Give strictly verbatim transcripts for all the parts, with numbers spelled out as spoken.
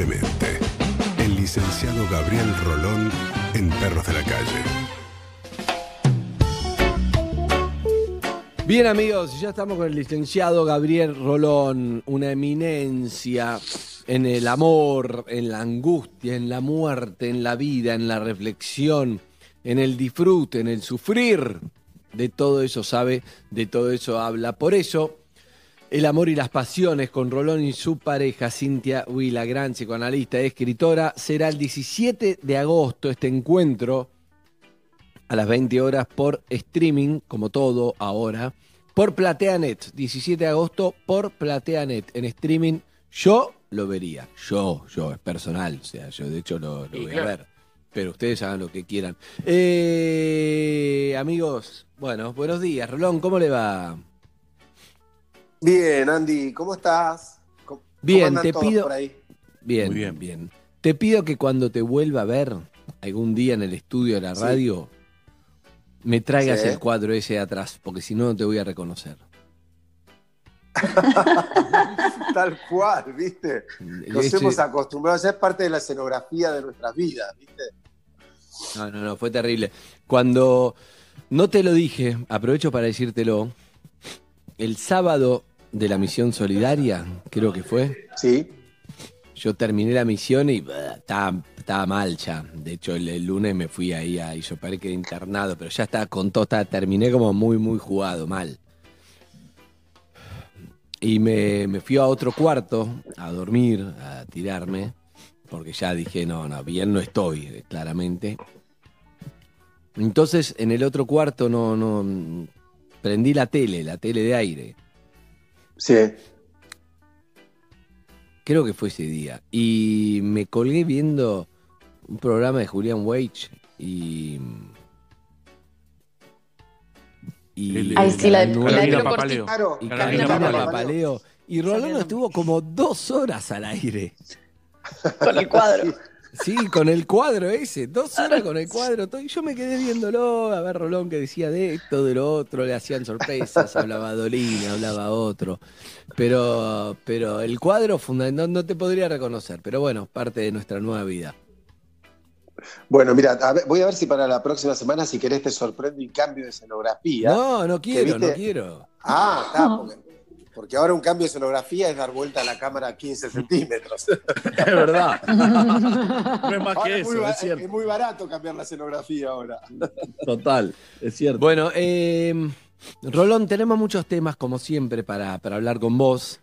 libremente. El licenciado Gabriel Rolón en Perros de la Calle. Bien, amigos, ya estamos con el licenciado Gabriel Rolón, una eminencia en el amor, en la angustia, en la muerte, en la vida, en la reflexión, en el disfrute, en el sufrir. De todo eso sabe, de todo eso habla. Por eso, el amor y las pasiones con Rolón y su pareja, Cintia Huila, gran psicoanalista y escritora, será el diecisiete de agosto este encuentro a las veinte horas por streaming, como todo ahora, por PlateaNet. diecisiete de agosto por PlateaNet. En streaming yo lo vería. Yo, yo, es personal. O sea, yo de hecho lo, lo voy a ver. Pero ustedes hagan lo que quieran. Eh, amigos, bueno, buenos días. Rolón, ¿cómo le va? Bien, Andy, ¿cómo estás? ¿Cómo, bien, ¿cómo te pido. Por ahí? Bien, Muy bien, bien. Te pido que cuando te vuelva a ver algún día en el estudio de la radio, sí, me traigas sí. el cuadro ese de atrás, porque si no, no te voy a reconocer. Tal cual, ¿viste? Nos ese... hemos acostumbrado, ya es parte de la escenografía de nuestras vidas, ¿viste? No, no, no, fue terrible. Cuando no te lo dije, aprovecho para decírtelo, el sábado de la misión solidaria, creo que fue. Sí. Yo terminé la misión y bah, estaba, estaba mal ya. De hecho, el, el lunes me fui ahí a Isopar, quedé internado, pero ya estaba con todo, estaba, terminé como muy, muy jugado, mal. Y me, me fui a otro cuarto a dormir, a tirarme, porque ya dije, no, no, bien no estoy, claramente. Entonces, en el otro cuarto no, no prendí la tele, la tele de aire. Sí. Creo que fue ese día. Y me colgué viendo un programa de Julián Weich y... Y Ay, sí, la de Carolina Papaleo. Y Carolina Papaleo. Y Rolón estuvo como dos horas al aire. Con el cuadro. Sí, con el cuadro ese. Dos horas con el cuadro. Y yo me quedé viéndolo, a ver Rolón que decía de esto, de lo otro, le hacían sorpresas, hablaba Dolina, hablaba otro. Pero, pero el cuadro no, no te podría reconocer. Pero bueno, parte de nuestra nueva vida. Bueno, mira, a ver, voy a ver si para la próxima semana, si querés, te sorprende un cambio de escenografía. No, no quiero, no quiero. Ah, está, porque, porque ahora un cambio de escenografía es dar vuelta a la cámara a quince centímetros. Es verdad. No es más ahora que es eso, muy, es cierto. Es muy barato cambiar la escenografía ahora. Total, es cierto. Bueno, eh, Rolón, tenemos muchos temas, como siempre, para, para hablar con vos.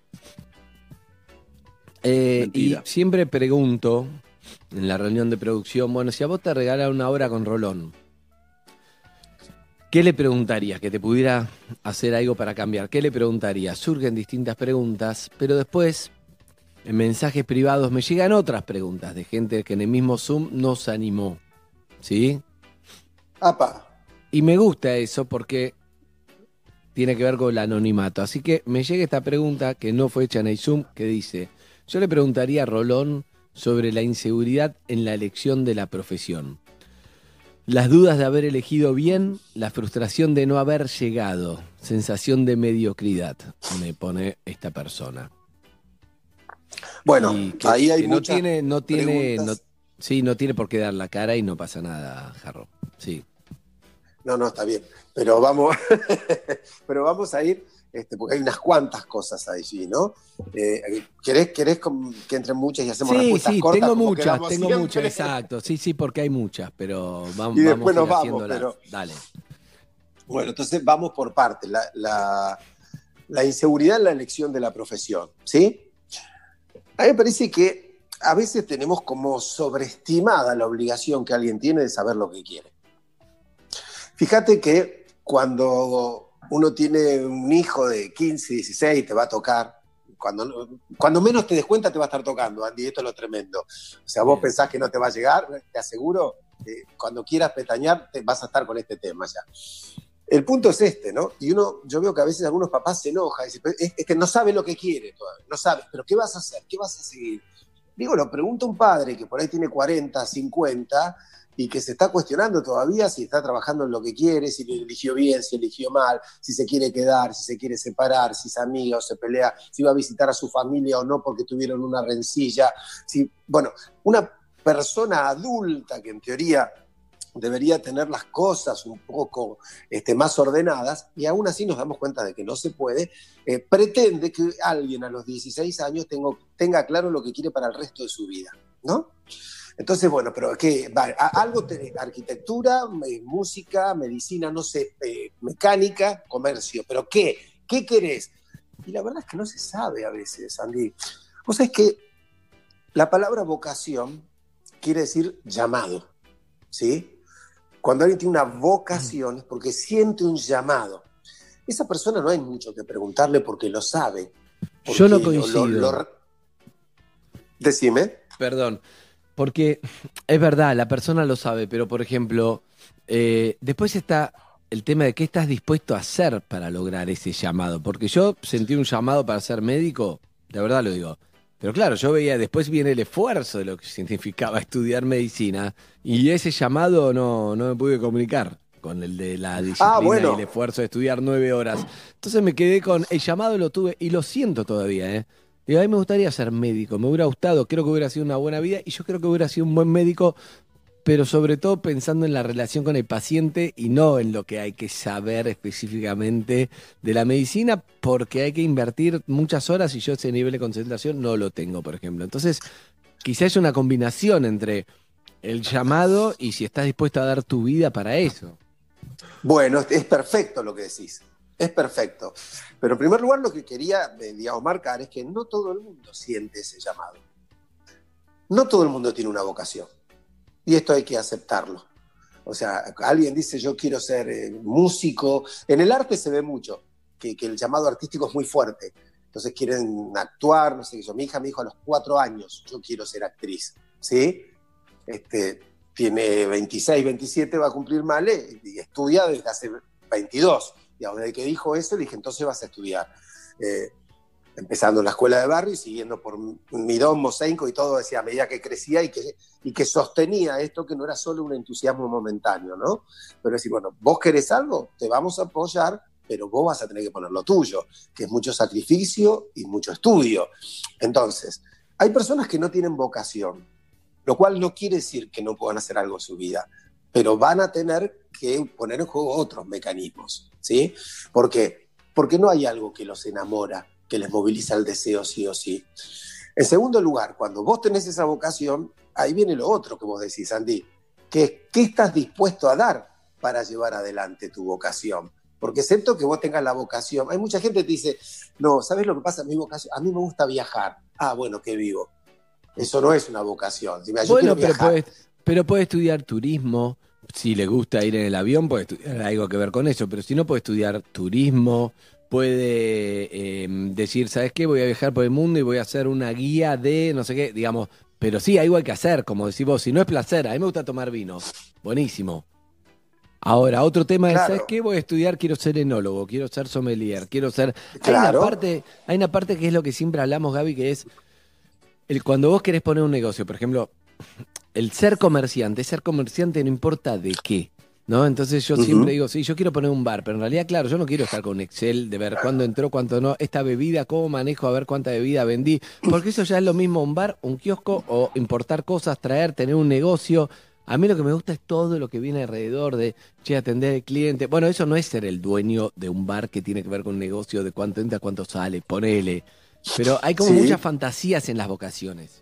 Eh, y siempre pregunto... en la reunión de producción, bueno, si a vos te regalan una hora con Rolón, ¿qué le preguntarías? Que te pudiera hacer algo para cambiar. ¿Qué le preguntarías? Surgen distintas preguntas, pero después, en mensajes privados, me llegan otras preguntas de gente que en el mismo Zoom nos animó. ¿Sí? ¡Apa! Y me gusta eso porque tiene que ver con el anonimato. Así que me llega esta pregunta que no fue hecha en el Zoom, que dice, yo le preguntaría a Rolón sobre la inseguridad en la elección de la profesión. Las dudas de haber elegido bien, la frustración de no haber llegado, sensación de mediocridad, me pone esta persona. Bueno, que, ahí hay que muchas no tiene, no tiene, no, preguntas. Sí, no tiene por qué dar la cara y no pasa nada, Jarro. Sí. No, no, está bien. Pero vamos, pero vamos a ir... Este, porque hay unas cuantas cosas allí, ¿no? Eh, ¿querés, ¿Querés que entren muchas y hacemos sí, respuestas sí, cortas? Tengo muchas, tengo siempre? muchas, exacto. Sí, sí, porque hay muchas, pero vamos, y después vamos nos a ir vamos, pero... Dale. Bueno, entonces vamos por partes. La, la, la inseguridad en la elección de la profesión, ¿sí? A mí me parece que a veces tenemos como sobreestimada la obligación que alguien tiene de saber lo que quiere. Fíjate que cuando... uno tiene un hijo de quince, dieciséis, te va a tocar. Cuando, cuando menos te des cuenta te va a estar tocando, Andy, esto es lo tremendo. O sea, vos Bien. pensás que no te va a llegar, te aseguro que cuando quieras pestañear te vas a estar con este tema ya. El punto es este, ¿no? Y uno, yo veo que a veces algunos papás se enojan y dicen, es, es que no sabe lo que quiere todavía, no sabe, pero ¿qué vas a hacer? ¿Qué vas a seguir? Digo, lo pregunta un padre que por ahí tiene cuarenta, cincuenta y que se está cuestionando todavía si está trabajando en lo que quiere, si eligió bien, si eligió mal, si se quiere quedar, si se quiere separar, si es amiga o se pelea, si va a visitar a su familia o no porque tuvieron una rencilla. Si, bueno, una persona adulta que en teoría debería tener las cosas un poco este, más ordenadas, y aún así nos damos cuenta de que no se puede, eh, pretende que alguien a los dieciséis años tengo, tenga claro lo que quiere para el resto de su vida, ¿no? Entonces, bueno, pero ¿qué? Va, algo, te, arquitectura, eh, música, medicina, no sé, eh, mecánica, comercio, pero ¿qué? ¿Qué querés? Y la verdad es que no se sabe a veces, Andy. Vos sabés que la palabra vocación quiere decir llamado, ¿sí? Cuando alguien tiene una vocación es porque siente un llamado. Esa persona no hay mucho que preguntarle porque lo sabe. Porque Yo no coincido. Lo, lo, lo... Decime. Perdón. Porque es verdad, la persona lo sabe, pero por ejemplo, eh, después está el tema de qué estás dispuesto a hacer para lograr ese llamado. Porque yo sentí un llamado para ser médico, de verdad lo digo. Pero claro, yo veía, después viene el esfuerzo de lo que significaba estudiar medicina y ese llamado no, no me pude comunicar con el de la disciplina ah, bueno. y el esfuerzo de estudiar nueve horas. Entonces me quedé con el llamado, lo tuve y lo siento todavía, ¿eh? Y a mí me gustaría ser médico, me hubiera gustado, creo que hubiera sido una buena vida y yo creo que hubiera sido un buen médico, pero sobre todo pensando en la relación con el paciente y no en lo que hay que saber específicamente de la medicina, porque hay que invertir muchas horas y yo ese nivel de concentración no lo tengo, por ejemplo. Entonces, quizás es una combinación entre el llamado y si estás dispuesto a dar tu vida para eso. Bueno, es perfecto lo que decís. Es perfecto. Pero en primer lugar lo que quería, digamos, marcar es que no todo el mundo siente ese llamado. No todo el mundo tiene una vocación. Y esto hay que aceptarlo. O sea, alguien dice yo quiero ser eh, músico. En el arte se ve mucho, que, que el llamado artístico es muy fuerte. Entonces quieren actuar, no sé qué yo. Mi hija me dijo a los cuatro años, yo quiero ser actriz. ¿Sí? Este, tiene veintiséis, veintisiete, va a cumplir Male y estudia desde hace veintidós. Digamos, desde que dijo eso, le dije, entonces vas a estudiar. Eh, empezando en la escuela de barrio y siguiendo por Mirón, Mosaico y todo, decía, a medida que crecía y que, y que sostenía esto, que no era solo un entusiasmo momentáneo, ¿no? Pero decir, bueno, vos querés algo, te vamos a apoyar, pero vos vas a tener que poner lo tuyo, que es mucho sacrificio y mucho estudio. Entonces, hay personas que no tienen vocación, lo cual no quiere decir que no puedan hacer algo en su vida, pero van a tener que poner en juego otros mecanismos, ¿sí? ¿Por qué? Porque no hay algo que los enamora, que les moviliza el deseo sí o sí. En segundo lugar, cuando vos tenés esa vocación, ahí viene lo otro que vos decís, Andy, que es qué estás dispuesto a dar para llevar adelante tu vocación. Porque excepto que vos tengas la vocación, hay mucha gente que te dice, no, ¿sabés lo que pasa? Mi vocación, a mí me gusta viajar. Ah, bueno, qué vivo. Eso no es una vocación. Si me, yo bueno, quiero pero puede, pero puede estudiar turismo. Si le gusta ir en el avión, puede estudiar algo que ver con eso. Pero si no, puede estudiar turismo, puede eh, decir, ¿sabes qué? Voy a viajar por el mundo y voy a hacer una guía de no sé qué, digamos. Pero sí, algo hay que hacer, como decís vos. Si no es placer, a mí me gusta tomar vino. Buenísimo. Ahora, otro tema claro. es, ¿sabes qué? Voy a estudiar, quiero ser enólogo, quiero ser sommelier, quiero ser... Claro. Hay una parte, hay una parte que es lo que siempre hablamos, Gaby, que es el, cuando vos querés poner un negocio, por ejemplo, el ser comerciante, ser comerciante no importa de qué, ¿no? Entonces yo uh-huh. siempre digo, sí, yo quiero poner un bar, pero en realidad, claro, yo no quiero estar con Excel de ver cuándo entró, cuánto no, esta bebida, cómo manejo, a ver cuánta bebida vendí, porque eso ya es lo mismo un bar, un kiosco o importar cosas, traer, tener un negocio. A mí lo que me gusta es todo lo que viene alrededor de, che, atender al cliente. Bueno, eso no es ser el dueño de un bar que tiene que ver con un negocio, de cuánto entra, cuánto sale, ponele. Pero hay como sí. muchas fantasías en las vocaciones.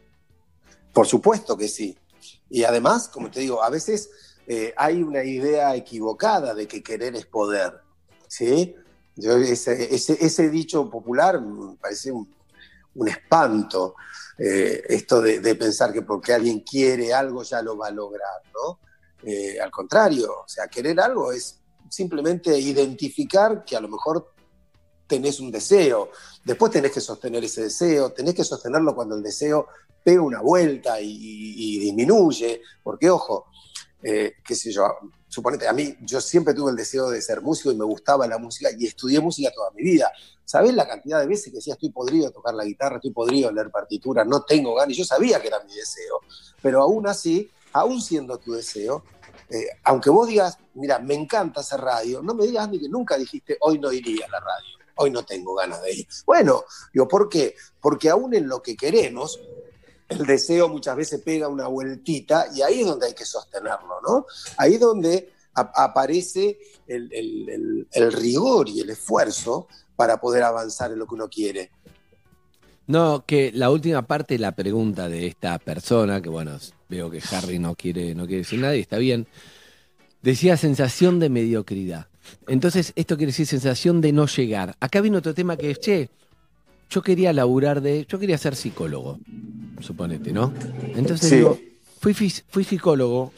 Por supuesto que sí. Y además, como te digo, a veces eh, hay una idea equivocada de que querer es poder, ¿sí? Yo, ese, ese, ese dicho popular me parece un, un espanto. Eh, esto de, de pensar que porque alguien quiere algo ya lo va a lograr, ¿no? Eh, al contrario, o sea, querer algo es simplemente identificar que a lo mejor tenés un deseo, después tenés que sostener ese deseo, tenés que sostenerlo cuando el deseo pega una vuelta y, y, y disminuye, porque ojo, eh, qué sé yo, suponete, a mí, yo siempre tuve el deseo de ser músico y me gustaba la música y estudié música toda mi vida. ¿Sabés la cantidad de veces que decía estoy podrido de tocar la guitarra, estoy podrido de leer partituras, no tengo ganas? Y yo sabía que era mi deseo, pero aún así, aún siendo tu deseo, eh, aunque vos digas, mira, me encanta hacer radio, no me digas ni que nunca dijiste, hoy no iría a la radio, hoy no tengo ganas de ir. Bueno, digo, ¿por qué? Porque aún en lo que queremos, el deseo muchas veces pega una vueltita y ahí es donde hay que sostenerlo, ¿no? Ahí es donde a- aparece el, el, el, el rigor y el esfuerzo para poder avanzar en lo que uno quiere. No, que la última parte de la pregunta de esta persona, que bueno, veo que Harry no quiere, no quiere decir nada y está bien, decía sensación de mediocridad. Entonces, esto quiere decir sensación de no llegar. Acá viene otro tema que es, che, yo quería laburar de, yo quería ser psicólogo, suponete, ¿no? Entonces Sí. digo, fui, fis- fui psicólogo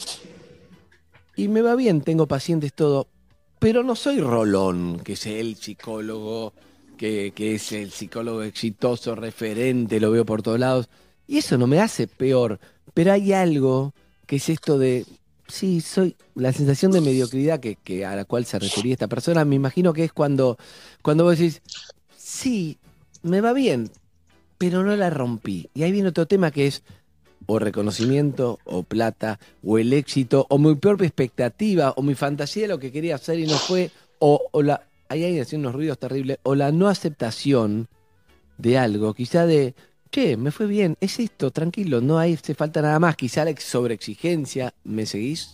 y me va bien, tengo pacientes, todo, pero no soy Rolón, que es el psicólogo, que, que es el psicólogo exitoso, referente, lo veo por todos lados. Y eso no me hace peor, pero hay algo que es esto de, sí, soy la sensación de mediocridad que, que a la cual se refería esta persona, me imagino que es cuando, cuando vos decís, sí, me va bien, pero no la rompí. Y ahí viene otro tema que es o reconocimiento, o plata, o el éxito, o mi propia expectativa, o mi fantasía de lo que quería hacer y no fue, o, o la, ahí hay unos ruidos terribles, o la no aceptación de algo, quizá de, che, me fue bien, es esto, tranquilo, no hay, hace falta nada más, quizá la sobreexigencia, ¿me seguís?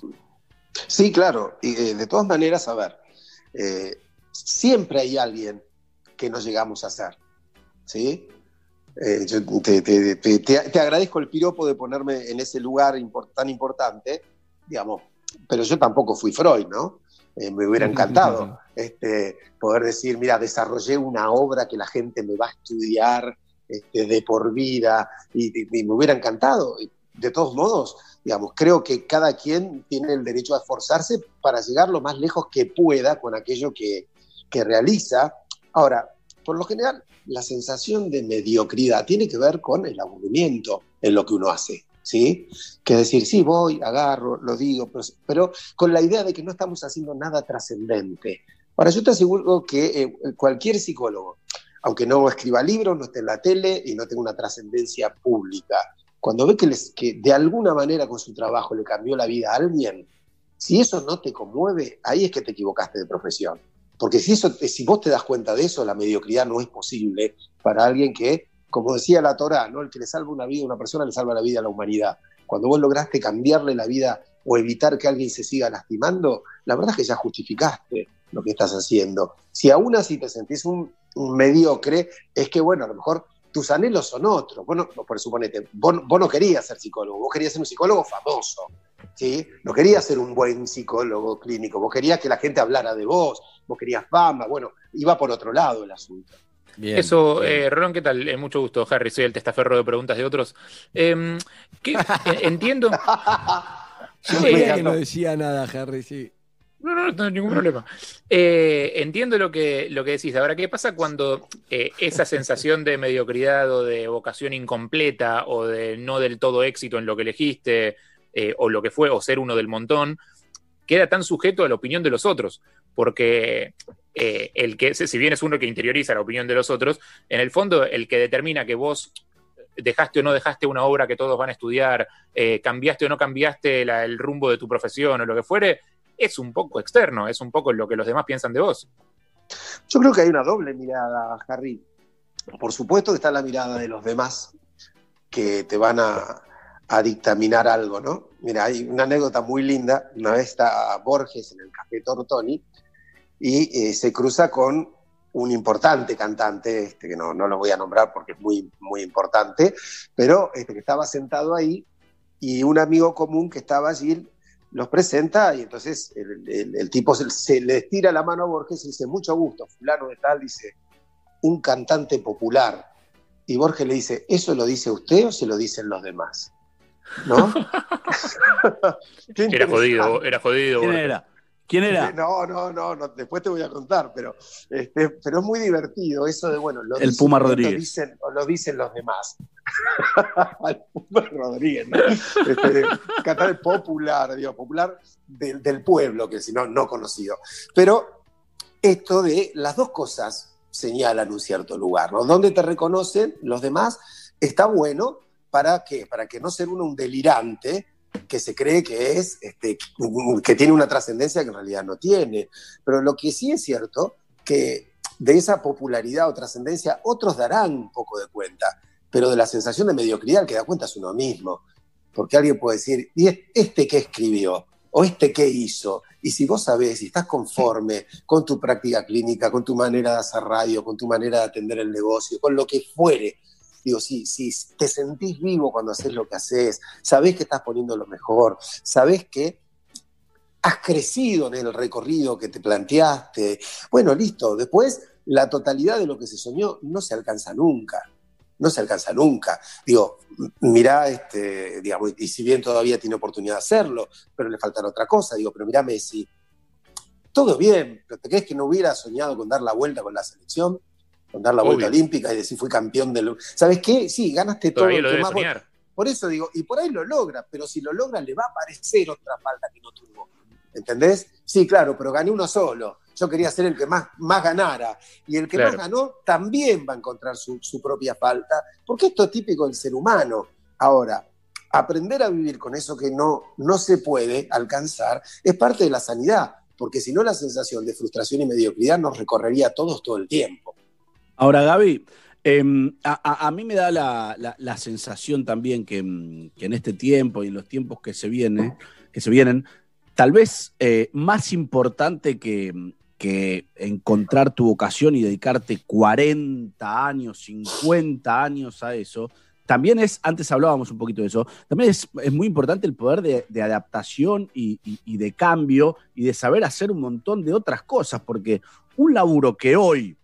Sí, claro. Y eh, de todas maneras, a ver, eh, siempre hay alguien que no llegamos a ser, ¿sí? Eh, yo te, te, te, te, te agradezco el piropo de ponerme en ese lugar import, tan importante, digamos, pero yo tampoco fui Freud, ¿no? Eh, me hubiera encantado este, poder decir, mira, desarrollé una obra que la gente me va a estudiar este, de por vida, y, y, y me hubiera encantado. De todos modos, digamos, creo que cada quien tiene el derecho a esforzarse para llegar lo más lejos que pueda con aquello que, que realiza. Ahora, por lo general, la sensación de mediocridad tiene que ver con el aburrimiento en lo que uno hace, ¿sí? Que es decir, sí, voy, agarro, lo digo, pero, pero con la idea de que no estamos haciendo nada trascendente. Ahora, yo te aseguro que eh, cualquier psicólogo, aunque no escriba libros, no esté en la tele y no tenga una trascendencia pública, cuando ve que, les, que de alguna manera con su trabajo le cambió la vida a alguien, si eso no te conmueve, ahí es que te equivocaste de profesión. Porque si, eso, si vos te das cuenta de eso, la mediocridad no es posible para alguien que, como decía la Torá, ¿no? El que le salva una vida a una persona le salva la vida a la humanidad. Cuando vos lograste cambiarle la vida o evitar que alguien se siga lastimando, la verdad es que ya justificaste lo que estás haciendo. Si aún así te sentís un, un mediocre, es que, bueno, a lo mejor tus anhelos son otros. Vos no, por suponete, vos, vos no querías ser psicólogo, vos querías ser un psicólogo famoso, ¿sí? No querías ser un buen psicólogo clínico, vos querías que la gente hablara de vos, vos querías fama, bueno, iba por otro lado el asunto. Bien, Eso, bien. Eh, Rolón, ¿qué tal? Eh, mucho gusto, Harry, soy el testaferro de preguntas de otros. Eh, ¿qué? Entiendo. Yo veía que no decía nada, Harry, sí. No, no, no tengo ningún problema. Eh, entiendo lo que, lo que decís. Ahora, ¿qué pasa cuando eh, esa sensación de mediocridad o de vocación incompleta o de no del todo éxito en lo que elegiste eh, o lo que fue, o ser uno del montón, queda tan sujeto a la opinión de los otros? Porque eh, el que, si bien es uno que interioriza la opinión de los otros, en el fondo el que determina que vos dejaste o no dejaste una obra que todos van a estudiar, eh, cambiaste o no cambiaste la, el rumbo de tu profesión o lo que fuere, es un poco externo, es un poco lo que los demás piensan de vos. Yo creo que hay una doble mirada, Harry. Por supuesto que está la mirada de los demás que te van a, a dictaminar algo, ¿no? Mira, hay una anécdota muy linda. Una vez está Borges en el Café Tortoni y eh, se cruza con un importante cantante, este, que no, no lo voy a nombrar porque es muy, muy importante, pero este, que estaba sentado ahí y un amigo común que estaba allí los presenta y entonces el, el, el tipo se, se le estira la mano a Borges y dice, mucho gusto, fulano de tal, dice, un cantante popular. Y Borges le dice, ¿eso lo dice usted o se lo dicen los demás? ¿No? Era jodido, era jodido. ¿Quién Borges. era? ¿Quién era? No, no, no, no, después te voy a contar, pero, este, pero es muy divertido eso de, bueno, lo el dicen, Puma lo Rodríguez. Dicen, o lo dicen los demás. El Puma Rodríguez, ¿no? Este, cantar popular, digo, popular del, del pueblo, que si no, no conocido. Pero esto de las dos cosas señalan un cierto lugar, ¿no? Donde te reconocen los demás está bueno para que, para que no ser uno un delirante que se cree que es, este, que tiene una trascendencia que en realidad no tiene. Pero lo que sí es cierto, que de esa popularidad o trascendencia otros darán un poco de cuenta, pero de la sensación de mediocridad el que da cuenta es uno mismo. Porque alguien puede decir, ¿y este qué escribió? ¿O este qué hizo? Y si vos sabés, si estás conforme con tu práctica clínica, con tu manera de hacer radio, con tu manera de atender el negocio, con lo que fuere, digo, si, si te sentís vivo cuando haces lo que haces, sabés que estás poniendo lo mejor, sabés que has crecido en el recorrido que te planteaste, bueno, listo. Después, la totalidad de lo que se soñó no se alcanza nunca. No se alcanza nunca. Digo, mirá, este, digamos, y si bien todavía tiene oportunidad de hacerlo, pero le faltará otra cosa. Digo, pero mirá Messi, todo bien, pero ¿te crees que no hubiera soñado con dar la vuelta con la selección? Con dar la Obvio. Vuelta olímpica y decir fui campeón del... ¿Sabes qué? Sí, ganaste todo. Todavía lo que debe más soñar. vos... Por eso digo, y por ahí lo logra, pero si lo logra le va a aparecer otra falta que no tuvo. ¿Entendés? Sí, claro, pero gané uno solo. Yo quería ser el que más, más ganara. Y el que Claro. más ganó también va a encontrar su, su propia falta, porque esto es típico del ser humano. Ahora, aprender a vivir con eso que no, no se puede alcanzar es parte de la sanidad, porque si no la sensación de frustración y mediocridad nos recorrería a todos todo el tiempo. Ahora, Gaby, eh, a, a, a mí me da la, la, la sensación también que, que en este tiempo y en los tiempos que se, viene, que se vienen, tal vez eh, más importante que, que encontrar tu vocación y dedicarte cuarenta años, cincuenta años a eso, también es, antes hablábamos un poquito de eso, también es, es muy importante el poder de, de adaptación y, y, y de cambio y de saber hacer un montón de otras cosas, porque un laburo que hoy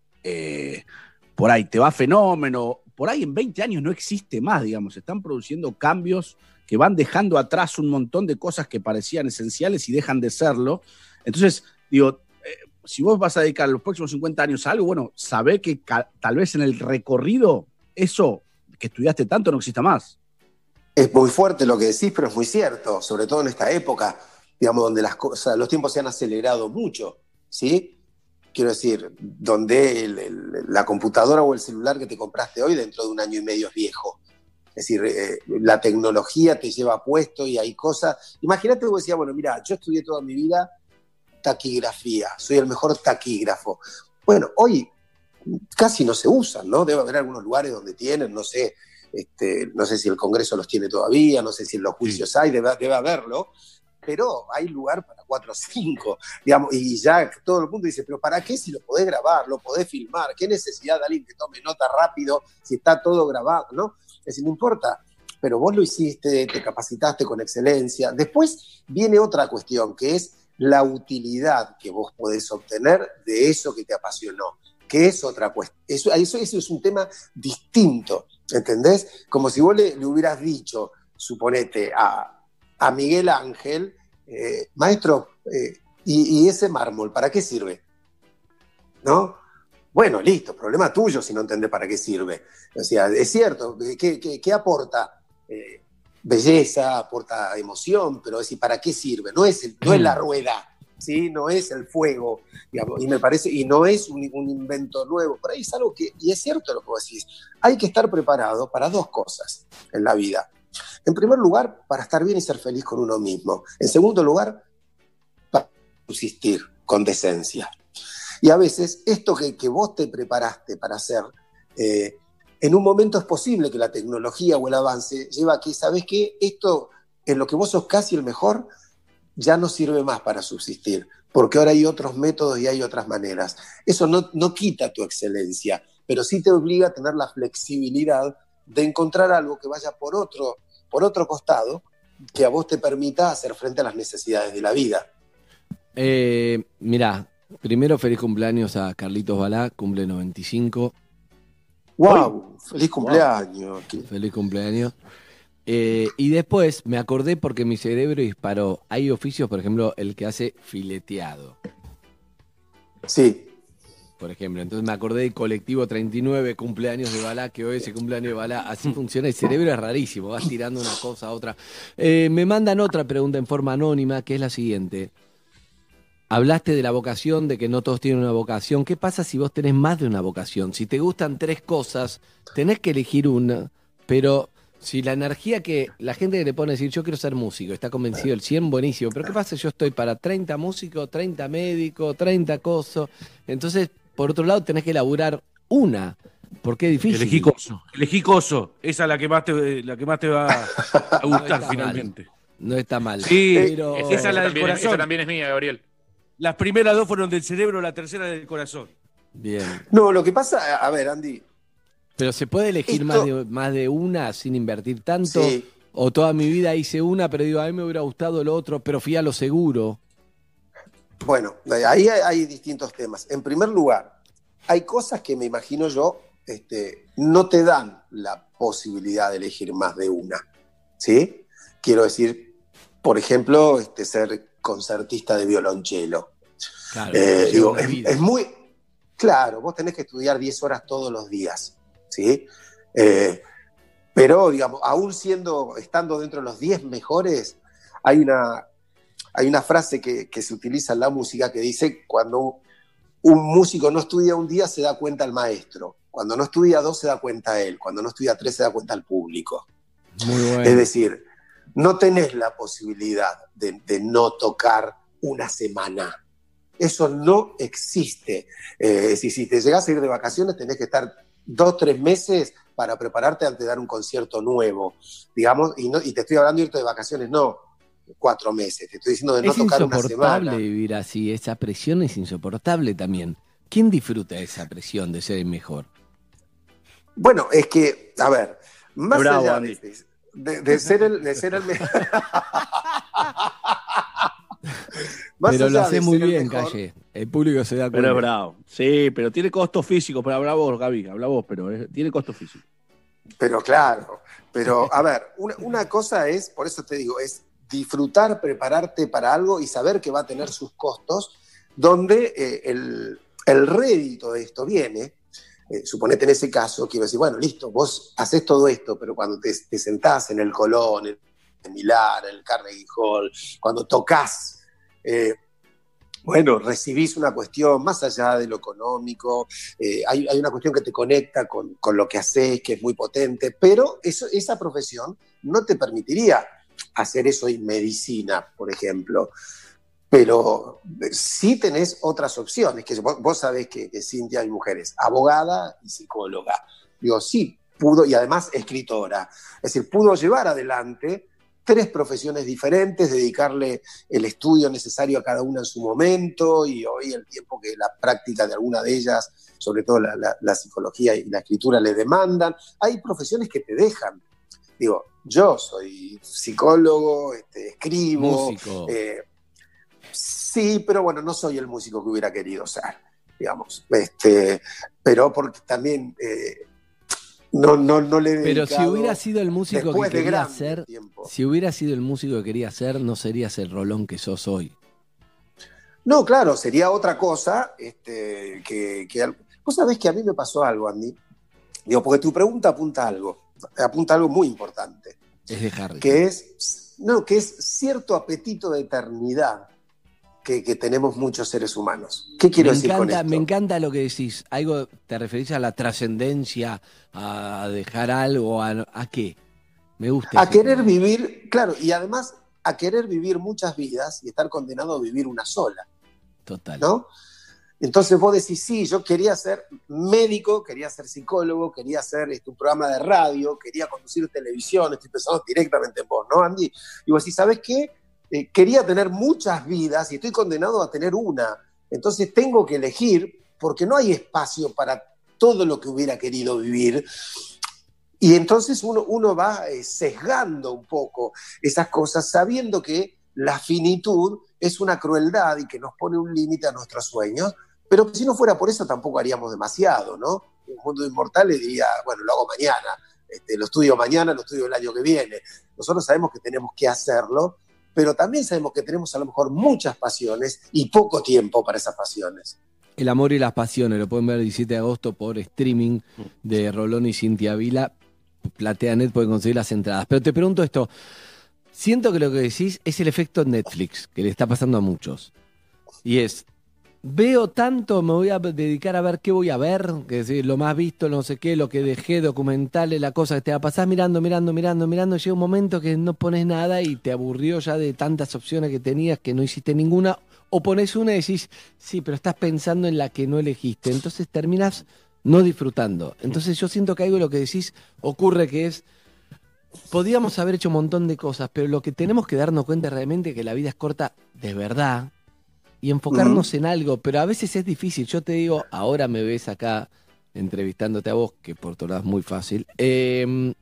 eh, por ahí te va fenómeno, por ahí en veinte años no existe más, digamos, están produciendo cambios que van dejando atrás un montón de cosas que parecían esenciales y dejan de serlo. Entonces, digo, eh, si vos vas a dedicar los próximos cincuenta años a algo, bueno, sabé que ca- tal vez en el recorrido eso que estudiaste tanto no exista más. Es muy fuerte lo que decís, pero es muy cierto, sobre todo en esta época, digamos, donde las cosas, los tiempos se han acelerado mucho, ¿sí? Quiero decir, donde el, el, la computadora o el celular que te compraste hoy dentro de un año y medio es viejo. Es decir, eh, la tecnología te lleva puesto y hay cosas... Imagínate que vos decías, bueno, mira, yo estudié toda mi vida taquigrafía, soy el mejor taquígrafo. Bueno, hoy casi no se usan, ¿no? Debe haber algunos lugares donde tienen, no sé, este, no sé si el Congreso los tiene todavía, no sé si en los juicios sí hay, debe, debe haberlo, pero hay lugar para cuatro o cinco, digamos, y ya todo el mundo dice, pero ¿para qué si lo podés grabar, lo podés filmar? ¿Qué necesidad de alguien que tome nota rápido si está todo grabado, ¿no? Es decir, no importa, pero vos lo hiciste, te capacitaste con excelencia. Después viene otra cuestión, que es la utilidad que vos podés obtener de eso que te apasionó, que es otra cuestión. Eso, eso, eso es un tema distinto, ¿entendés? Como si vos le, le hubieras dicho, suponete, a... a Miguel Ángel, eh, maestro, eh, y, y ese mármol, ¿para qué sirve? ¿No? Bueno, listo, problema tuyo si no entendés para qué sirve. O sea, es cierto, ¿qué, qué, qué aporta? Eh, belleza, aporta emoción, pero es decir, ¿para qué sirve? No es, el, no es la rueda, ¿sí? No es el fuego, digamos, y me parece, y no es un, un invento nuevo, por ahí es algo que, y es cierto lo que vos decís, hay que estar preparado para dos cosas en la vida. En primer lugar, para estar bien y ser feliz con uno mismo. En segundo lugar, para subsistir con decencia. Y a veces, esto que, que vos te preparaste para hacer, eh, en un momento es posible que la tecnología o el avance lleva a que, ¿sabés qué? Esto, en lo que vos sos casi el mejor, ya no sirve más para subsistir, porque ahora hay otros métodos y hay otras maneras. Eso no, no quita tu excelencia, pero sí te obliga a tener la flexibilidad de encontrar algo que vaya por otro, por otro costado, que a vos te permita hacer frente a las necesidades de la vida. Eh, mirá, primero feliz cumpleaños a Carlitos Balá, cumple noventa y cinco. ¡Wow! ¡Feliz cumpleaños! Wow. Feliz cumpleaños. Eh, y después me acordé porque mi cerebro disparó. Hay oficios, por ejemplo, el que hace fileteado. Sí. Por ejemplo, entonces me acordé del colectivo treinta y nueve, cumpleaños de Balá, que hoy es el cumpleaños de Balá. Así funciona el cerebro, es rarísimo, vas tirando una cosa a otra. Eh, me mandan otra pregunta en forma anónima, que es la siguiente. Hablaste de la vocación, de que no todos tienen una vocación. ¿Qué pasa si vos tenés más de una vocación? Si te gustan tres cosas, tenés que elegir una, pero si la energía que la gente que le pone a decir yo quiero ser músico, está convencido del cien, buenísimo, pero ¿qué pasa si yo estoy para treinta músicos, treinta médicos, treinta cosas? Entonces, por otro lado, tenés que elaborar una, porque es difícil. Elegí coso, elegí coso. Esa es la que más te, la que más te va a gustar no finalmente. Mal. No está mal. Sí, pero... esa, esa es la del corazón. Esa también es mía, Gabriel. Las primeras dos fueron del cerebro, la tercera del corazón. Bien. No, lo que pasa, a ver, Andy. Pero ¿se puede elegir esto... más, de, más de una sin invertir tanto? Sí. O toda mi vida hice una, pero digo, a mí me hubiera gustado lo otro, pero fui a lo seguro. Bueno, ahí hay, hay distintos temas. En primer lugar, hay cosas que me imagino yo este, no te dan la posibilidad de elegir más de una, ¿sí? Quiero decir, por ejemplo, este, ser concertista de violonchelo. Claro, eh, digo, es, es muy... Claro, vos tenés que estudiar diez horas todos los días, ¿sí? Eh, pero, digamos, aún siendo, estando dentro de los diez mejores, hay una, hay una frase que, que se utiliza en la música que dice, cuando un músico no estudia un día, se da cuenta el maestro. Cuando no estudia dos, se da cuenta él. Cuando no estudia tres, se da cuenta el público. Muy bueno. Es decir, no tenés la posibilidad de, de no tocar una semana. Eso no existe. Eh, es decir, si te llegás a ir de vacaciones, tenés que estar dos, tres meses para prepararte antes de dar un concierto nuevo, digamos, y, no, y te estoy hablando de irte de vacaciones, no cuatro meses, te estoy diciendo de no es tocar una semana. Es insoportable vivir así, esa presión es insoportable también. ¿Quién disfruta esa presión de ser el mejor? Bueno, es que, a ver, más Bravo, allá Andy. de, de, de ser el, de ser el mejor... Pero lo hace muy bien, Calle. El público se da cuenta. Pero es bravo. Sí, pero tiene costos físicos. Pero habla vos, Gaby, habla vos, pero es, tiene costos físicos. Pero claro, pero a ver, una, una cosa es, por eso te digo, es disfrutar, prepararte para algo y saber que va a tener sus costos, donde eh, el, el rédito de esto viene, eh, suponete en ese caso, quiero decir, bueno, listo, vos haces todo esto, pero cuando te, te sentás en el Colón, en el Milán, en el Carnegie Hall, cuando tocas, eh, bueno, recibís una cuestión más allá de lo económico, eh, hay, hay una cuestión que te conecta con, con lo que haces, que es muy potente, pero eso, esa profesión no te permitiría hacer eso en medicina, por ejemplo. Pero sí tenés otras opciones, que vos, vos sabés que, que Cintia hay mujeres, abogada y psicóloga. Digo, sí, pudo, y además escritora. Es decir, pudo llevar adelante tres profesiones diferentes, dedicarle el estudio necesario a cada una en su momento y hoy el tiempo que la práctica de alguna de ellas, sobre todo la, la, la psicología y la escritura, le demandan. Hay profesiones que te dejan. Digo, yo soy psicólogo, este, escribo. Músico. Eh, sí, pero bueno, no soy el músico que hubiera querido ser, digamos. Este, pero porque también... Eh, No, no, no le he Pero si hubiera sido el músico que de quería ser, tiempo. si hubiera sido el músico que quería ser, no serías el Rolón que sos hoy. No, claro, sería otra cosa. Este, que, que, vos sabés que a mí me pasó algo, Andy. Digo, porque tu pregunta apunta a algo, apunta a algo muy importante. Es de Harry. Que es, no, que es cierto apetito de eternidad que, que tenemos muchos seres humanos. ¿Qué quiero me decir encanta, con esto? Me encanta lo que decís. Algo, ¿te referís a la trascendencia, a dejar algo, a, a qué? Me gusta. A querer tema. Vivir, claro, y además a querer vivir muchas vidas y estar condenado a vivir una sola. Total. ¿No? Entonces vos decís, sí, yo quería ser médico, quería ser psicólogo, quería hacer este, un programa de radio, quería conducir televisión, estoy pensando directamente en vos, ¿no, Andy? Y vos decís, ¿sabés qué? Eh, quería tener muchas vidas y estoy condenado a tener una. Entonces tengo que elegir porque no hay espacio para todo lo que hubiera querido vivir. Y entonces uno, uno va eh, sesgando un poco esas cosas, sabiendo que la finitud es una crueldad y que nos pone un límite a nuestros sueños, pero que si no fuera por eso tampoco haríamos demasiado, ¿no? Un mundo de inmortales diría, bueno, lo hago mañana. este, lo estudio mañana, lo estudio el año que viene. Nosotros sabemos que tenemos que hacerlo, pero también sabemos que tenemos a lo mejor muchas pasiones y poco tiempo para esas pasiones. El amor y las pasiones, lo pueden ver el diecisiete de agosto por streaming de Rolón y Cintia Vila. Plateanet pueden conseguir las entradas. Pero te pregunto esto, siento que lo que decís es el efecto Netflix, que le está pasando a muchos. Y es, veo tanto, me voy a dedicar a ver qué voy a ver, que es decir, lo más visto, no sé qué, lo que dejé, documentales, la cosa que te va a pasar mirando, mirando, mirando, mirando, llega un momento que no pones nada y te aburrió ya de tantas opciones que tenías que no hiciste ninguna, o pones una y decís, sí, pero estás pensando en la que no elegiste, entonces terminas no disfrutando. Entonces yo siento que algo de lo que decís ocurre que es, podíamos haber hecho un montón de cosas, pero lo que tenemos que darnos cuenta realmente es que la vida es corta de verdad y enfocarnos uh-huh. en algo, pero a veces es difícil. Yo te digo, ahora me ves acá entrevistándote a vos, que por tu lado es muy fácil, eh,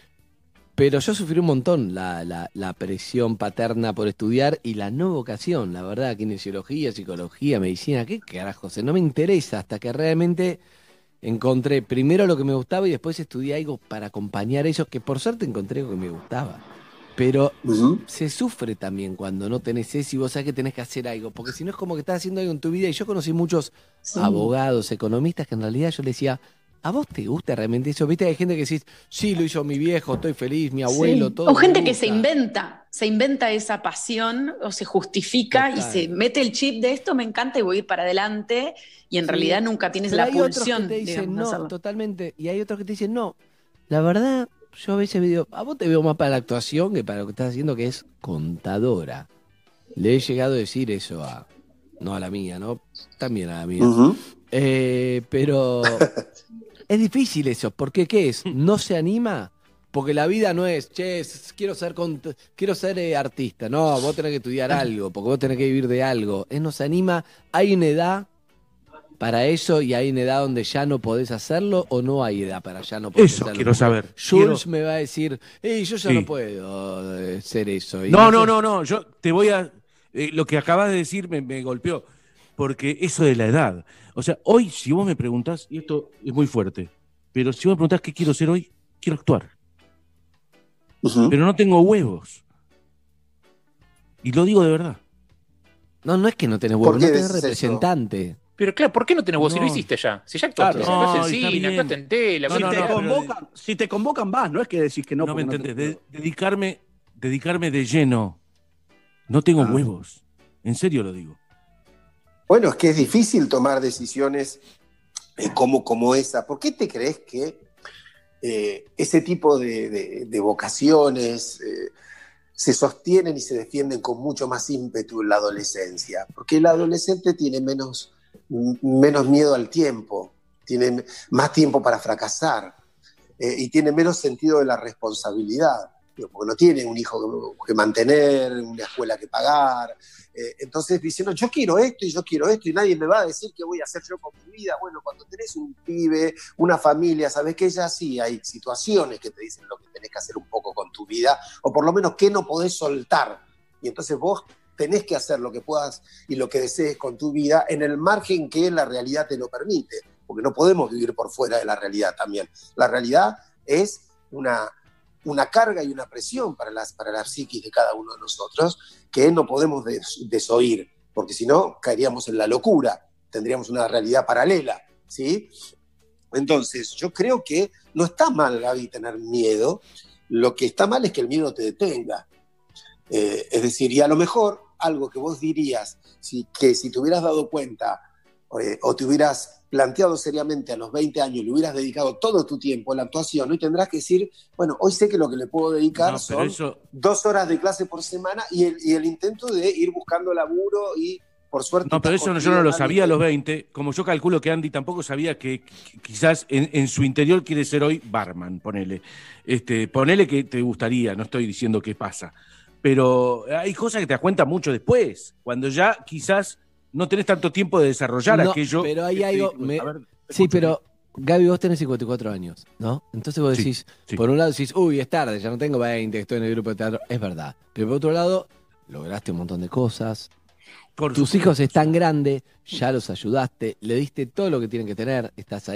pero yo sufrí un montón la, la, la presión paterna por estudiar y la no vocación, la verdad, kinesiología, psicología, medicina, qué carajos, no me interesa hasta que realmente encontré primero lo que me gustaba y después estudié algo para acompañar eso, que por suerte encontré lo que me gustaba. Pero uh-huh. se sufre también cuando no tenés eso y vos sabés que tenés que hacer algo, porque si no es como que estás haciendo algo en tu vida. Y yo conocí muchos sí. abogados, economistas, que en realidad yo les decía, ¿a vos te gusta realmente eso? Viste, hay gente que decís, sí, lo hizo mi viejo, estoy feliz, mi abuelo, sí. todo. O gente que se inventa, se inventa esa pasión o se justifica Total. y se mete el chip de esto me encanta y voy a ir para adelante y en sí. realidad nunca tienes Pero la hay pulsión. Otros que te dicen, digamos, no, totalmente. Y hay otros que te dicen, no, la verdad, yo a veces digo, a vos te veo más para la actuación que para lo que estás haciendo, que es contadora. Le he llegado a decir eso a, no a la mía, ¿no? También a la mía. Uh-huh. Eh, pero... Es difícil eso, porque ¿qué es? ¿No se anima? Porque la vida no es, che, quiero ser, cont- quiero ser eh, artista. No, vos tenés que estudiar algo, porque vos tenés que vivir de algo. Es, no se anima. ¿Hay una edad para eso y hay una edad donde ya no podés hacerlo o no hay edad para ya no poder eso hacerlo? Eso quiero saber. Jules quiero... me va a decir, hey, yo ya sí. no puedo eh, ser eso. Y no, no, no, no, yo te voy a... Eh, lo que acabas de decir me, me golpeó, porque eso de la edad... O sea, hoy, si vos me preguntás, y esto es muy fuerte, pero si vos me preguntás qué quiero ser hoy, quiero actuar. Uh-huh. Pero no tengo huevos. Y lo digo de verdad. No, no es que no tenés huevos, no tenés representante. Eso? Pero claro, ¿por qué no tenés huevos? No. Si lo hiciste ya. Si ya actuaste, claro, si actuaste no, en cine, actuaste en tele. No, si, no, te no, convocan, de... si te convocan vas, no es que decís que no. No me no entendés. te... De, dedicarme, dedicarme de lleno. No tengo ah. huevos. En serio lo digo. Bueno, es que es difícil tomar decisiones eh, como, como esa. ¿Por qué te crees que eh, ese tipo de, de, de vocaciones eh, se sostienen y se defienden con mucho más ímpetu en la adolescencia? Porque el adolescente tiene menos, menos miedo al tiempo, tiene más tiempo para fracasar eh, y tiene menos sentido de la responsabilidad. Porque no tiene un hijo que mantener, una escuela que pagar. Eh, entonces diciendo, yo quiero esto y yo quiero esto y nadie me va a decir qué voy a hacer yo con mi vida. Bueno, cuando tenés un pibe, una familia, sabés que ya sí hay situaciones que te dicen lo que tenés que hacer un poco con tu vida, o por lo menos qué no podés soltar. Y entonces vos tenés que hacer lo que puedas y lo que desees con tu vida en el margen que la realidad te lo permite, porque no podemos vivir por fuera de la realidad también. La realidad es una... una carga y una presión para, las, para la psiquis de cada uno de nosotros que no podemos des, desoír, porque si no caeríamos en la locura, tendríamos una realidad paralela, ¿sí? Entonces, yo creo que no está mal, Gaby, tener miedo, lo que está mal es que el miedo te detenga. Eh, es decir, y a lo mejor algo que vos dirías, si, que si te hubieras dado cuenta eh, o te hubieras planteado seriamente a los veinte años, le hubieras dedicado todo tu tiempo a la actuación, hoy tendrás que decir, bueno, hoy sé que lo que le puedo dedicar no, son eso... dos horas de clase por semana y el, y el intento de ir buscando laburo y por suerte... No, pero eso no, yo no lo sabía a los veinte, como yo calculo que Andy tampoco sabía que, que quizás en, en su interior quiere ser hoy barman, ponele. Este, ponele que te gustaría, no estoy diciendo qué pasa, pero hay cosas que te das cuenta mucho después, cuando ya quizás... no tenés tanto tiempo de desarrollar no, aquello. Pero hay algo... Me... Ver, sí, pero Gaby, vos tenés cincuenta y cuatro años, ¿no? Entonces vos decís, sí, sí. por un lado decís, uy, es tarde, ya no tengo veinte, estoy en el grupo de teatro. Es verdad. Pero por otro lado, lograste un montón de cosas. Por Tus supuesto. hijos están grandes, ya los ayudaste, le diste todo lo que tienen que tener, estás ahí.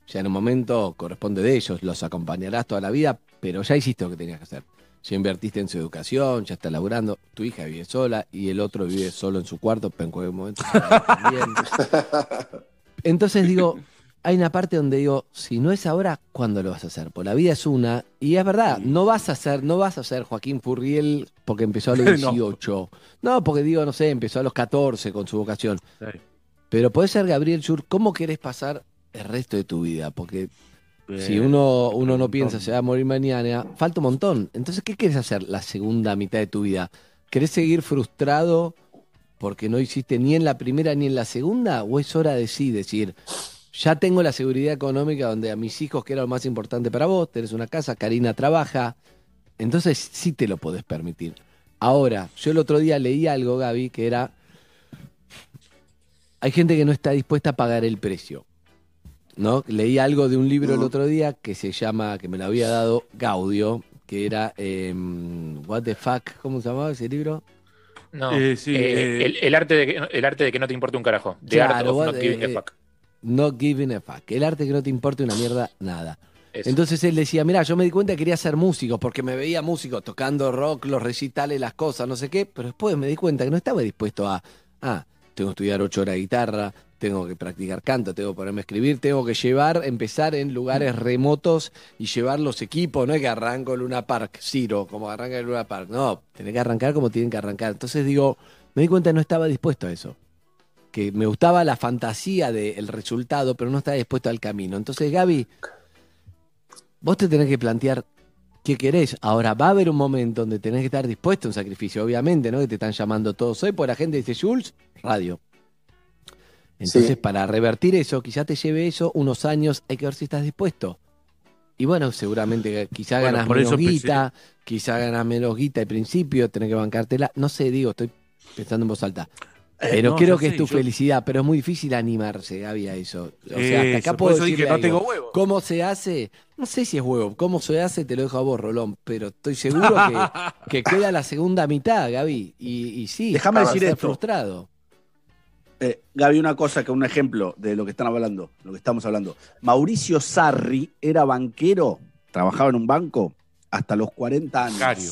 Ya en un momento corresponde de ellos, los acompañarás toda la vida, pero ya hiciste lo que tenías que hacer. Ya invertiste en su educación, ya está laburando, tu hija vive sola y el otro vive solo en su cuarto, pero en cualquier momento se va a ir también. Entonces digo, hay una parte donde digo, si no es ahora, ¿cuándo lo vas a hacer? Porque la vida es una, y es verdad, no vas a ser, no vas a ser Joaquín Furriel porque empezó a los dieciocho. No. no, porque digo, no sé, empezó a los catorce con su vocación. Sí. Pero podés ser Gabriel Schur, ¿cómo querés pasar el resto de tu vida? Porque Bien, si uno, uno no piensa se va a morir mañana, falta un montón. Entonces, ¿qué querés hacer la segunda mitad de tu vida? ¿Querés seguir frustrado porque no hiciste ni en la primera ni en la segunda? ¿O es hora de sí decir, ya tengo la seguridad económica donde a mis hijos, que era lo más importante para vos, tenés una casa, Karina trabaja, entonces sí te lo podés permitir? Ahora, yo el otro día leí algo, Gaby, que era, hay gente que no está dispuesta a pagar el precio, ¿no? Leí algo de un libro el otro día que se llama, que me lo había dado Gaudio, que era eh, What the Fuck, ¿cómo se llamaba ese libro? No, eh, sí, eh, eh, el, el, arte de que, el arte de que no te importe un carajo. The claro, Art of what, Not Giving eh, a Fuck. Not Giving a Fuck. El arte de que no te importe una mierda, nada. Eso. Entonces él decía, mirá, yo me di cuenta que quería ser músico, porque me veía músico tocando rock, los recitales, las cosas, no sé qué, pero después me di cuenta que no estaba dispuesto a, ah, tengo que estudiar ocho horas de guitarra, tengo que practicar canto, tengo que ponerme a escribir, tengo que llevar, empezar en lugares remotos y llevar los equipos, no es que arranco en Luna Park, Ciro, como arranca en Luna Park, no, tenés que arrancar como tienen que arrancar. Entonces digo, me di cuenta que no estaba dispuesto a eso, que me gustaba la fantasía del resultado, pero no estaba dispuesto al camino. Entonces, Gaby, vos te tenés que plantear qué querés. Ahora, va a haber un momento donde tenés que estar dispuesto a un sacrificio, obviamente, ¿no? Que te están llamando todos hoy, por la gente dice, Jules, radio. Entonces, sí, para revertir eso, quizá te lleve eso unos años, hay que ver si estás dispuesto. Y bueno, seguramente quizá bueno, ganas menos guita, pensé... quizá ganas menos guita al principio, tenés que bancártela. No sé, digo, estoy pensando en voz alta. Pero eh, no, creo que sé, es tu yo... felicidad, pero es muy difícil animarse, Gaby, a eso. O sea, hasta acá eso, puedo decir que no tengo huevo. ¿Cómo se hace? No sé si es huevo. ¿Cómo se hace? Te lo dejo a vos, Rolón. Pero estoy seguro que, que queda la segunda mitad, Gaby. Y, y sí, déjame decir esto. Frustrado. Eh, Gaby, una cosa, que un ejemplo de lo que están hablando, lo que estamos hablando. Mauricio Sarri era banquero, trabajaba en un banco hasta los cuarenta años. Bancario.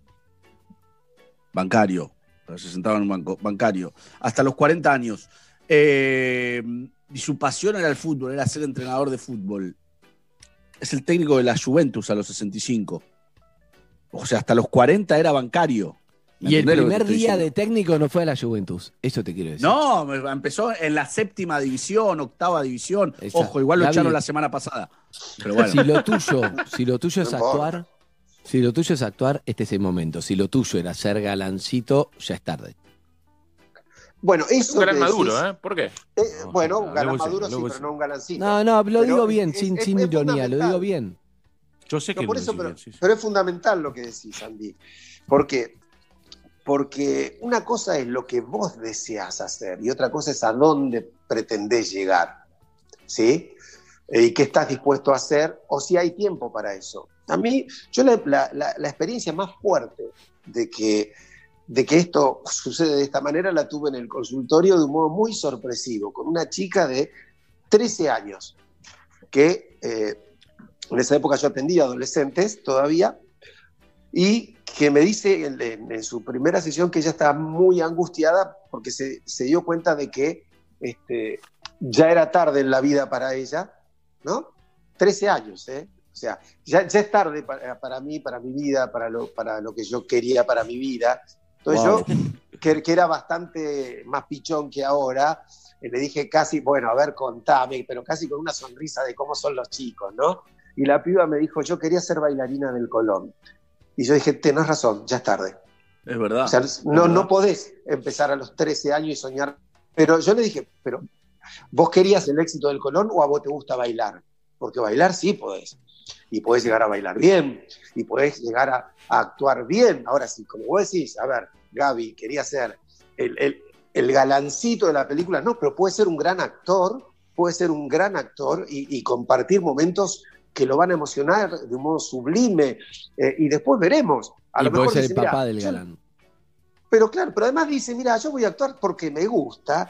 Bancario. Se sentaba en un banco bancario. Hasta los cuarenta años. Eh, y su pasión era el fútbol, era ser entrenador de fútbol. Es el técnico de la Juventus a los sesenta y cinco. O sea, hasta los cuarenta era bancario. Y el primer día de técnico no fue a la Juventus. Eso te quiero decir. No, empezó en la séptima división, octava división. Exacto. Ojo, igual lo Gaby, echaron la semana pasada. Pero bueno. Si lo tuyo, si lo tuyo es actuar, si lo tuyo es actuar, este es el momento. Si lo tuyo era ser galancito, ya es tarde. Bueno, eso. Es un galán maduro, ¿eh? ¿Por qué? Eh, bueno, un galán maduro sí, pero no un galancito. No, no, lo digo bien, es, sin, es, sin es ironía, lo digo bien. Yo sé que no, por lo eso, pero, bien, sí, sí. pero es fundamental lo que decís, Andy. ¿Por qué? Porque una cosa es lo que vos deseas hacer y otra cosa es a dónde pretendés llegar, ¿sí? Y qué estás dispuesto a hacer o si hay tiempo para eso. A mí, yo la, la, la experiencia más fuerte de que, de que esto sucede de esta manera la tuve en el consultorio de un modo muy sorpresivo, con una chica de trece años, que eh, en esa época yo atendía adolescentes todavía, y que me dice en, en, en su primera sesión que ella estaba muy angustiada porque se, se dio cuenta de que este, ya era tarde en la vida para ella, ¿no? trece años, ¿eh? O sea, ya, ya es tarde para, para mí, para mi vida, para lo, para lo que yo quería para mi vida. Entonces wow. yo, que, que era bastante más pichón que ahora, eh, le dije casi, bueno, a ver, contame, pero casi con una sonrisa de cómo son los chicos, ¿no? Y la piba me dijo, yo quería ser bailarina del Colón. Y yo dije, tenés razón, ya es tarde. Es verdad. O sea, no, no podés empezar a los trece años y soñar. Pero yo le dije, pero ¿vos querías el éxito del Colón o a vos te gusta bailar? Porque bailar sí podés. Y podés llegar a bailar bien. Y podés llegar a, a actuar bien. Ahora sí, como vos decís, a ver, Gaby quería ser el, el, el galancito de la película. No, pero puede ser un gran actor, puede ser un gran actor y, y compartir momentos que lo van a emocionar de un modo sublime, eh, y después veremos. A y lo mejor puede dice, ser el papá mira, del yo, galán. pero claro, pero además dice, mira, yo voy a actuar porque me gusta,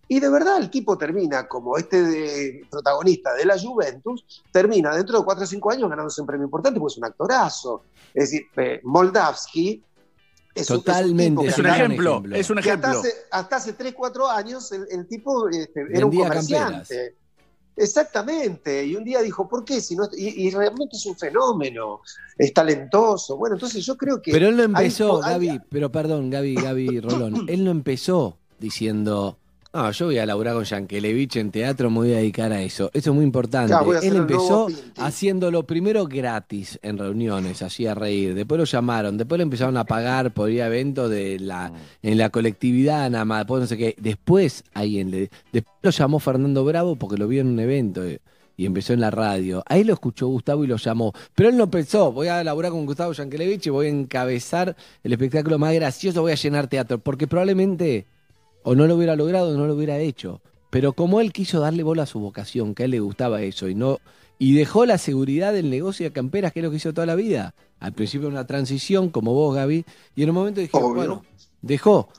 Y de verdad el tipo termina como este de, protagonista de la Juventus, termina dentro de cuatro o cinco años ganándose un premio importante porque es un actorazo. Es decir, eh, Moldavsky es Totalmente, un, es un ejemplo, ejemplo, es un ejemplo. ejemplo. Hasta hace, hasta hace tres, cuatro años el, el tipo este, era un comerciante. Camperas. Exactamente, y un día dijo, ¿por qué? Si no, y, y realmente es un fenómeno, es talentoso. Bueno, entonces yo creo que... Pero él no empezó, hay, Gaby, hay... pero perdón, Gaby, Gaby Rolón, él no empezó diciendo, no, yo voy a laburar con Yankelevich en teatro, me voy a dedicar a eso. Eso es muy importante. Claro, él empezó haciéndolo primero gratis en reuniones, hacía reír, después lo llamaron, después lo empezaron a pagar por ir a eventos de la, en la colectividad nada más, después no sé qué. Después, alguien le, después lo llamó Fernando Bravo porque lo vio en un evento y empezó en la radio. Ahí lo escuchó Gustavo y lo llamó. Pero él no pensó, voy a laburar con Gustavo Yankelevich y voy a encabezar el espectáculo más gracioso, voy a llenar teatro, porque probablemente... o no lo hubiera logrado o no lo hubiera hecho. Pero como él quiso darle bola a su vocación, que a él le gustaba eso, y no y dejó la seguridad del negocio de camperas, que es lo que hizo toda la vida. Al principio una transición, como vos, Gaby, y en un momento dije, Obvio. bueno, dejó.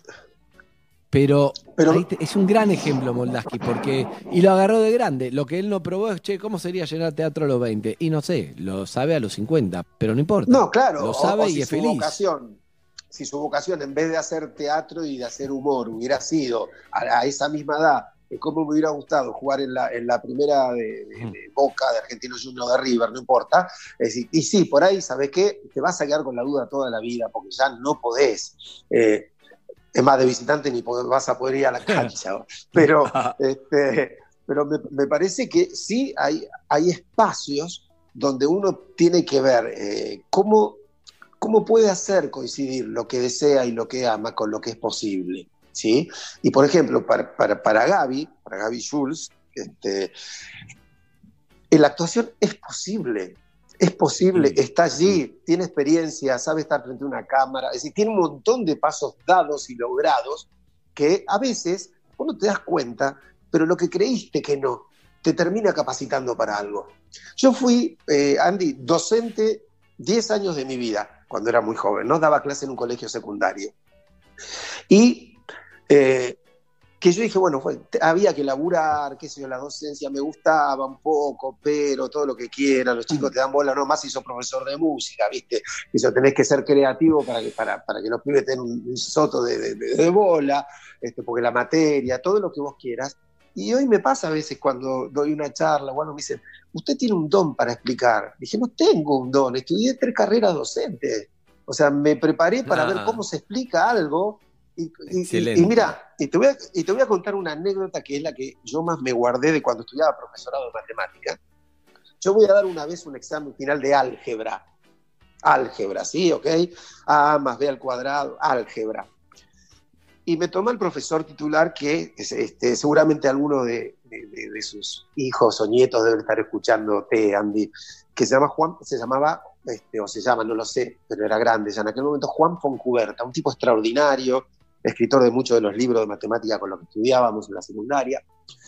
Pero, Pero... Ahí te, es un gran ejemplo Moldavsky, porque y lo agarró de grande. Lo que él no probó es, che, ¿cómo sería llenar teatro a los veinte? Y no sé, lo sabe a los cincuenta, pero no importa. No, claro. Lo sabe o, o y si es su feliz. Vocación... si su vocación en vez de hacer teatro y de hacer humor hubiera sido a, a esa misma edad, cómo me hubiera gustado jugar en la, en la primera de, de, de Boca, de Argentinos Juniors, de River, no importa. Es decir, y sí, por ahí, ¿sabes qué? Te vas a quedar con la duda toda la vida porque ya no podés. Eh, es más, de visitante ni podés, vas a poder ir a la cancha. Pero, este, pero me, me parece que sí hay, hay espacios donde uno tiene que ver eh, cómo... ¿Cómo puede hacer coincidir lo que desea y lo que ama con lo que es posible? ¿Sí? Y por ejemplo, para, para, para Gaby, para Gaby Schulz, este, la actuación es posible, es posible, está allí, tiene experiencia, sabe estar frente a una cámara, es decir, tiene un montón de pasos dados y logrados que a veces vos no te das cuenta, pero lo que creíste que no, te termina capacitando para algo. Yo fui, eh, Andy, docente diez años de mi vida, cuando era muy joven, ¿no? Daba clase en un colegio secundario. Y eh, que yo dije, bueno, fue, había que laburar, qué sé yo, la docencia me gustaba un poco, pero todo lo que quieran, los chicos te dan bola, no más si sos profesor de música, ¿viste? Y eso tenés que ser creativo para que, para, para que los pibes tengan un, un soto de, de, de bola, este, porque la materia, todo lo que vos quieras. Y hoy me pasa a veces cuando doy una charla, bueno, me dicen, usted tiene un don para explicar. Dije, no tengo un don, estudié tres carreras docentes. O sea, me preparé para ah. ver cómo se explica algo. Y, y, y, y mira, y te, voy a, y te voy a contar una anécdota que es la que yo más me guardé de cuando estudiaba profesorado de matemática. Yo voy a dar una vez un examen final de álgebra. Álgebra, ¿sí? ¿Ok? A más B al cuadrado, álgebra. Y me toma el profesor titular que este, seguramente alguno de, de, de, de sus hijos o nietos deben estar escuchándote, Andy, que se llama Juan, se llamaba, este, o se llama, no lo sé, pero era grande ya en aquel momento, Juan Foncuberta, un tipo extraordinario, escritor de muchos de los libros de matemática con los que estudiábamos en la secundaria.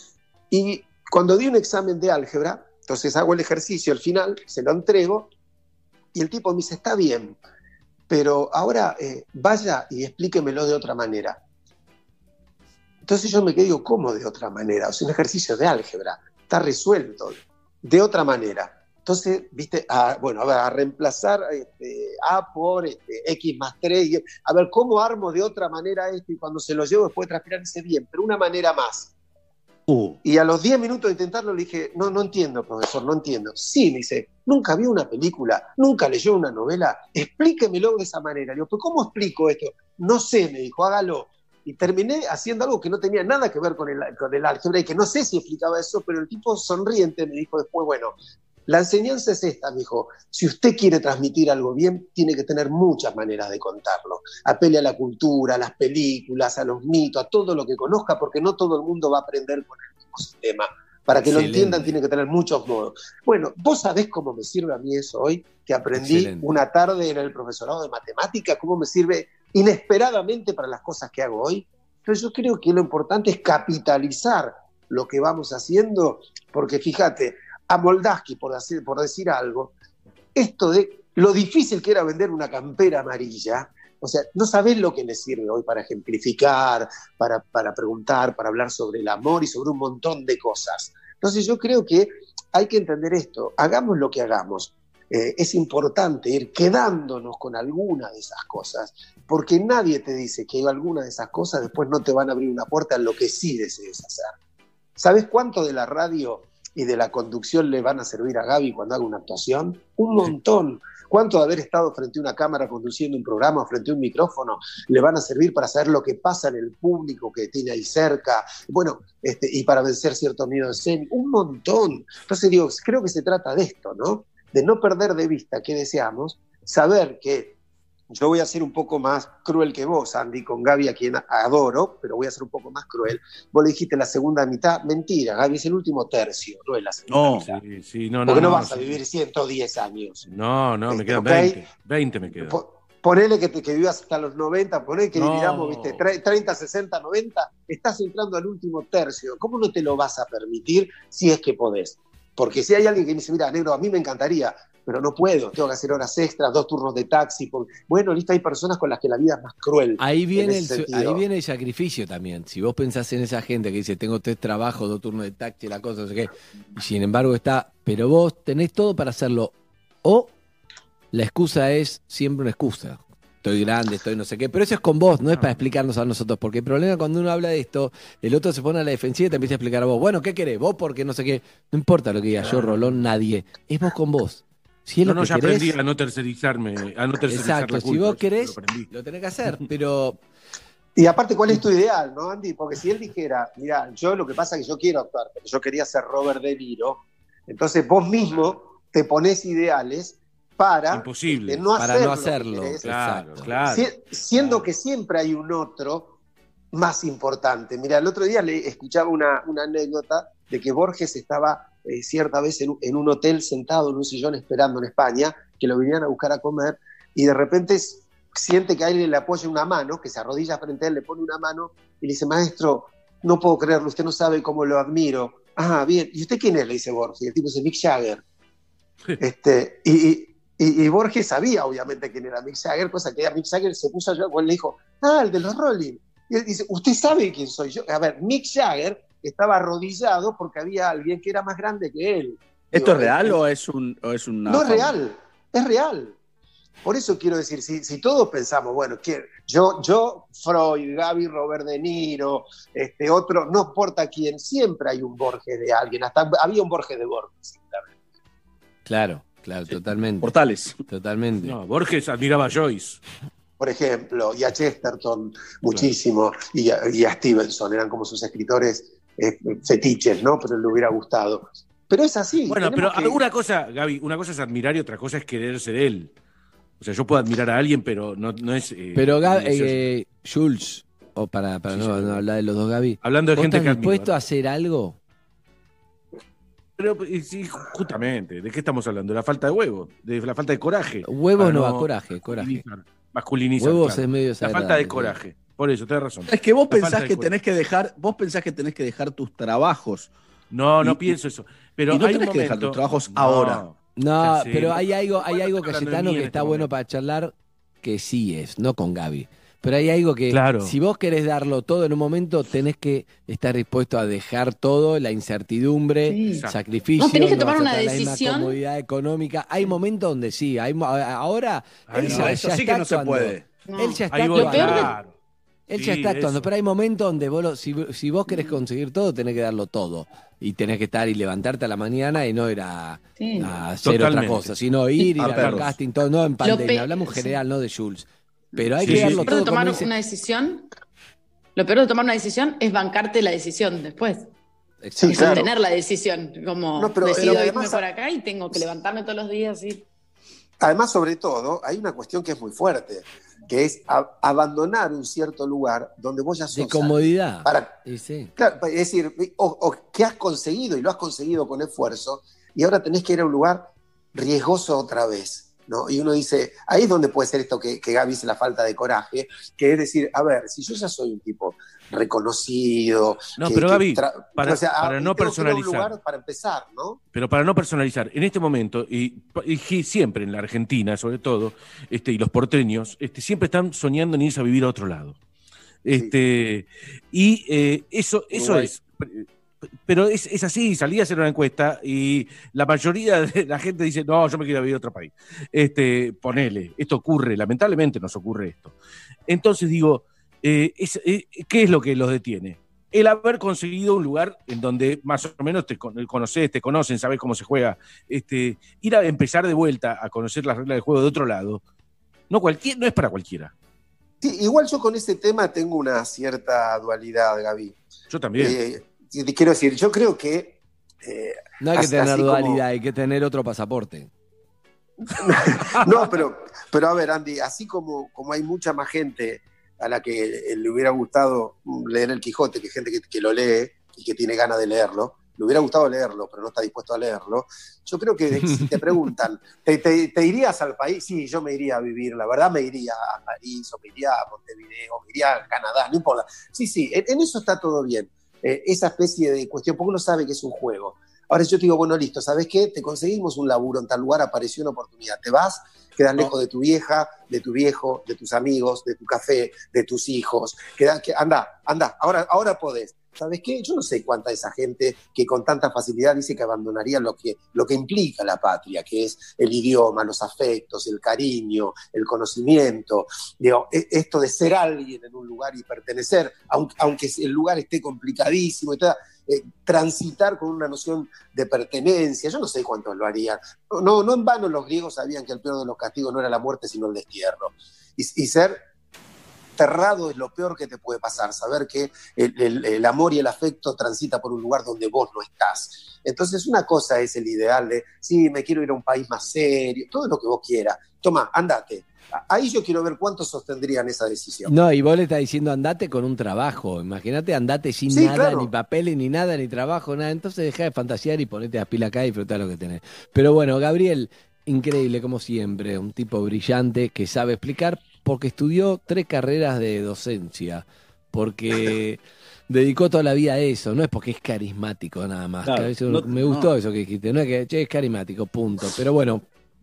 Y cuando di un examen de álgebra, entonces hago el ejercicio al final, se lo entrego, y el tipo me dice, está bien, pero ahora eh, vaya y explíquemelo de otra manera. Entonces yo me quedé, digo, ¿cómo de otra manera? O sea, un ejercicio de álgebra, está resuelto, de otra manera. Entonces, viste, a, bueno, a ver, a reemplazar este, A por este, X más tres, y, a ver, ¿cómo armo de otra manera esto? Y cuando se lo llevo después de transpirar, dice, bien, pero una manera más. Uh. Y a los diez minutos de intentarlo le dije, no, no entiendo, profesor, no entiendo. Sí, me dice, nunca vio una película, nunca leyó una novela, explíquemelo de esa manera. Le digo, ¿pero cómo explico esto? No sé, me dijo, hágalo. Y terminé haciendo algo que no tenía nada que ver con el, con el álgebra y que no sé si explicaba eso, pero el tipo sonriente me dijo después, bueno, la enseñanza es esta, me dijo, si usted quiere transmitir algo bien, tiene que tener muchas maneras de contarlo. Apele a la cultura, a las películas, a los mitos, a todo lo que conozca, porque no todo el mundo va a aprender con el mismo sistema. Para que Excelente. Lo entiendan, tiene que tener muchos modos. Bueno, ¿vos sabés cómo me sirve a mí eso hoy? Que aprendí Excelente. Una tarde en el profesorado de matemática, cómo me sirve inesperadamente para las cosas que hago hoy. Entonces yo creo que lo importante es capitalizar lo que vamos haciendo, porque fíjate, a Moldavsky, por decir, por decir algo, esto de lo difícil que era vender una campera amarilla, O sea, no sabés lo que les sirve hoy para ejemplificar, para, para preguntar, para hablar sobre el amor y sobre un montón de cosas. Entonces yo creo que hay que entender esto, hagamos lo que hagamos. Eh, es importante ir quedándonos con alguna de esas cosas, porque nadie te dice que alguna de esas cosas después no te van a abrir una puerta en lo que sí desees hacer. ¿Sabes cuánto de la radio y de la conducción le van a servir a Gaby cuando haga una actuación? Un montón. ¿Cuánto de haber estado frente a una cámara conduciendo un programa o frente a un micrófono le van a servir para saber lo que pasa en el público que tiene ahí cerca? Bueno, este, y para vencer cierto miedo escénico. Un montón. Entonces digo, creo que se trata de esto, ¿no? De no perder de vista qué deseamos, saber que yo voy a ser un poco más cruel que vos, Andy, con Gaby, a quien adoro, pero voy a ser un poco más cruel. Vos le dijiste la segunda mitad, mentira, Gaby es el último tercio, no es la segunda No, mitad. Sí, sí, no, no, Porque no, no, vas sí. a vivir ciento diez años. No, no, me Este, quedan ok. veinte. veinte me quedan. Po- Ponele que, te, que vivas hasta los noventa, ponele que No. dividamos, ¿viste? tre- treinta, sesenta, noventa, estás entrando al último tercio. ¿Cómo no te lo vas a permitir si es que podés? Porque si hay alguien que me dice, mira, negro, a mí me encantaría, pero no puedo, tengo que hacer horas extras, dos turnos de taxi. Porque... Bueno, listo, hay personas con las que la vida es más cruel. Ahí viene, en el, ese su- sentido. ahí viene el sacrificio también. Si vos pensás en esa gente que dice, tengo tres trabajos, dos turnos de taxi, la cosa, no sé qué, y sin embargo está, pero vos tenés todo para hacerlo. O la excusa es siempre una excusa. Estoy grande, estoy no sé qué, pero eso es con vos, no es para explicarnos a nosotros, porque el problema cuando uno habla de esto, el otro se pone a la defensiva y te empieza a explicar a vos, bueno, ¿qué querés? Vos porque no sé qué, no importa lo que diga yo, Rolón, nadie, es vos con vos. Si es No, lo no, que ya querés, aprendí a no tercerizarme, a no tercerizar exacto, la si culpa, vos eso querés, lo aprendí. lo tenés que hacer, pero Y aparte, ¿cuál es tu ideal, no, Andy? Porque si él dijera, mira, yo lo que pasa es que yo quiero actuar, pero yo quería ser Robert De Niro, entonces vos mismo te pones ideales para, Imposible. este, no para hacer no lo que hacerlo, querés. Claro, exacto. claro. Si- siendo claro. que siempre hay un otro más importante. Mira, el otro día le escuchaba una, una anécdota de que Borges estaba eh, cierta vez en, un- en un hotel sentado en un sillón esperando en España, que lo vinieran a buscar a comer, y de repente s- siente que alguien le apoya una mano, que se arrodilla frente a él, le pone una mano, y le dice, maestro, no puedo creerlo, usted no sabe cómo lo admiro. Ah, bien, ¿y usted quién es? Le dice Borges, y el tipo dice, Mick Jagger. este, y, y, y- y Borges sabía, obviamente, quién era Mick Jagger, cosa que a Mick Jagger se puso a llorar cuando le dijo, ah, el de los Rolling. Y él dice, ¿usted sabe quién soy yo? A ver, Mick Jagger estaba arrodillado porque había alguien que era más grande que él. ¿Esto Digo, es real eh, o es un o es una No es fama? real, es real. Por eso quiero decir, si, si todos pensamos, bueno, que yo, yo, Freud, Gaby, Robert De Niro, este otro, no importa quién, siempre hay un Borges de alguien, hasta había un Borges de Borges. Claro, claro, totalmente. Portales. Totalmente. No, Borges admiraba a Joyce. Por ejemplo, y a Chesterton muchísimo, y a, y a Stevenson, eran como sus escritores eh, fetiches, ¿no? Pero le hubiera gustado. Pero es así. Bueno, tenemos pero que- alguna cosa, Gaby, una cosa es admirar y otra cosa es querer ser él. O sea, yo puedo admirar a alguien, pero no, no es. eh, Pero Gab- mi deseo. eh, Jules, o para, para Sí, no, sí. no hablar de los dos Gaby, Hablando de ¿vos gente estás que admiro. dispuesto a hacer algo? Pero, y sí, justamente, ¿de qué estamos hablando? De la falta de huevo, de la falta de coraje. Huevos Para no va, coraje, coraje. masculinizar, masculinizar, Huevos claro. es medio La falta de desagradable, coraje. Por eso, tenés razón. Es que vos La falta pensás de que coraje. tenés que dejar, vos pensás que tenés que dejar tus trabajos. No, no Y- pienso eso. Pero y no hay un tenés que dejar momento- tus trabajos No, ahora. No, ya sé. pero hay algo, hay Bueno, algo estoy hablando de Cayetano mí que en está este bueno momento. para charlar, que sí es, no con Gaby. Pero hay algo que, Claro. si vos querés darlo todo en un momento, tenés que estar dispuesto a dejar todo, la incertidumbre, Sí. sacrificio. No, tenés que vas tomar a una tener la misma decisión. comodidad económica. Hay momentos donde sí, hay, mo- ahora Ay, él no, ya, eso ya sí está que no se actuando. puede. No. Él ya está Ahí voy, Lo peor de- actuando. claro. Él ya Sí, está actuando, eso. pero hay momentos donde vos, lo- si, si vos querés conseguir todo, tenés que darlo todo. Y tenés que estar y levantarte a la mañana y no ir a, Sí. a hacer Totalmente. otra cosa, sino ir, ir A a ver perros. casting, todo, no en pandemia, pe- hablamos en sí. general, no de Jules. Pero hay Sí, que sí, darlo sí. Lo peor todo. de tomar como dice- una decisión, lo peor de tomar una decisión es bancarte la decisión después. Exacto. Sí, Y claro. sostener la decisión. Como No, pero- decido pero además- irme por acá y tengo que levantarme todos los días y. Además, sobre todo, hay una cuestión que es muy fuerte, que es a- abandonar un cierto lugar donde vos ya sos De comodidad. alguien. Para, Y sí. claro, es decir, o, o que has conseguido, y lo has conseguido con esfuerzo, y ahora tenés que ir a un lugar riesgoso otra vez. ¿no? Y uno dice, ahí es donde puede ser esto que, que Gaby dice, la falta de coraje, que es decir, a ver, si yo ya soy un tipo reconocido... No, que, pero que Gaby, tra- para, o sea, para no personalizar... Un lugar para empezar, ¿no? Pero para no personalizar, en este momento, y, y siempre en la Argentina sobre todo, este, y los porteños, este, siempre están soñando en irse a vivir a otro lado. Este, sí. Y eh, eso, eso es... Pero es, es así, salí a hacer una encuesta y la mayoría de la gente dice, no, yo me quiero vivir a otro país. Este, ponele, esto ocurre, lamentablemente nos ocurre esto. Entonces digo, eh, es, eh, ¿qué es lo que los detiene? El haber conseguido un lugar en donde más o menos te conoces, te conocen, sabes cómo se juega. Este, ir a empezar de vuelta a conocer las reglas del juego de otro lado, no, cualquier, no es para cualquiera. Sí, igual yo con ese tema tengo una cierta dualidad, Gaby. Yo también. Eh, Te quiero decir, yo creo que... Eh, no hay que tener dualidad, como... hay que tener otro pasaporte. No, pero, pero a ver, Andy, así como, como hay mucha más gente a la que le hubiera gustado leer el Quijote, que gente que, que lo lee y que tiene ganas de leerlo, le hubiera gustado leerlo, pero no está dispuesto a leerlo, yo creo que si te preguntan, ¿te, te, ¿te irías al país? Sí, yo me iría a vivir, la verdad me iría a París, o me iría a Montevideo, o me iría a Canadá, no importa. Sí, sí, en, en eso está todo bien. Eh, esa especie de cuestión, porque uno sabe que es un juego. Ahora yo te digo, bueno, listo, ¿sabes qué? Te conseguimos un laburo en tal lugar, apareció una oportunidad, te vas, quedas no. lejos de tu vieja, de tu viejo, de tus amigos, de tu café, de tus hijos, queda, que, anda, anda, ahora, ahora podés. ¿Sabes qué? Yo no sé cuánta de esa gente que con tanta facilidad dice que abandonaría lo que, lo que implica la patria, que es el idioma, los afectos, el cariño, el conocimiento, digo, esto de ser alguien en un lugar y pertenecer, aunque, aunque el lugar esté complicadísimo y todo, eh, transitar con una noción de pertenencia, yo no sé cuántos lo harían. No, no, no en vano los griegos sabían que el peor de los castigos no era la muerte, sino el destierro. Y, y ser... Enterrado es lo peor que te puede pasar, saber que el, el, el amor y el afecto transita por un lugar donde vos no estás. Entonces una cosa es el ideal de, sí, me quiero ir a un país más serio, todo lo que vos quieras. Toma, andate. Ahí yo quiero ver cuántos sostendrían esa decisión. No, y vos le estás diciendo andate con un trabajo. Imagínate, andate sin sí, nada, claro. Ni papeles, ni nada, ni trabajo, nada. Entonces dejá de fantasear y ponete a pila acá y disfrutá lo que tenés. Pero bueno, Gabriel, increíble como siempre, un tipo brillante que sabe explicar, porque estudió tres carreras de docencia, porque dedicó toda la vida a eso, no es porque es carismático nada más. Claro, eso, no, me gustó no. eso que dijiste, no es que che, es carismático, punto. Pero bueno,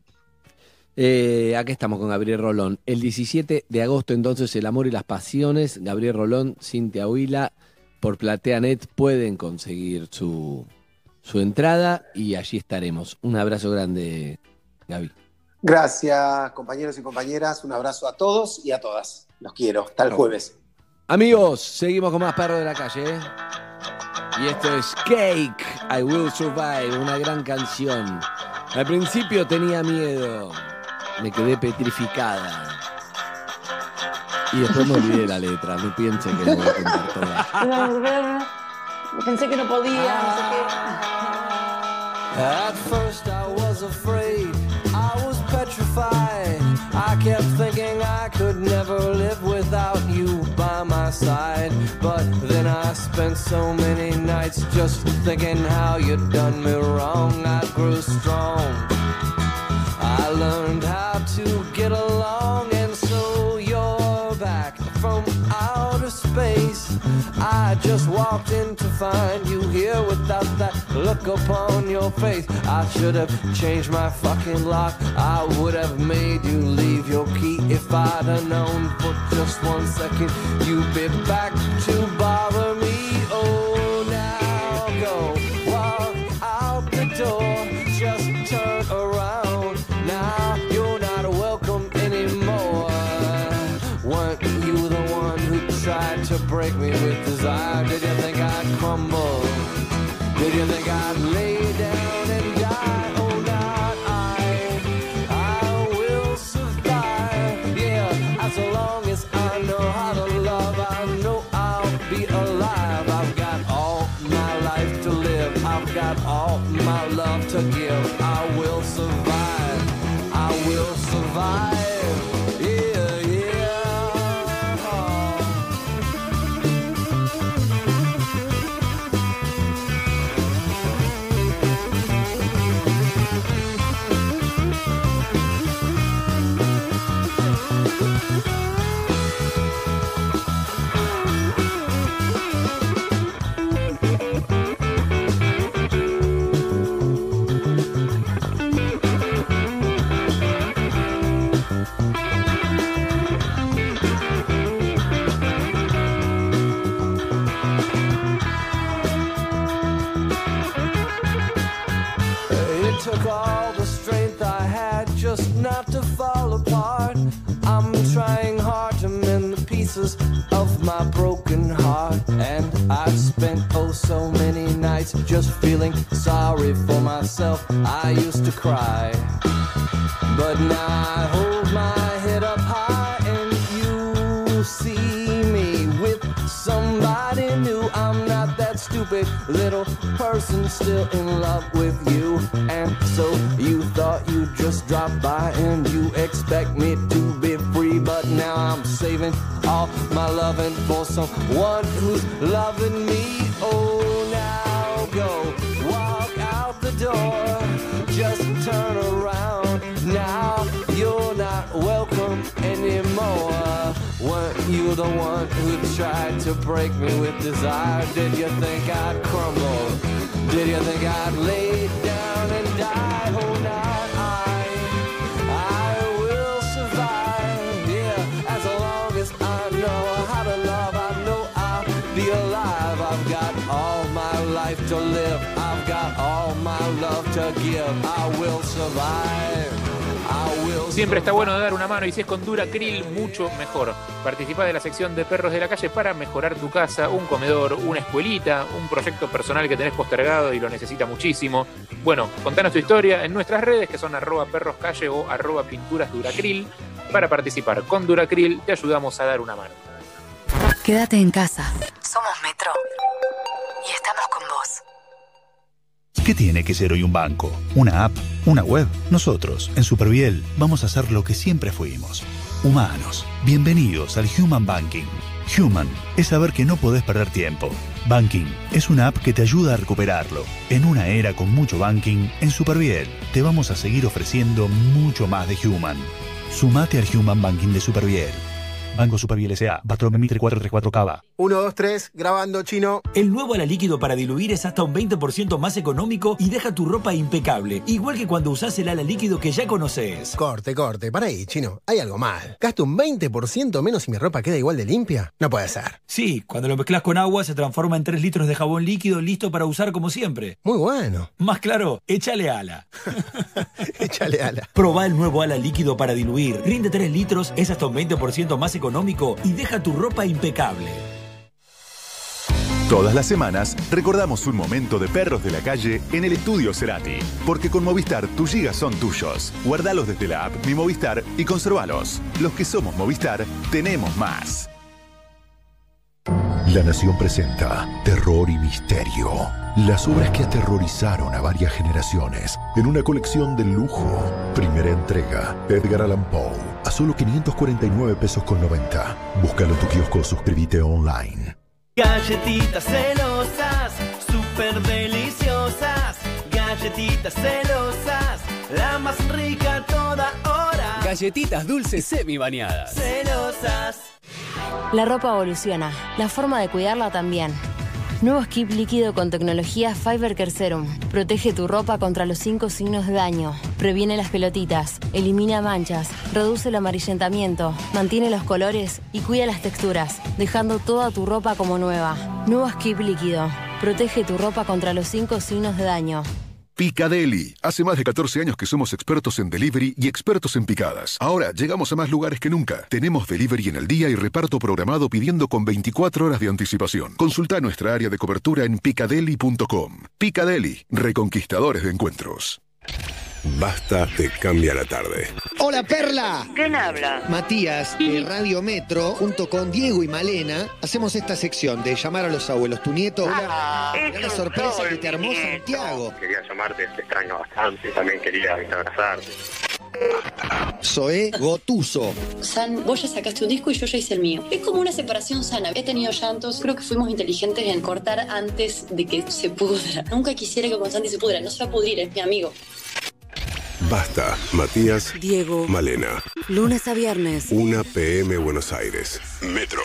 eh, aquí estamos con Gabriel Rolón. El diecisiete de agosto entonces, El amor y las pasiones, Gabriel Rolón, Cintia Huila, por PlateaNet pueden conseguir su, su entrada y allí estaremos. Un abrazo grande, Gaby. Gracias, compañeros y compañeras. Un abrazo a todos y a todas. Los quiero. Hasta el jueves. Amigos, seguimos con más Perros de la Calle. ¿eh? Y esto es Cake, I Will Survive, una gran canción. Al principio tenía miedo. Me quedé petrificada. Y después me olvidé la letra. No piensen que me voy a contar toda. Pensé que no podía, no sé qué. At first I was afraid, I was petrified. I kept thinking I could never live without you by my side. But then I spent so many nights just thinking how you'd done me wrong. I grew strong, I learned how to get along. And so you're back from outer space. I just walked in to find you here without that look upon your face. I should have changed my fucking lock. I would have made you leave your key if I'd have known for just one second you'd be back to bother me. Oh, now go walk out the door, just turn around. Now you're not welcome anymore. Weren't you the one who tried to break me with desire? Did you think I'd crumble? Did you think I'd lay down and die? Oh, not I. I will survive. Yeah, as long as I know how to love, I know I'll be alive. I've got all my life to live. I've got all my love to give. I will survive. I will survive. pieces of my broken heart. And I've spent oh so many nights just feeling sorry for myself. I used to cry, but now I hold my head up high and you see me with somebody new. I'm not that stupid little person still in love with you. And so you thought you'd just drop by and you expect me to be free, but now I'm saving all my loving for someone who's loving me. Oh, now go walk out the door, just turn around. Now you're not welcome anymore. Weren't you the one who tried to break me with desire? Did you think I'd crumble? Did you think I'd lay down and die? Oh, not I. I will survive, yeah, as long as I know how to love. I know I'll be alive. I've got all my life to live. I've got all my love to give. I will survive. Siempre está bueno dar una mano y si es con Duracril, mucho mejor. Participá de la sección de Perros de la Calle para mejorar tu casa, un comedor, una escuelita, un proyecto personal que tenés postergado y lo necesita muchísimo. Bueno, contanos tu historia en nuestras redes que son arroba perroscalle o arroba pinturas Duracril. Para participar con Duracril te ayudamos a dar una mano. Quédate en casa. Somos Metro y estamos con vos. ¿Qué tiene que ser hoy un banco? ¿Una app? ¿Una web? Nosotros, en Superviel, vamos a hacer lo que siempre fuimos. Humanos. Bienvenidos al Human Banking. Human es saber que no podés perder tiempo. Banking es una app que te ayuda a recuperarlo. En una era con mucho banking, en Superviel te vamos a seguir ofreciendo mucho más de Human. Sumate al Human Banking de Superviel. Banco Superviel S A, Bartolomé Mitre cuatro tres cuatro Cava. uno, dos, tres, grabando, chino. El nuevo Ala Líquido para diluir es hasta un veinte por ciento más económico y deja tu ropa impecable. Igual que cuando usás el Ala Líquido que ya conoces. Corte, corte, para ahí, chino. Hay algo mal. ¿Gasto un veinte por ciento menos y mi ropa queda igual de limpia? No puede ser. Sí, cuando lo mezclas con agua se transforma en tres litros de jabón líquido listo para usar como siempre. Muy bueno. Más claro, échale Ala. Échale Ala. Probá el nuevo Ala Líquido para diluir. Rinde tres litros, es hasta un veinte por ciento más económico y deja tu ropa impecable. Todas las semanas recordamos un momento de Perros de la Calle en el Estudio Cerati. Porque con Movistar tus gigas son tuyos. Guardalos desde la app Mi Movistar y conservalos. Los que somos Movistar tenemos más. La Nación presenta Terror y Misterio. Las obras que aterrorizaron a varias generaciones en una colección de lujo. Primera entrega, Edgar Allan Poe, a solo quinientos cuarenta y nueve pesos con noventa. Búscalo en tu kiosco o suscríbete online. Galletitas celosas, súper deliciosas. Galletitas celosas, la más rica a toda hora. Galletitas dulces semi bañadas. Celosas. La ropa evoluciona, la forma de cuidarla también. Nuevo Skip líquido con tecnología Fiber Care Serum. Protege tu ropa contra los cinco signos de daño. Previene las pelotitas, elimina manchas, reduce el amarillentamiento, mantiene los colores y cuida las texturas, dejando toda tu ropa como nueva. Nuevo Skip líquido. Protege tu ropa contra los cinco signos de daño. Picadeli. Hace más de catorce años que somos expertos en delivery y expertos en picadas. Ahora llegamos a más lugares que nunca. Tenemos delivery en el día y reparto programado pidiendo con veinticuatro horas de anticipación. Consulta nuestra área de cobertura en picadeli punto com. Picadeli, reconquistadores de encuentros. Basta te cambia la tarde. Hola, Perla. ¿Quién habla? Matías, de Radio Metro, junto con Diego y Malena, hacemos esta sección de llamar a los abuelos. Tu nieto, Ah, una, es una un sorpresa sol, que te armó mi nieto. Santiago. Quería llamarte, te extraño bastante. También quería abrazarte. Zoé Gotuso. San, vos ya sacaste un disco y yo ya hice el mío. Es como una separación sana. He tenido llantos. Creo que fuimos inteligentes en cortar antes de que se pudra. Nunca quisiera que con Santi se pudra. No se va a pudrir, es mi amigo. Basta, Matías, Diego, Malena. lunes a viernes. una pe eme Buenos Aires. Metro.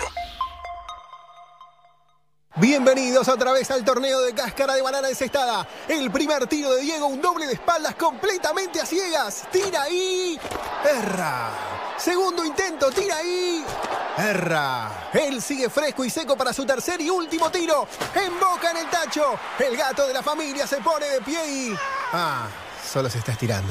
Bienvenidos otra vez al torneo de cáscara de banana encestada. El primer tiro de Diego, un doble de espaldas completamente a ciegas. Tira ahí. Erra. Segundo intento, tira ahí. Erra. Él sigue fresco y seco para su tercer y último tiro. Emboca en el tacho. El gato de la familia se pone de pie y... Ah, solo se está estirando.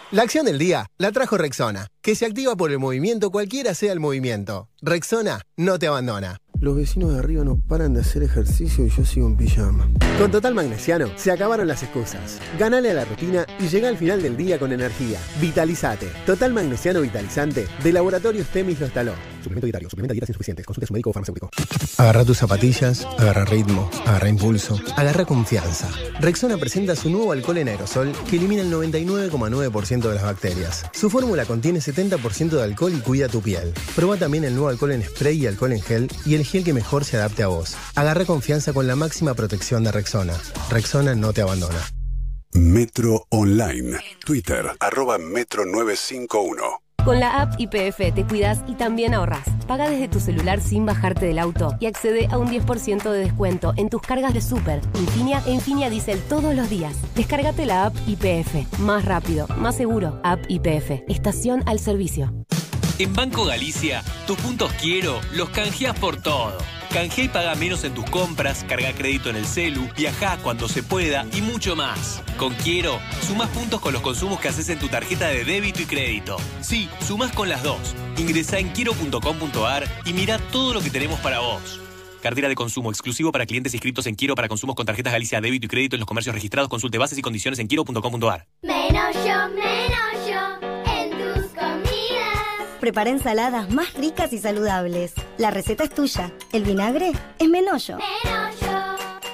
La acción del día la trajo Rexona, que se activa por el movimiento cualquiera sea el movimiento. Rexona no te abandona. Los vecinos de arriba no paran de hacer ejercicio y yo sigo en pijama. Con Total Magnesiano se acabaron las excusas. Ganale a la rutina y llega al final del día con energía. Vitalizate. Total Magnesiano Vitalizante de Laboratorios Temis lo instaló. Suplemento dietario. Suplementa dietas insuficientes. Consulte a su médico o farmacéutico. Agarra tus zapatillas, agarra ritmo, agarra impulso, agarra confianza. Rexona presenta su nuevo alcohol en aerosol que elimina el noventa y nueve coma nueve por ciento de las bacterias. Su fórmula contiene setenta por ciento de alcohol y cuida tu piel. Proba también el nuevo alcohol en spray y alcohol en gel y el gel que mejor se adapte a vos. Agarra confianza con la máxima protección de Rexona. Rexona no te abandona. Metro Online. Twitter, arroba Metro nueve cinco uno. Con la app Y P F te cuidas y también ahorras. Paga desde tu celular sin bajarte del auto y accede a un diez por ciento de descuento en tus cargas de Super, Infinia e Infinia Diesel todos los días. Descárgate la app Y P F. Más rápido, más seguro. App Y P F. Estación al servicio. En Banco Galicia, tus puntos quiero los canjeás por todo. Canjea y paga menos en tus compras, carga crédito en el celu, viajá cuando se pueda y mucho más. Con Quiero, sumás puntos con los consumos que haces en tu tarjeta de débito y crédito. Sí, sumás con las dos. Ingresá en quiero punto com punto ar y mirá todo lo que tenemos para vos. Cartera de consumo exclusivo para clientes inscritos en Quiero para consumos con tarjetas Galicia débito y crédito en los comercios registrados. Consulte bases y condiciones en quiero punto com punto ar. Menos yo, menos yo en tus comidas. Prepara ensaladas más ricas y saludables. La receta es tuya. El vinagre es Menollo. Menollo.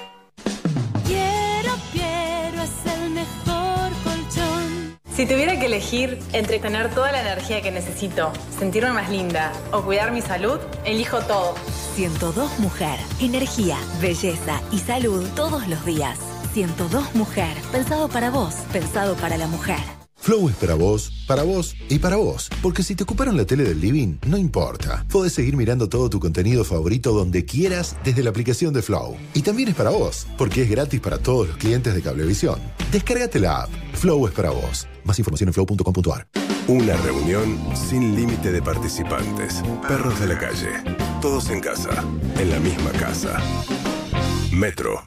Quiero, quiero, es el mejor colchón. Si tuviera que elegir entre tener toda la energía que necesito, sentirme más linda o cuidar mi salud, elijo todo. ciento dos Mujer. Energía, belleza y salud todos los días. ciento dos Mujer. Pensado para vos, pensado para la mujer. Flow es para vos, para vos y para vos. Porque si te ocuparon la tele del living, no importa. Podés seguir mirando todo tu contenido favorito donde quieras desde la aplicación de Flow. Y también es para vos, porque es gratis para todos los clientes de Cablevisión. Descárgate la app. Flow es para vos. Más información en flow punto com punto ar. Una reunión sin límite de participantes. Perros de la calle. Todos en casa. En la misma casa. Metro.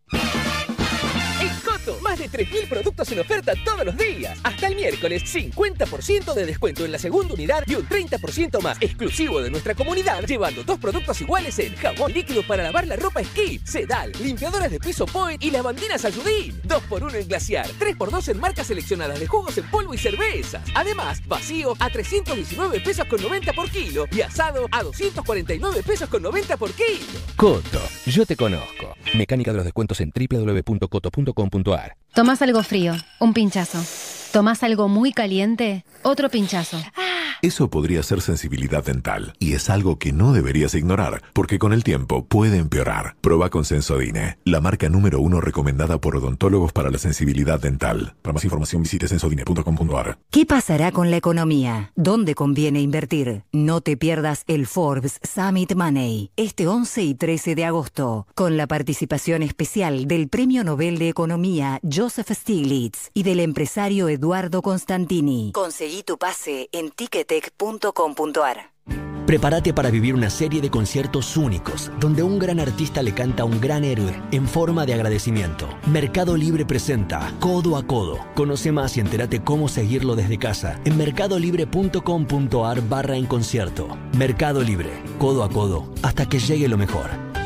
Más de tres mil productos en oferta todos los días. Hasta el miércoles, cincuenta por ciento de descuento en la segunda unidad y un treinta por ciento más exclusivo de nuestra comunidad, llevando dos productos iguales en jabón líquido para lavar la ropa Skip, Sedal, limpiadoras de piso Point y lavandinas Ayudín. dos por uno en Glaciar, tres por dos en marcas seleccionadas de jugos en polvo y cervezas. Además, vacío a trescientos diecinueve pesos con noventa por kilo y asado a doscientos cuarenta y nueve pesos con noventa por kilo. Coto, yo te conozco. Mecánica de los descuentos en doble u doble u doble u punto coto punto com punto ar. Tomás algo frío, un pinchazo. Tomás algo muy caliente, otro pinchazo. Eso podría ser sensibilidad dental y es algo que no deberías ignorar porque con el tiempo puede empeorar. Proba con Sensodine, la marca número uno recomendada por odontólogos para la sensibilidad dental. Para más información visite sensodine punto com punto ar. ¿Qué pasará con la economía? ¿Dónde conviene invertir? No te pierdas el Forbes Summit Money este once y trece de agosto con la participación especial del Premio Nobel de Economía Joseph Stiglitz y del empresario Eduardo Constantini. Conseguí tu pase en ticket punto com punto ar. Prepárate para vivir una serie de conciertos únicos, donde un gran artista le canta a un gran héroe en forma de agradecimiento. Mercado Libre presenta Codo a Codo. Conoce más y entérate cómo seguirlo desde casa en mercadolibre punto com punto ar barra en concierto. Mercado Libre, codo a codo, hasta que llegue lo mejor.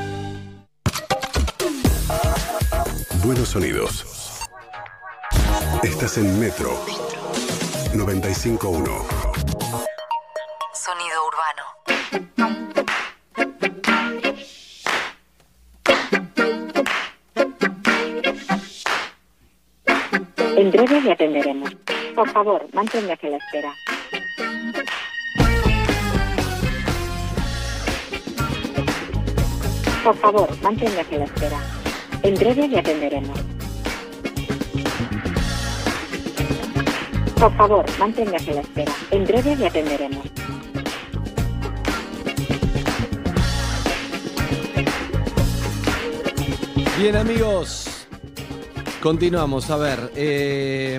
Buenos sonidos. Estás en Metro noventa y cinco punto uno. Sonido urbano. En breve le atenderemos. Por favor, manténgase a la espera. Por favor, manténgase a la espera. En breve le atenderemos. Por favor, manténgase a la espera. En breve le atenderemos. Bien, amigos, continuamos. A ver, eh,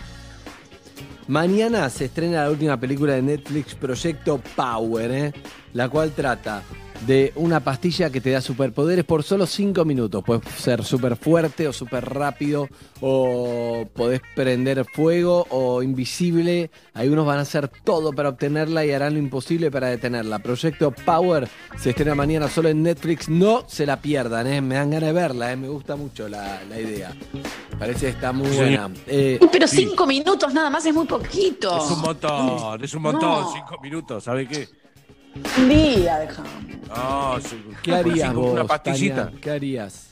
mañana se estrena la última película de Netflix, Proyecto Power, eh, la cual trata de una pastilla que te da superpoderes por solo cinco minutos. Puedes ser súper fuerte o súper rápido, o podés prender fuego o invisible. Algunos van a hacer todo para obtenerla y harán lo imposible para detenerla. Proyecto Power se estrena mañana solo en Netflix. No se la pierdan, ¿eh? Me dan ganas de verla, ¿eh? Me gusta mucho la, la idea. Parece que está muy buena. Eh, Pero cinco sí. minutos nada más es muy poquito. Es un montón, es un montón, No. cinco minutos, ¿sabe qué? Un día, dejamos. No, sí, ¿Qué por harías cinco, vos, una pastillita. Tania? ¿Qué harías?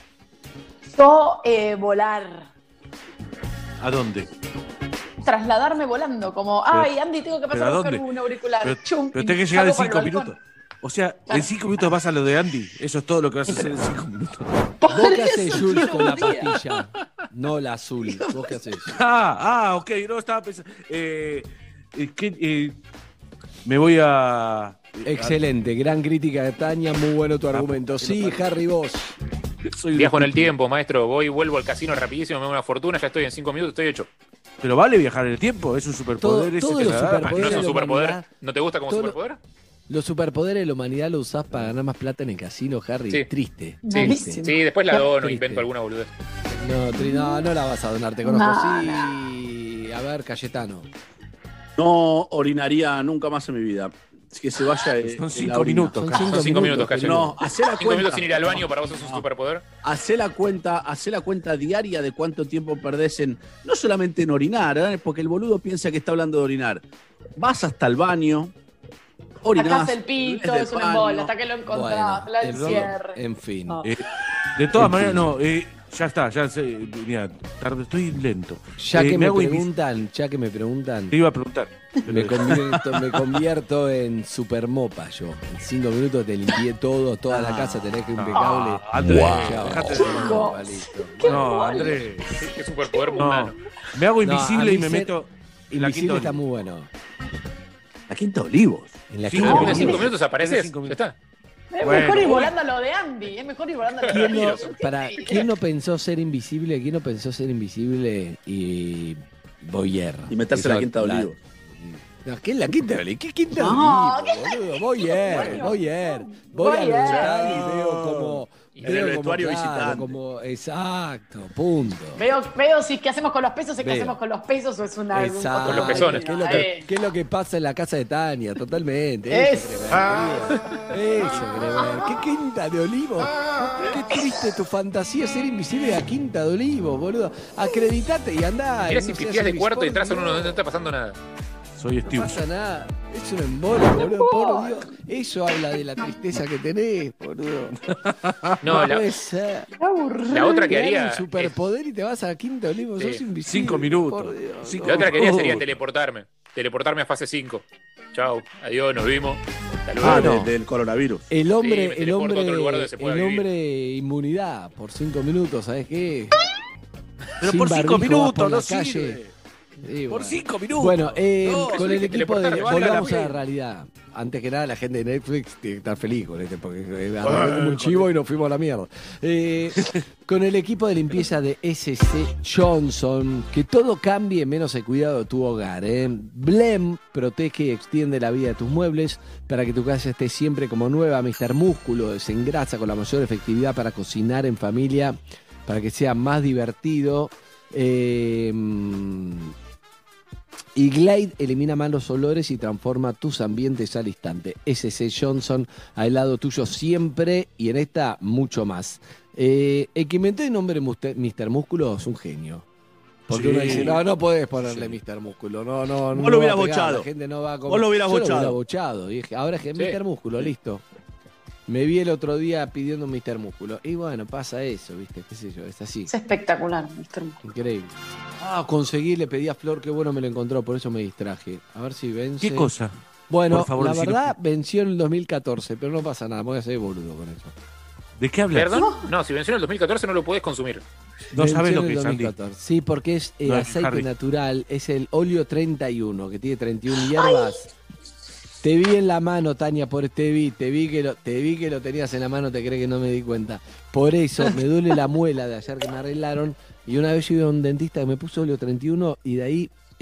Yo eh, volar. ¿A dónde? Trasladarme volando, como, Pero- ay, Andy, tengo que ¿pero pasar a a buscar dónde? un auricular. Pero, Chum, pero y tenés que llegar en salgo cinco por el balcón. minutos. O sea, en cinco minutos vas a lo de Andy. Eso es todo lo que vas a hacer en cinco minutos. ¿Vos qué haces, Jules, con la pastilla? No la azul. ¿Vos qué haces? Ah, ah, ok, no estaba pensando. Eh, eh, ¿qué, eh, me voy a. Excelente, gran crítica de Tania, muy bueno tu argumento. Sí, Harry, vos. Soy Viajo en el tiempo, maestro. Voy, vuelvo al casino rapidísimo, me hago una fortuna, ya estoy en cinco minutos, estoy hecho. Pero vale viajar en el tiempo, es un superpoder. Todo- ese todos que los se da. superpoderes ¿No es un de la superpoder? humanidad. ¿No te gusta como Todo lo- superpoder? Los superpoderes de la humanidad los usás para ganar más plata en el casino, Harry. Sí. Triste. Sí, triste. sí, después la dono, Triste. invento alguna boludez. No, tri- no, no la vas a donar, te conozco. No, sí. A ver, Cayetano. No orinaría nunca más en mi vida. Que se vaya. eh, Son la cinco orina. minutos, Son Cayo. cinco Son cinco minutos, minutos, Cayo. No, hacé la Cinco cuenta. minutos sin ir al baño para vos es un No. superpoder. Hacé la cuenta, hacé la cuenta diaria de cuánto tiempo perdés en, no solamente en orinar, ¿eh? Porque el boludo piensa que está hablando de orinar. Vas hasta el baño, orinás. Sacás el pito, volvés es del un baño. embole, hasta que lo encontrás, Bueno, la el rolo- encierre. en fin. No. Eh, de todas En maneras, fin. no, eh, ya está, ya sé. Mira, tarde, estoy lento. Ya Eh, que me hago invis- preguntan, ya que me preguntan, Te iba a preguntar. me convierto, me convierto en supermopa yo. En cinco minutos te limpié todo, toda la casa tenés que impecable. Ah, Andrés, Chao. dejate de- Supermopa, listo. No, Andrés. Qué superpoder No. mundano. Me hago No, invisible a y mí me ser meto en la Invisible quinta está Olivos. muy bueno. La Quinta Olivos. En la Cinco quinta Ah, minutos. en cinco Olivos. minutos apareces, Cinco ya minutos. está. Es Bueno, mejor ir bueno. volando a lo de Andy, es mejor ir volando a lo de ¿Quién Andy. no, para, ¿Quién no pensó ser invisible? ¿Quién no pensó ser invisible y Boyer? Y meterse en la Quinta Olivos. No, ¿qué es la Quinta Olivos? ¿Qué Quinta No, Olivos, boludo? Boyer, Boyer. Voy al Boyer. hospital y veo como... En el veo como, vestuario claro, visitante. como, exacto, punto. Veo, veo si qué hacemos con los pesos, si qué Veo. hacemos con los pesos o es una. Exacto. Con los pezones. ¿Qué es, lo que, Eh. qué es lo que pasa en la casa de Tania? Totalmente. Eso, Eso. querés ver, Eso, querés ver. ¿Qué Quinta de Olivos? Qué triste tu fantasía ser invisible de la Quinta de Olivos, boludo. Acreditate y andá. Mirá y si no pitías seas de cuarto y Bisport, entras en uno boludo. donde no está pasando nada. Soy No Steve. pasa nada. Es un embole, boludo. Por Dios. Eso habla de la tristeza que tenés, boludo. No, la, puede ser. la otra que Te dan haría. un superpoder y te vas a la Quinta de Olivos. Sí. Sos invisible. Cinco minutos. por Dios. Cinco La otra que haría sería minutos. teleportarme. Teleportarme a fase cinco. Chao, adiós, nos vimos. Hasta luego. Ah, no. de- del coronavirus. El Sí, hombre, me el teleporto a hombre, otro lugar donde se pueda el vivir. hombre inmunidad por cinco minutos, ¿sabes qué? Pero Sin por cinco barbijo, vas minutos por no la calle. sirve. Sí, Por bueno. cinco minutos. Bueno, eh, No, con eso el hay que equipo de teleportarme, valga la volvamos a la pena. realidad. Antes que nada, la gente de Netflix tiene que estar feliz con este, porque eh, arrancó como un chivo y nos fuimos a la mierda. Eh, con el equipo de limpieza de ese ce Johnson, que todo cambie menos el cuidado de tu hogar. ¿eh? Blem protege y extiende la vida de tus muebles para que tu casa esté siempre como nueva. míster Músculo desengrasa con la mayor efectividad para cocinar en familia, para que sea más divertido. Eh, y Glade elimina malos olores y transforma tus ambientes al instante. ese ce Johnson al lado tuyo siempre y en esta mucho más. Eh, el que inventó el nombre míster Músculo es un genio. Porque Sí. uno dice, no, no podés ponerle míster Músculo. No, no, no. Vos lo va hubieras a pegar, bochado. La gente no va a comer. Vos lo hubieras Yo bochado. hubiera bochado. Y dije, ahora es que Sí. míster Músculo, listo. Me vi el otro día pidiendo un míster Músculo. Y bueno, pasa eso, ¿viste? ¿Qué sé yo? Es así. Es espectacular, mister Increíble. Ah, conseguí, le pedí a Flor, qué bueno me lo encontró, por eso me distraje. A ver si vence. ¿Qué cosa? Bueno, Por favor, la decilo. verdad venció en el dos mil catorce, pero no pasa nada, me voy a hacer boludo con eso. ¿De qué hablas? ¿Perdón? No, si venció en el dos mil catorce no lo podés consumir. No Venció sabes en lo el que es, Andy. dos mil catorce. Sí, porque es eh, No, aceite Harry. natural, es el óleo treinta y uno, que tiene treinta y una hierbas. Te vi en la mano, Tania, por te vi, te vi que lo, te vi que lo tenías en la mano, te crees que no me di cuenta. Por eso me duele la muela de ayer que me arreglaron. Y una vez yo iba a un dentista que me puso óleo treinta y uno y de ahí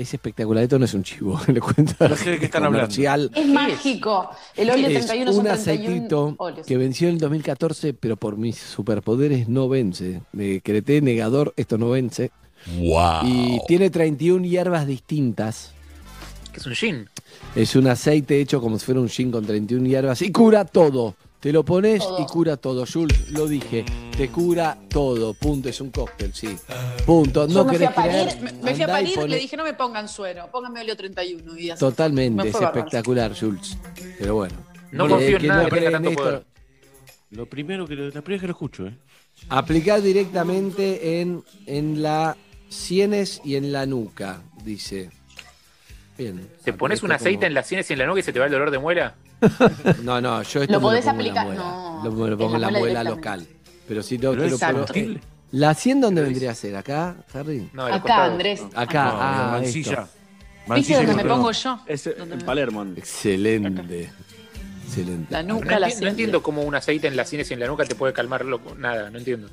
Es espectacular, esto no es un chivo, le cuento. No sé de qué están comercial. Es mágico. El óleo Es treinta y uno un son treinta y uno aceitito óleos. que venció en el dos mil catorce, pero por mis superpoderes no vence. Me creté negador, esto no vence. Wow. Y tiene treinta y una hierbas distintas. Que es un gin. Es un aceite hecho como si fuera un gin con treinta y una hierbas y cura todo. Te lo pones Todo. y cura todo. Jules, lo dije. Te cura todo. Punto. Es un cóctel, sí. Punto. Yo No me fui querés a parir, creer. me, me fui a Andá y parir, poné- le dije no me pongan suero, pónganme óleo treinta y uno. Y así. Totalmente. Me Es fue bárbaro. espectacular, Jules. Pero bueno. No Eh, confío en que nada no que tenga creen tanto esto. poder. Lo primero que, lo- la primera vez que lo escucho, ¿eh? Aplicar directamente en, en la sienes y en la nuca, dice. Bien. ¿Te pones un Esto aceite como- en las sienes y en la nuca y se te va el dolor de muela? No, no, yo esto Lo me podés pongo en la aplicar- muela. no, Lo, me lo en pongo la en la muela muela directamente. local. Pero si no, Pero pero, es pero- combustible. ¿La sien dónde vendría a ser? ¿Acá, Harry? No, de los Acá, costados. Andrés. Acá, No, ah, Mansilla. esto. ¿Viste Mansilla donde y me Montevideo. pongo yo? Es ¿Dónde en me- Palermo. Excelente. Excelente. La No, nuca, la enti- no sien. entiendo cómo un aceite en las sienes y en la nuca te puede calmar loco. Nada, no entiendo.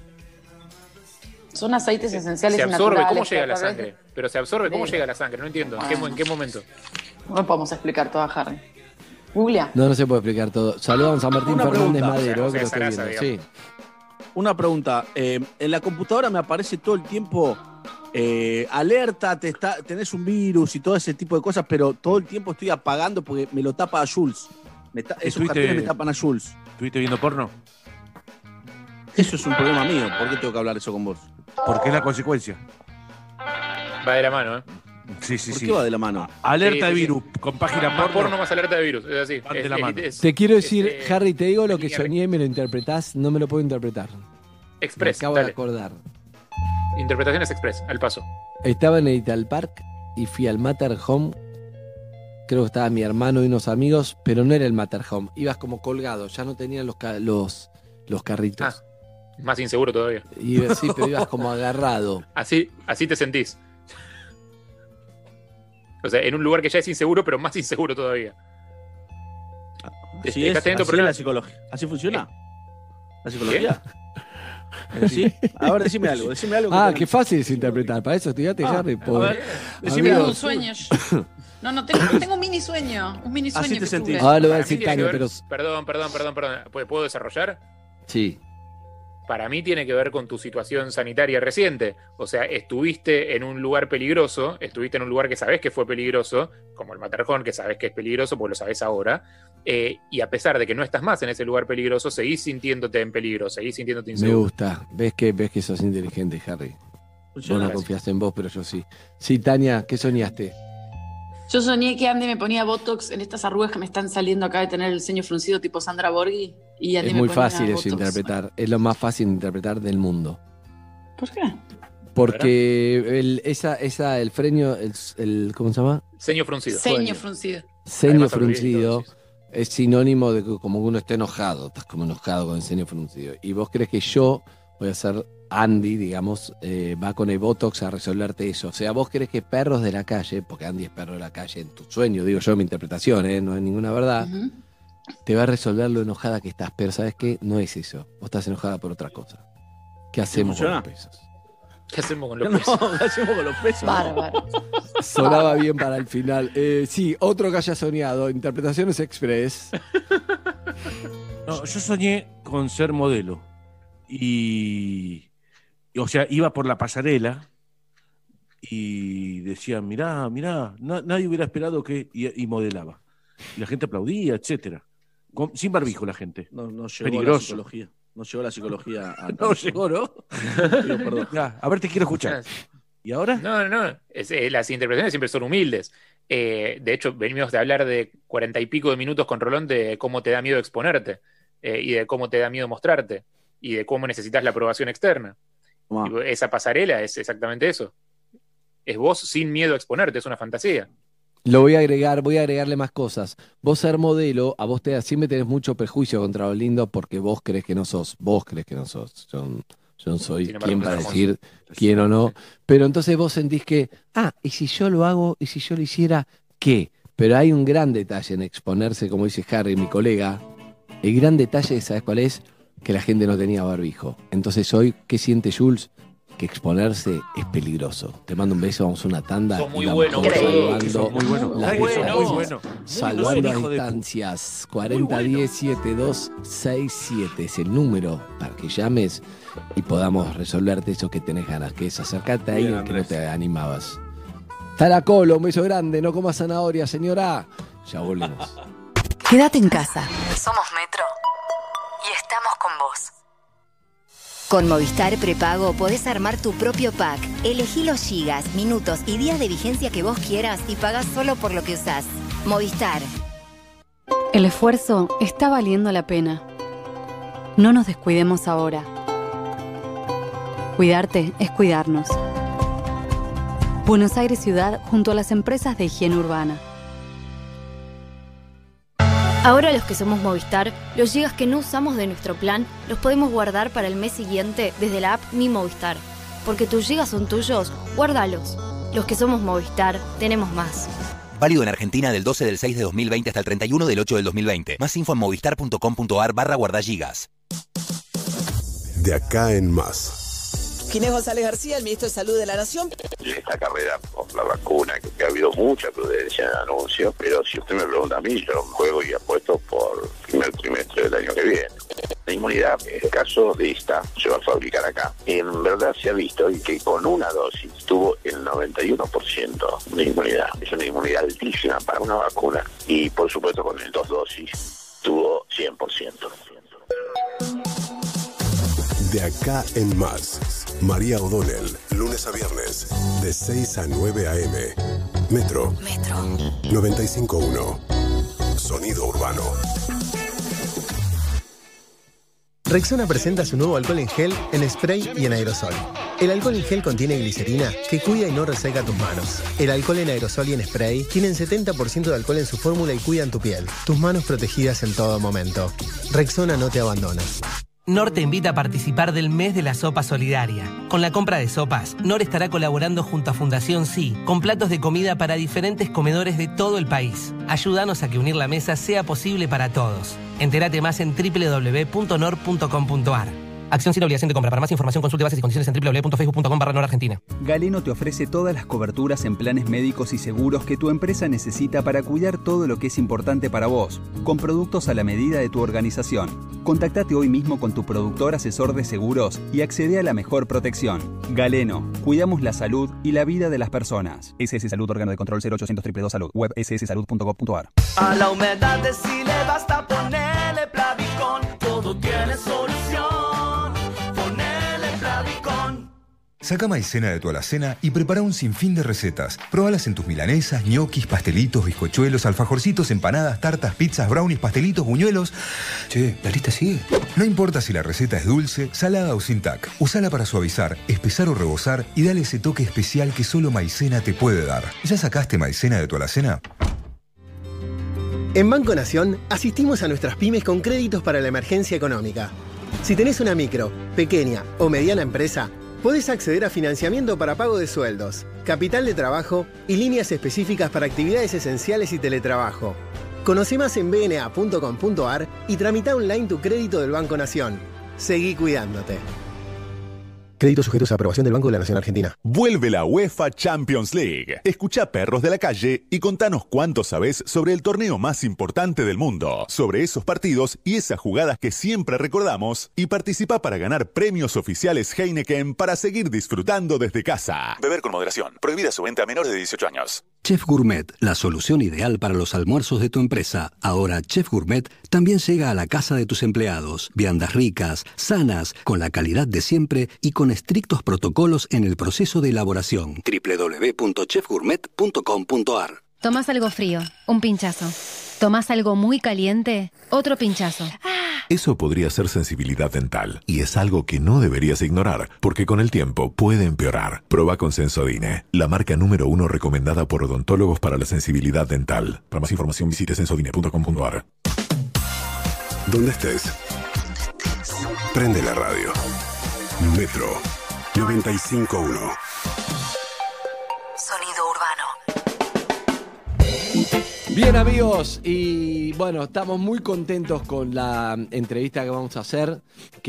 Son aceites esenciales Se y absorbe, naturales. ¿cómo llega a la que a través de- sangre? Pero se absorbe, ¿cómo de- llega a la sangre? No entiendo. ¿En qué, mo- en qué momento? No podemos explicar todo a Harry. Googlea. No, no se puede explicar todo. Saludamos a Martín Una Fernández pregunta. Madero, O sea, que lo esa estoy grasa, viendo. Sí. Una pregunta. eh, en la computadora me aparece todo el tiempo eh, alerta, te está, tenés un virus y todo ese tipo de cosas, pero todo el tiempo estoy apagando porque me lo tapa a Jules. Me ta- esos ¿Estuviste- cartones me tapan a Jules. ¿Estuviste viendo porno? Eso es un problema mío. ¿Por qué tengo que hablar eso con vos? Porque es la consecuencia. Va de la mano, ¿eh? Sí, sí, ¿Por sí. qué va de la mano? Alerta Sí, de sí, sí. virus con página Más porno. porno, más alerta de virus. Es así. Van de Es- la es- mano. es- Te quiero decir, es, eh, Harry, te digo lo que línea soñé y me lo interpretás, no me lo puedo interpretar. Me Express, acabo de dale. acordar. Interpretaciones express, al paso. Estaba en Edital Park y fui al Matterhome. Creo que estaba mi hermano y unos amigos, pero no era el Matterhome. Ibas como colgado, ya no tenían los, ca- los, los carritos. Ah, más inseguro todavía. Y sí, pero ibas como agarrado. Así, así te sentís. O sea, en un lugar que ya es inseguro, pero más inseguro todavía. Así ¿Estás es, teniendo así es problemas? la psicología. ¿Así funciona? ¿La psicología? ¿Sí? A ver, decime algo, decime algo. que Ah, te- qué fácil es interpretar. Para eso estudiate, Ah, Harry. a Por... ver, decime Tengo algo. un sueño. No, no, tengo, tengo un mini sueño. Un mini sueño. Así te que sentís. tuve. Ahora lo voy a Para mí decir tiene que Tania, ver- pero... Perdón, perdón, perdón, perdón. ¿Puedo- ¿Puedo desarrollar? Sí. Para mí tiene que ver con tu situación sanitaria reciente. O sea, estuviste en un lugar peligroso, estuviste en un lugar que sabés que fue peligroso, como el Matterhorn, que sabés que es peligroso, porque lo sabés ahora, eh, y a pesar de que no estás más en ese lugar peligroso, seguís sintiéndote en peligro, seguís sintiéndote Me inseguro. gusta. ¿Ves que, ves que sos inteligente, Harry? Vos Funciona. no confías en vos, pero yo sí. Sí, Tania, ¿qué soñaste? Yo soñé que Andy me ponía Botox en estas arrugas que me están saliendo acá de tener el ceño fruncido tipo Sandra Borghi. Y Andy Es me muy ponía fácil eso Botox. interpretar. Es lo más fácil de interpretar del mundo. ¿Por qué? Porque el, esa, esa, el freño, el, el- ¿cómo se llama? Ceño fruncido. Ceño fruncido. Ceño Además, hablo bien, fruncido entonces. es sinónimo de que como que uno esté enojado. Estás como enojado con el ceño fruncido. Y vos crees que yo voy a ser Andy, digamos, eh, va con el Botox a resolverte eso. O sea, vos crees que perros de la calle, porque Andy es perro de la calle en tu sueño, digo yo, mi interpretación, ¿eh? No es ninguna verdad, Ujú. te va a resolver lo enojada que estás. Pero ¿sabes qué? No es eso. Vos estás enojada por otra cosa. ¿Qué hacemos con funciona? los pesos? ¿Qué hacemos con los No, pesos? ¿qué hacemos con los pesos? Bárbaro. Sonaba bien para el final. Eh, sí, otro que haya soñado. Interpretaciones Express. No, yo soñé con ser modelo. Y, y, o sea, iba por la pasarela y decían, mirá, mirá, na- nadie hubiera esperado que... Y, y modelaba. Y la gente aplaudía, etcétera. Con- sin barbijo la gente. No, no llegó la Peligroso. psicología. No llegó la psicología a... No llegó, ¿no? Pido perdón. Ya, a ver, te quiero escuchar. ¿Y ahora? No, no, no. Es, eh, las interpretaciones siempre son humildes. Eh, de hecho, venimos de hablar de cuarenta y pico de minutos con Rolón de cómo te da miedo exponerte eh, y de cómo te da miedo mostrarte y de cómo necesitas la aprobación externa. Tomá. Y esa pasarela es exactamente eso. Es vos sin miedo a exponerte, es una fantasía. Lo voy a agregar, voy a agregarle más cosas. Vos ser modelo, a vos te siempre tenés mucho prejuicio contra lo lindo porque vos crees que no sos, vos crees que no sos. Yo, yo no soy Sin embargo, quien sos para hermoso. decir quién o no. Pero entonces vos sentís que, ah, y si yo lo hago, y si yo lo hiciera, ¿qué? Pero hay un gran detalle en exponerse, como dice Harry, mi colega. El gran detalle, ¿sabes cuál es? Que la gente no tenía barbijo. Entonces hoy, ¿qué siente Jules? que exponerse es peligroso. Te mando un beso, vamos a una tanda. Son muy y vamos buenos, salvando son muy buenos. las Muy distancias. bueno. Muy bueno. Salvando Hijo las de- distancias. cuarenta diez setenta y dos sesenta y siete es el número para que llames y podamos resolverte eso que tenés ganas, que es acercarte ahí Bien, que no Andrés. te animabas. Taracolo, un beso grande, no comas zanahoria, señora. Ya volvemos. Quédate en casa. Somos Metro y estamos con vos. Con Movistar Prepago podés armar tu propio pack. Elegí los gigas, minutos y días de vigencia que vos quieras y pagás solo por lo que usás. Movistar. El esfuerzo está valiendo la pena. No nos descuidemos ahora. Cuidarte es cuidarnos. Buenos Aires Ciudad junto a las empresas de higiene urbana. Ahora los que somos Movistar, los gigas que no usamos de nuestro plan los podemos guardar para el mes siguiente desde la app Mi Movistar. Porque tus gigas son tuyos, guárdalos. Los que somos Movistar, tenemos más. Válido en Argentina del doce del seis de dos mil veinte hasta el treinta y uno del ocho del dos mil veinte. Más info en movistar.com.ar barra guardagigas. De acá en más. Ginés González García, el ministro de Salud de la Nación. Esta carrera por la vacuna, que, que ha habido mucha prudencia en anuncios, pero si usted me pregunta a mí, yo juego y apuesto por el primer trimestre del año que viene. La inmunidad, en el caso de esta, se va a fabricar acá. En verdad se ha visto que con una dosis tuvo el noventa y uno por ciento de inmunidad. Es una inmunidad altísima para una vacuna. Y por supuesto con el dos dosis tuvo cien por ciento. De acá en más. María O'Donnell, lunes a viernes, de seis a nueve a eme. Metro. Metro. noventa y cinco punto uno. Sonido urbano. Rexona presenta su nuevo alcohol en gel, en spray y en aerosol. El alcohol en gel contiene glicerina que cuida y no reseca tus manos. El alcohol en aerosol y en spray tienen setenta por ciento de alcohol en su fórmula y cuidan tu piel. Tus manos protegidas en todo momento. Rexona no te abandona. Nor te invita a participar del mes de la sopa solidaria. Con la compra de sopas, Nor estará colaborando junto a Fundación Sí, con platos de comida para diferentes comedores de todo el país. Ayúdanos a que unir la mesa sea posible para todos. Entérate más en doble u doble u doble u punto nor punto com punto ar. Acción sin obligación de compra. Para más información consulte bases y condiciones en doble u doble u doble u punto facebook punto com barra nor argentina. Galeno te ofrece todas las coberturas en planes médicos y seguros que tu empresa necesita para cuidar todo lo que es importante para vos, con productos a la medida de tu organización. Contactate hoy mismo con tu productor asesor de seguros y accede a la mejor protección. Galeno, cuidamos la salud y la vida de las personas. S S Salud, órgano de control cero ochocientos dos dos dos Salud, web ese ese salud punto gov punto ar. A la humedad de si le basta ponerle Plavicón, todo tiene solución. Ponele Plavicón. Saca maicena de tu alacena y prepara un sinfín de recetas. Probalas en tus milanesas, ñoquis, pastelitos, bizcochuelos, alfajorcitos, empanadas, tartas, pizzas, brownies, pastelitos, buñuelos. Che, la lista sigue. No importa si la receta es dulce, salada o sin tac. Usala para suavizar, espesar o rebozar y dale ese toque especial que solo maicena te puede dar. ¿Ya sacaste maicena de tu alacena? En Banco Nación asistimos a nuestras pymes con créditos para la emergencia económica. Si tenés una micro, pequeña o mediana empresa, podés acceder a financiamiento para pago de sueldos, capital de trabajo y líneas específicas para actividades esenciales y teletrabajo. Conoce más en b n a punto com punto ar y tramita online tu crédito del Banco Nación. Seguí cuidándote. Créditos sujetos a aprobación del Banco de la Nación Argentina. Vuelve la UEFA Champions League. Escucha Perros de la Calle y contanos cuánto sabés sobre el torneo más importante del mundo, sobre esos partidos y esas jugadas que siempre recordamos, y participa para ganar premios oficiales Heineken para seguir disfrutando desde casa. Beber con moderación. Prohibida su venta a menores de dieciocho años. Chef Gourmet, la solución ideal para los almuerzos de tu empresa. Ahora Chef Gourmet también llega a la casa de tus empleados. Viandas ricas, sanas, con la calidad de siempre y con estrictos protocolos en el proceso de elaboración. doble u doble u doble u punto chef gourmet punto com punto ar. Tomás algo frío, un pinchazo. Tomás algo muy caliente, otro pinchazo. Eso podría ser sensibilidad dental, y es algo que no deberías ignorar, porque con el tiempo puede empeorar. Proba con Sensodine, la marca número uno recomendada por odontólogos para la sensibilidad dental. Para más información visite sensodine punto com punto ar. Donde estés, prende la radio. Metro noventa y cinco punto uno. Sonido urbano. Bien, amigos, y bueno, estamos muy contentos con la entrevista que vamos a hacer,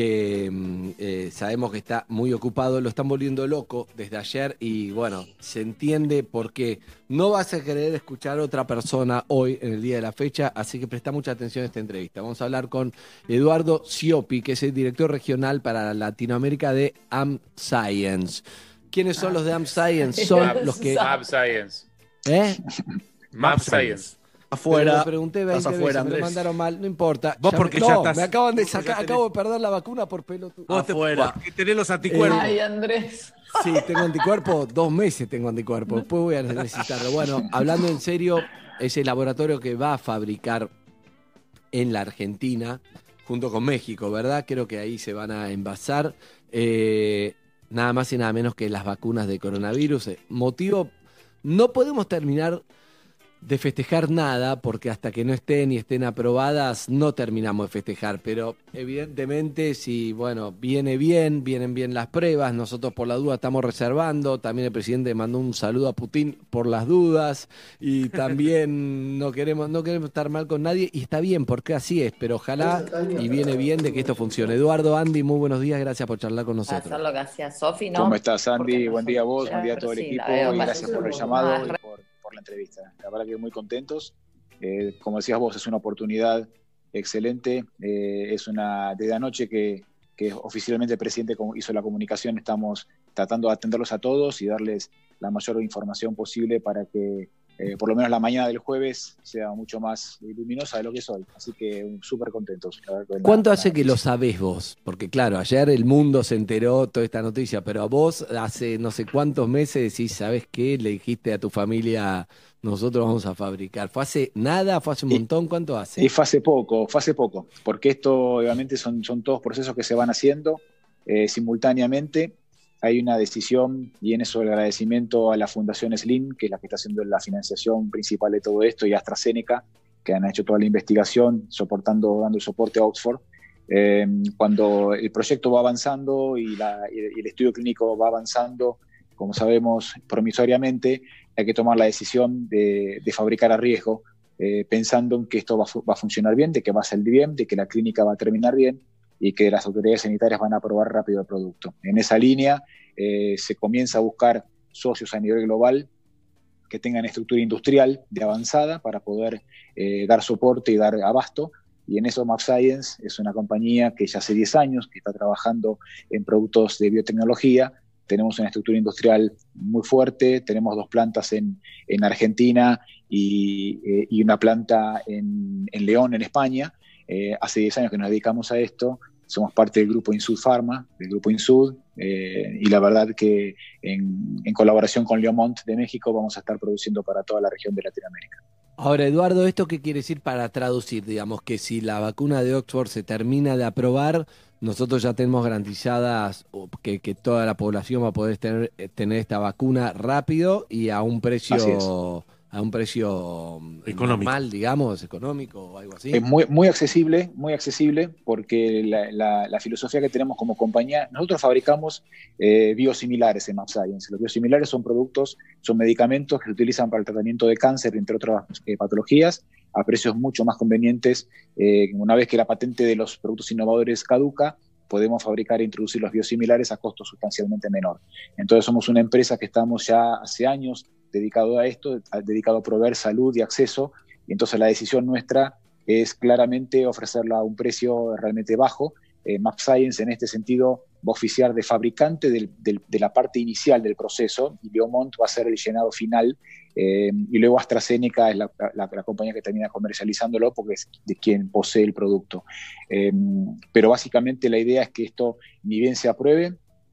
que eh, sabemos que está muy ocupado, lo están volviendo loco desde ayer y bueno, se entiende por qué. No vas a querer escuchar a otra persona hoy en el día de la fecha, así que presta mucha atención a esta entrevista. Vamos a hablar con Eduardo Scioppi, que es el director regional para Latinoamérica de AmScience. ¿Quiénes son los de AmScience? Son los que... AmScience. ¿Eh? AmScience. Afuera. Pero lo pregunté veinte Estás afuera, veces, me lo Andrés. mandaron mal, no importa. Vos Ya porque me, ya no, estás- me acaban de vos ya sacar, tenés- acabo de perder la vacuna por pelotudo. Vos te- Afuera. porque tenés los anticuerpos. Ay, Andrés. Sí, tengo anticuerpos, dos meses tengo anticuerpos, después voy a necesitarlo. Bueno, hablando en serio, es el laboratorio que va a fabricar en la Argentina, junto con México, ¿verdad? Creo que ahí se van a envasar eh, nada más y nada menos que las vacunas de coronavirus. Eh, Motivo, no podemos terminar de festejar nada, porque hasta que no estén y estén aprobadas no terminamos de festejar, pero evidentemente si, bueno, viene bien, vienen bien las pruebas, nosotros por la duda estamos reservando, también el presidente mandó un saludo a Putin por las dudas, y también no queremos, no queremos estar mal con nadie, y está bien, porque así es, pero ojalá y viene bien de que esto funcione. Eduardo, Andy, muy buenos días, gracias por charlar con nosotros. Hacer lo que hacía Sofi, ¿no? ¿Cómo estás, Andy? Buen día a vos, buen día a todo el Sí, equipo la veo y más- gracias por el llamado y por, por la entrevista. La verdad que muy contentos. Eh, como decías vos, es una oportunidad excelente. Eh, es una desde anoche que, que oficialmente el presidente hizo la comunicación, estamos tratando de atenderlos a todos y darles la mayor información posible para que eh, por lo menos la mañana del jueves sea mucho más luminosa de lo que es hoy. Así que súper contentos. La verdad, ¿Cuánto la- hace que lo sabés vos? Porque claro, ayer el mundo se enteró toda esta noticia, pero a vos hace no sé cuántos meses decís, ¿sabés qué? Le dijiste a tu familia, nosotros vamos a fabricar. ¿Fue hace nada? ¿Fue hace un montón? ¿Cuánto hace? Y fue hace poco, fue hace poco, porque esto obviamente son, son todos procesos que se van haciendo eh, simultáneamente. Hay una decisión, y en eso el agradecimiento a la Fundación Slim, que es la que está haciendo la financiación principal de todo esto, y a AstraZeneca, que han hecho toda la investigación, soportando, dando el soporte a Oxford. Eh, cuando el proyecto va avanzando y, la, y el estudio clínico va avanzando, como sabemos, promisoriamente, hay que tomar la decisión de, de fabricar a riesgo, eh, pensando en que esto va, va a funcionar bien, de que va a salir bien, de que la clínica va a terminar bien y que las autoridades sanitarias van a aprobar rápido el producto. En esa línea eh, se comienza a buscar socios a nivel global que tengan estructura industrial de avanzada para poder eh, dar soporte y dar abasto. Y en eso AmScience es una compañía que ya hace diez años que está trabajando en productos de biotecnología. Tenemos una estructura industrial muy fuerte, tenemos dos plantas en, en Argentina y, eh, y una planta en, en León, en España. Eh, hace diez años que nos dedicamos a esto, somos parte del grupo Insud Pharma, del grupo Insud, eh, y la verdad que en, en colaboración con Leomont de México vamos a estar produciendo para toda la región de Latinoamérica. Ahora, Eduardo, ¿esto qué quiere decir para traducir? Digamos que si la vacuna de Oxford se termina de aprobar, nosotros ya tenemos garantizadas que, que toda la población va a poder tener, tener esta vacuna rápido y a un precio Así es. a un precio Económico. normal, digamos, económico o algo así. Es muy, muy accesible, muy accesible, porque la, la, la filosofía que tenemos como compañía, nosotros fabricamos eh, biosimilares en AmScience. Los biosimilares son productos, son medicamentos que se utilizan para el tratamiento de cáncer, entre otras eh, patologías, a precios mucho más convenientes. Eh, una vez que la patente de los productos innovadores caduca, podemos fabricar e introducir los biosimilares a costo sustancialmente menor. Entonces somos una empresa que estamos ya hace años dedicado a esto, dedicado a proveer salud y acceso, y entonces la decisión nuestra es claramente ofrecerla a un precio realmente bajo. Eh, AmScience en este sentido va a oficiar de fabricante del, del, de la parte inicial del proceso, y Leomont va a ser el llenado final, eh, y luego AstraZeneca es la, la, la compañía que termina comercializándolo porque es de quien posee el producto. Eh, pero básicamente la idea es que esto ni bien se apruebe,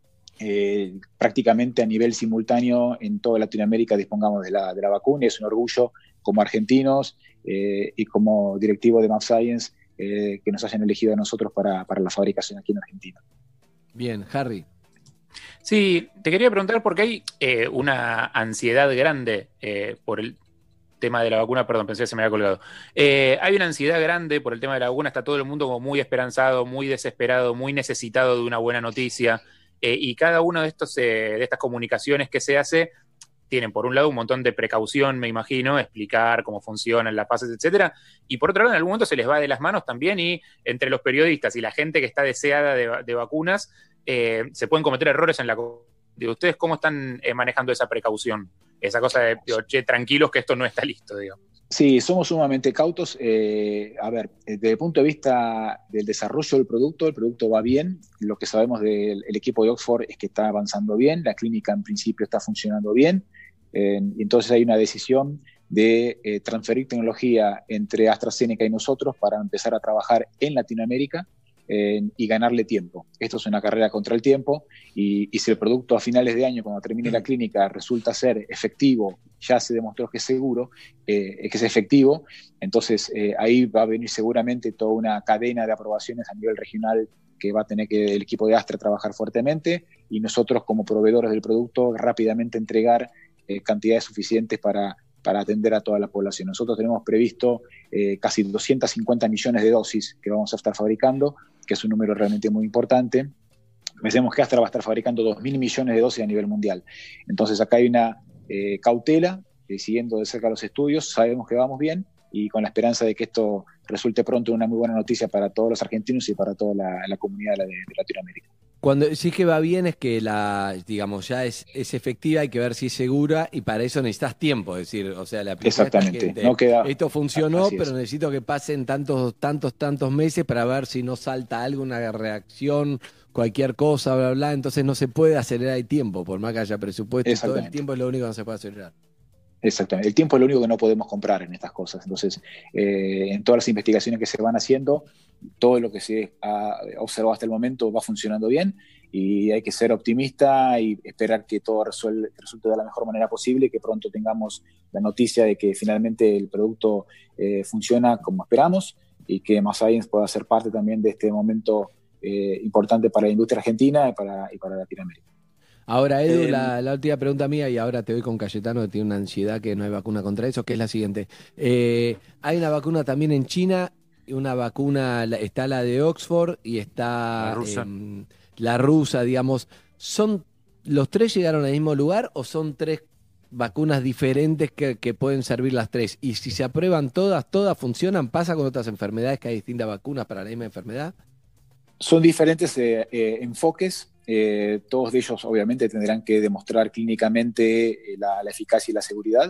Eh, prácticamente a nivel simultáneo en toda Latinoamérica dispongamos de la, de la vacuna, y es un orgullo como argentinos eh, y como directivo de AmScience eh, que nos hayan elegido a nosotros para, para la fabricación aquí en Argentina. Bien, Harry. Sí, te quería preguntar porque hay eh, una ansiedad grande eh, por el tema de la vacuna, perdón, pensé que se me había colgado. Eh, hay una ansiedad grande por el tema de la vacuna, está todo el mundo como muy esperanzado, muy desesperado, muy necesitado de una buena noticia. Eh, y cada una de, estos, eh, de estas comunicaciones que se hace tienen por un lado un montón de precaución, me imagino, explicar cómo funcionan las fases, etcétera, y por otro lado en algún momento se les va de las manos también y entre los periodistas y la gente que está deseada de, de vacunas eh, se pueden cometer errores en la... de ¿Ustedes cómo están eh, manejando esa precaución? Esa cosa de, digo, che, tranquilos que esto no está listo, digamos. Sí, somos sumamente cautos. Eh, a ver, desde el punto de vista del desarrollo del producto, el producto va bien. Lo que sabemos del el equipo de Oxford es que está avanzando bien, la clínica en principio está funcionando bien, eh, y entonces hay una decisión de eh, transferir tecnología entre AstraZeneca y nosotros para empezar a trabajar en Latinoamérica eh, y ganarle tiempo. Esto es una carrera contra el tiempo y, y si el producto a finales de año, cuando termine la clínica, resulta ser efectivo, ya se demostró que es seguro, eh, que es efectivo, entonces eh, ahí va a venir seguramente toda una cadena de aprobaciones a nivel regional que va a tener que el equipo de Astra trabajar fuertemente y nosotros como proveedores del producto rápidamente entregar eh, cantidades suficientes para, para atender a toda la población. Nosotros tenemos previsto eh, casi doscientos cincuenta millones de dosis que vamos a estar fabricando, que es un número realmente muy importante. Pensemos que Astra va a estar fabricando dos mil millones de dosis a nivel mundial. Entonces acá hay una eh, cautela, eh, siguiendo de cerca los estudios, sabemos que vamos bien y con la esperanza de que esto resulte pronto una muy buena noticia para todos los argentinos y para toda la, la comunidad de, la, de, de Latinoamérica. Cuando decís que va bien es que la, digamos, ya es, es efectiva, hay que ver si es segura y para eso necesitas tiempo, es decir, o sea, la exactamente, gente, no queda, esto funcionó, pero necesito que pasen tantos, tantos, tantos meses para ver si no salta algo, una reacción, cualquier cosa, bla, bla, entonces no se puede acelerar el tiempo, por más que haya presupuesto, todo el tiempo es lo único que no se puede acelerar. Exactamente, el tiempo es lo único que no podemos comprar en estas cosas, entonces eh, en todas las investigaciones que se van haciendo, todo lo que se ha observado hasta el momento va funcionando bien y hay que ser optimista y esperar que todo resuelve, resulte de la mejor manera posible y que pronto tengamos la noticia de que finalmente el producto eh, funciona como esperamos y que MassScience pueda ser parte también de este momento eh, importante para la industria argentina y para, y para Latinoamérica. Ahora, Edu, Eh, la, la última pregunta mía, y ahora te voy con Cayetano, que tiene una ansiedad que no hay vacuna contra eso, que es la siguiente. Eh, hay una vacuna también en China, una vacuna, está la de Oxford y está La rusa. eh, la rusa, digamos. ¿Son los tres llegaron al mismo lugar o son tres vacunas diferentes que, que pueden servir las tres? Y si se aprueban todas, todas funcionan, ¿pasa con otras enfermedades que hay distintas vacunas para la misma enfermedad? Son diferentes eh, eh, enfoques, eh, todos de ellos obviamente tendrán que demostrar clínicamente eh, la, la eficacia y la seguridad.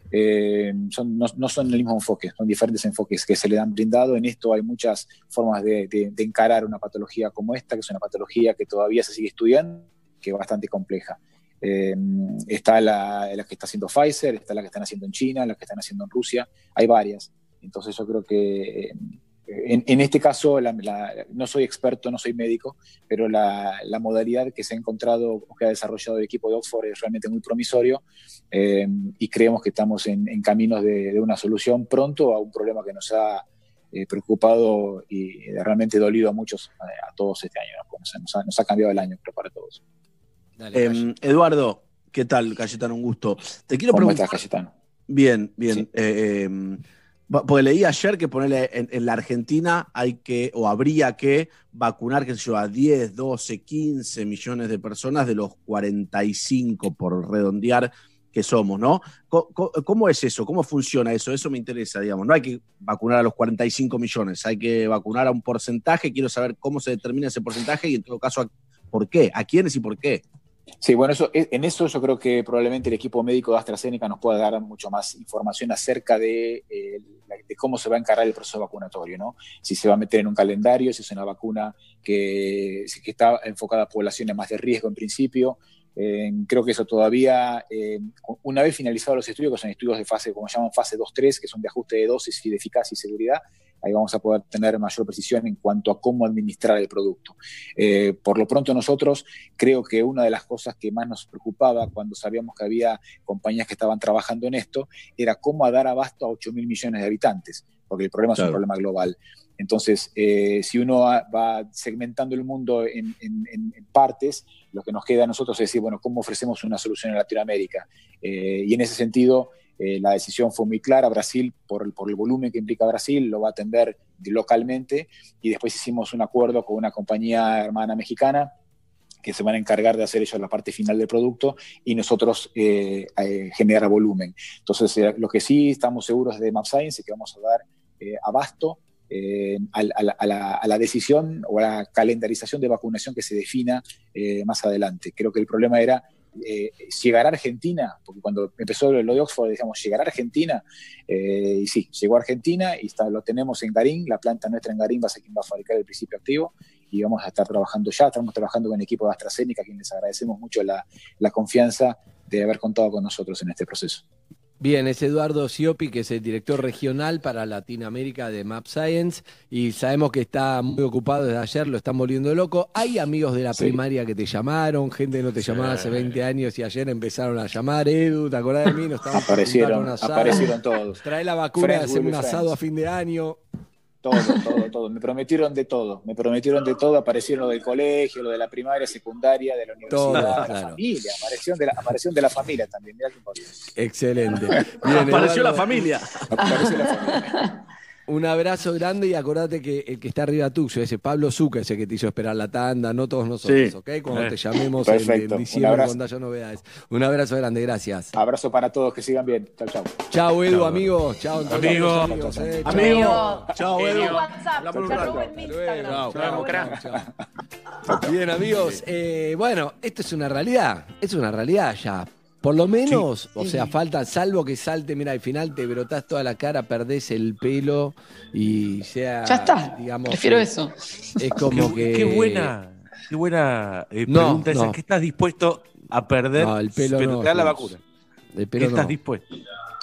Eh, son, no, no son el mismo enfoque, son diferentes enfoques que se le dan brindado. En esto hay muchas formas de, de, de encarar una patología como esta, que es una patología que todavía se sigue estudiando, que es bastante compleja. Eh, está la, la que está haciendo Pfizer, está la que están haciendo en China, la que están haciendo en Rusia, hay varias. Entonces yo creo que... Eh, En, en este caso, la, la, no soy experto, no soy médico, pero la, la modalidad que se ha encontrado o que ha desarrollado el equipo de Oxford es realmente muy promisorio eh, y creemos que estamos en, en caminos de, de una solución pronto a un problema que nos ha eh, preocupado y realmente dolido a muchos, a, a todos este año, ¿no? Pues nos, ha, nos ha cambiado el año, creo, para todos. Dale, eh, Eduardo, ¿qué tal, Cayetano? Un gusto. Te quiero ¿Cómo preguntar... estás, Cayetano? Bien, bien. Sí. Eh, eh, Porque leí ayer que ponerle en, en la Argentina hay que, o habría que vacunar, qué sé yo, a diez, doce, quince millones de personas de los cuarenta y cinco, por redondear, que somos, ¿no? ¿Cómo, cómo es eso? ¿Cómo funciona eso? Eso me interesa, digamos. No hay que vacunar a los cuarenta y cinco millones, hay que vacunar a un porcentaje. Quiero saber cómo se determina ese porcentaje y en todo caso, ¿por qué? ¿A quiénes y por qué? Sí, bueno, eso, en eso yo creo que probablemente el equipo médico de AstraZeneca nos pueda dar mucho más información acerca de, eh, de cómo se va a encarar el proceso vacunatorio, ¿no? Si se va a meter en un calendario, si es una vacuna que, que está enfocada a poblaciones más de riesgo en principio. Eh, creo que eso todavía, eh, una vez finalizados los estudios, que son estudios de fase, como llaman fase dos tres, que son de ajuste de dosis y de eficacia y seguridad, ahí vamos a poder tener mayor precisión en cuanto a cómo administrar el producto. Eh, por lo pronto nosotros, creo que una de las cosas que más nos preocupaba cuando sabíamos que había compañías que estaban trabajando en esto, era cómo dar abasto a ocho mil millones de habitantes, porque el problema claro. es un problema global. Entonces, eh, si uno va segmentando el mundo en, en, en partes, lo que nos queda a nosotros es decir, bueno, ¿cómo ofrecemos una solución en Latinoamérica? Eh, y en ese sentido, eh, la decisión fue muy clara. Brasil, por el, por el volumen que implica Brasil, lo va a atender localmente, y después hicimos un acuerdo con una compañía hermana mexicana que se van a encargar de hacer ellos la parte final del producto y nosotros eh, eh, generar volumen. Entonces, eh, lo que sí estamos seguros de mAbxience es que vamos a dar eh, abasto eh, a, a, la, a, la, a la decisión o a la calendarización de vacunación que se defina eh, más adelante. Creo que el problema era eh, llegar a Argentina, porque cuando empezó lo de Oxford decíamos llegar a Argentina, eh, y sí, llegó a Argentina y está, lo tenemos en Garín, la planta nuestra en Garín va a ser quien va a fabricar el principio activo y vamos a estar trabajando ya, estamos trabajando con el equipo de AstraZeneca, a quien les agradecemos mucho la, la confianza de haber contado con nosotros en este proceso. Bien, es Eduardo Siopi, que es el director regional para Latinoamérica de mAbxience, y sabemos que está muy ocupado desde ayer, lo están volviendo loco. ¿Hay amigos de la Sí. primaria que te llamaron, gente que no te Sí. llamaba hace veinte años y ayer empezaron a llamar? Edu, ¿te acordás de mí? Nos estábamos Aparecieron, juntando un asado. aparecieron todos. Trae la vacuna y Friends hacemos will un be asado friends. a fin de año. Todo, todo, todo. Me prometieron de todo. Me prometieron de todo. Aparecieron lo del colegio, lo de la primaria, secundaria, de la universidad, Todo, la claro. familia. Apareció de la, apareció de la familia también. Mirá qué importante. Excelente. Apareció Eduardo, la familia. Apareció la familia. Un abrazo grande y acordate que el que está arriba tuyo, ese Pablo Zucca, ese que te hizo esperar la tanda, no todos nosotros, Sí. ¿ok? Cuando Eh. te llamemos en, Perfecto. en Un diciembre abrazo. cuando haya novedades. Un abrazo grande, gracias. Abrazo para todos, que sigan bien. Chau, chau. Chao, Edu, Chao. amigos. Chao, Antonio, Amigo. amigos, eh. Chao. Amigo. Chao, Edu. Genio. WhatsApp, Hablamos un te rato. robo en mi Instagram. Chao, Te robo chao, en- chao. Bien, amigos. Eh, bueno, esto es una realidad. Es una realidad ya. Por lo menos, o sea, falta, salvo que salte, mira, al final te brotás toda la cara, perdés el pelo y sea. Ya está, Digamos, prefiero eh, eso. Es como qué, que. Qué buena, qué buena eh, No, pregunta esa. no. ¿Qué estás dispuesto a perder? No, el pelo pero no, te da la Jules. vacuna. El ¿Qué pelo estás no. dispuesto?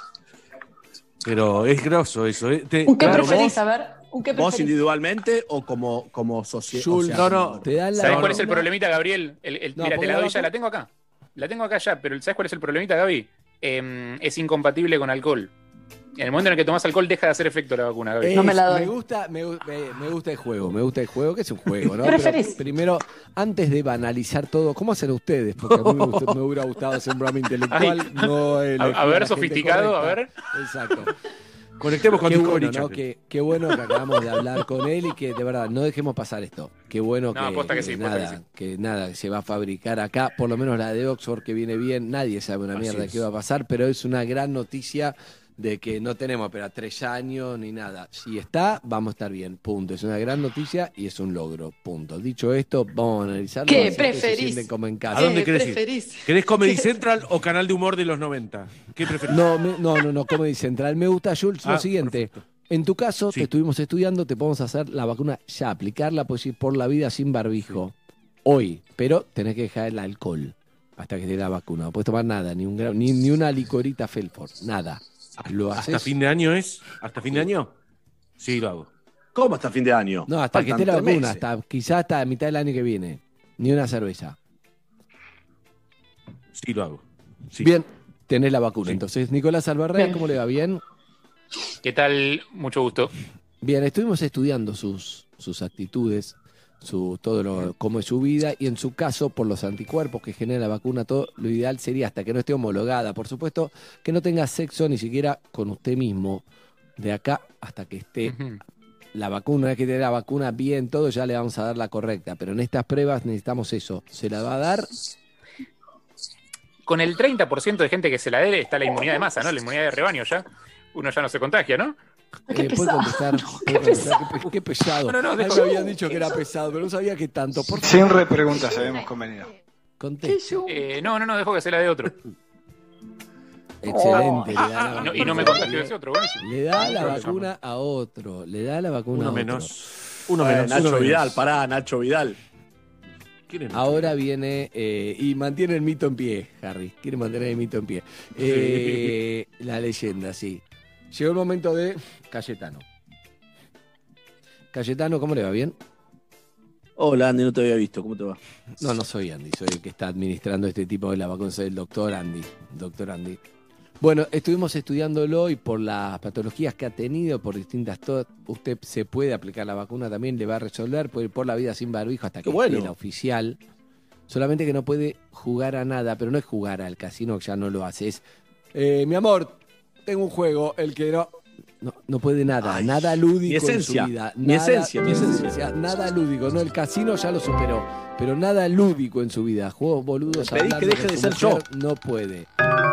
Pero es grosso eso. ¿eh? Te- ¿Un qué claro, preferís? vos- A ver, ¿un qué ¿Vos preferís? individualmente o como, como sociedad? Jules, no, no, te dan la ¿Sabes vacuna. cuál es el problemita, Gabriel? El, el- No, mira, porque te la la doy ya, vacuna- la tengo acá. La tengo acá ya, pero ¿sabes cuál es el problemita, Gaby? Eh, es incompatible con alcohol. En el momento en el que tomas alcohol deja de hacer efecto la vacuna, Gaby. Es- No me la doy. Me gusta, me, gu- me- me gusta el juego, me gusta el juego, que es un juego, ¿no? ¿Qué preferís? Pero primero, antes de banalizar todo, ¿cómo hacen ustedes? Porque a mí me, gustó- me hubiera gustado hacer un programa intelectual, Ay. no elegir A- a ver, la gente sofisticado, a correcta. Exacto. Conectemos con Qué Discovery bueno, ¿no? Channel. Qué, qué bueno que acabamos de hablar con él y que de verdad no dejemos pasar esto. Qué bueno No, que, posta que sí, posta nada, que sí. que nada se va a fabricar acá, por lo menos la de Oxford que viene bien, nadie sabe una Así mierda es. qué va a pasar, pero es una gran noticia de que no tenemos pero tres años ni nada. Si está, vamos a estar bien, punto. Es una gran noticia y es un logro, punto. Dicho esto, vamos a analizarlo. ¿Qué así que se preferís? sienten como en casa. ¿A dónde ¿Qué querés ir? preferís? ¿Querés Comedy Central o canal de humor de los noventa? ¿Qué preferís? No, me- no, no, no, Comedy Central. Me gusta, Jules, lo Ah, siguiente. perfecto. En tu caso, Sí. te estuvimos estudiando, te podemos hacer la vacuna ya, aplicarla, puedes ir por la vida sin barbijo. Hoy, pero tenés que dejar el alcohol hasta que te dé la vacuna. No puedes tomar nada, ni, un gra- ni, ni una licorita Felford, nada. Lo ¿Hasta haces. fin de año es? ¿Hasta fin de año? Sí, lo hago. ¿Cómo hasta fin de año? No, hasta que Faltan esté la tres vacuna, meses. hasta quizás hasta mitad del año que viene. Ni una cerveza. Sí, lo hago. Sí. Bien, tenés la vacuna. Sí. Entonces, Nicolás Albarrán, Bien. ¿cómo le va? ¿Bien? ¿Qué tal? Mucho gusto. Bien, estuvimos estudiando sus, sus actitudes, su, todo lo, cómo es su vida, y en su caso, por los anticuerpos que genera la vacuna, todo lo ideal sería, hasta que no esté homologada, por supuesto, que no tenga sexo ni siquiera con usted mismo, de acá hasta que esté Ujú. la vacuna. Una vez que tenga la vacuna bien, todo, ya le vamos a dar la correcta, pero en estas pruebas necesitamos eso. ¿Se la va a dar? Con el treinta por ciento de gente que se la dé está la inmunidad de masa, ¿no? La inmunidad de rebaño ya. Uno ya no se contagia, ¿no? Eh, ¿puede contestar? ¿Puede contestar? Qué, pe- qué pesado. No, no, no, A mí dejo- me habían dicho que era pesado, pero no sabía que tanto. Por Sin favor, repreguntas, habíamos convenido. conteste. Eh, no, no, no, dejo que se la dé otro. Excelente. le da la Y no, y vacuna. no me contagio ese otro, buenísimo. Le da la No, vacuna a otro. Le da la vacuna Uno a otro. menos. Uno Eh, menos. Nacho uno Vidal, menos. pará, Nacho Vidal. ¿Quién es? Ahora viene eh, y mantiene el mito en pie, Harry. Quiere mantener el mito en pie. Eh, la leyenda, sí. Llegó el momento de Cayetano. Cayetano, ¿cómo le va? ¿Bien? Hola, Andy, no te había visto. ¿Cómo te va? No, no soy Andy, soy el que está administrando este tipo de la vacuna, soy el doctor Andy. Doctor Andy. Bueno, estuvimos estudiándolo y por las patologías que ha tenido, por distintas to- usted se puede aplicar la vacuna también, le va a resolver, puede ir por la vida sin barbijo hasta que bueno. esté la oficial. Solamente que no puede jugar a nada, pero no es jugar al casino, que ya no lo hace, es, eh, mi amor, tengo un juego, el que no... No, no puede nada, Ay, nada lúdico mi esencia, en su vida. Mi nada, esencia, mi esencia. Nada lúdico, no, el casino ya lo superó, pero nada lúdico en su vida. Juegos boludos. Le pedí que deje de ser yo. No puede.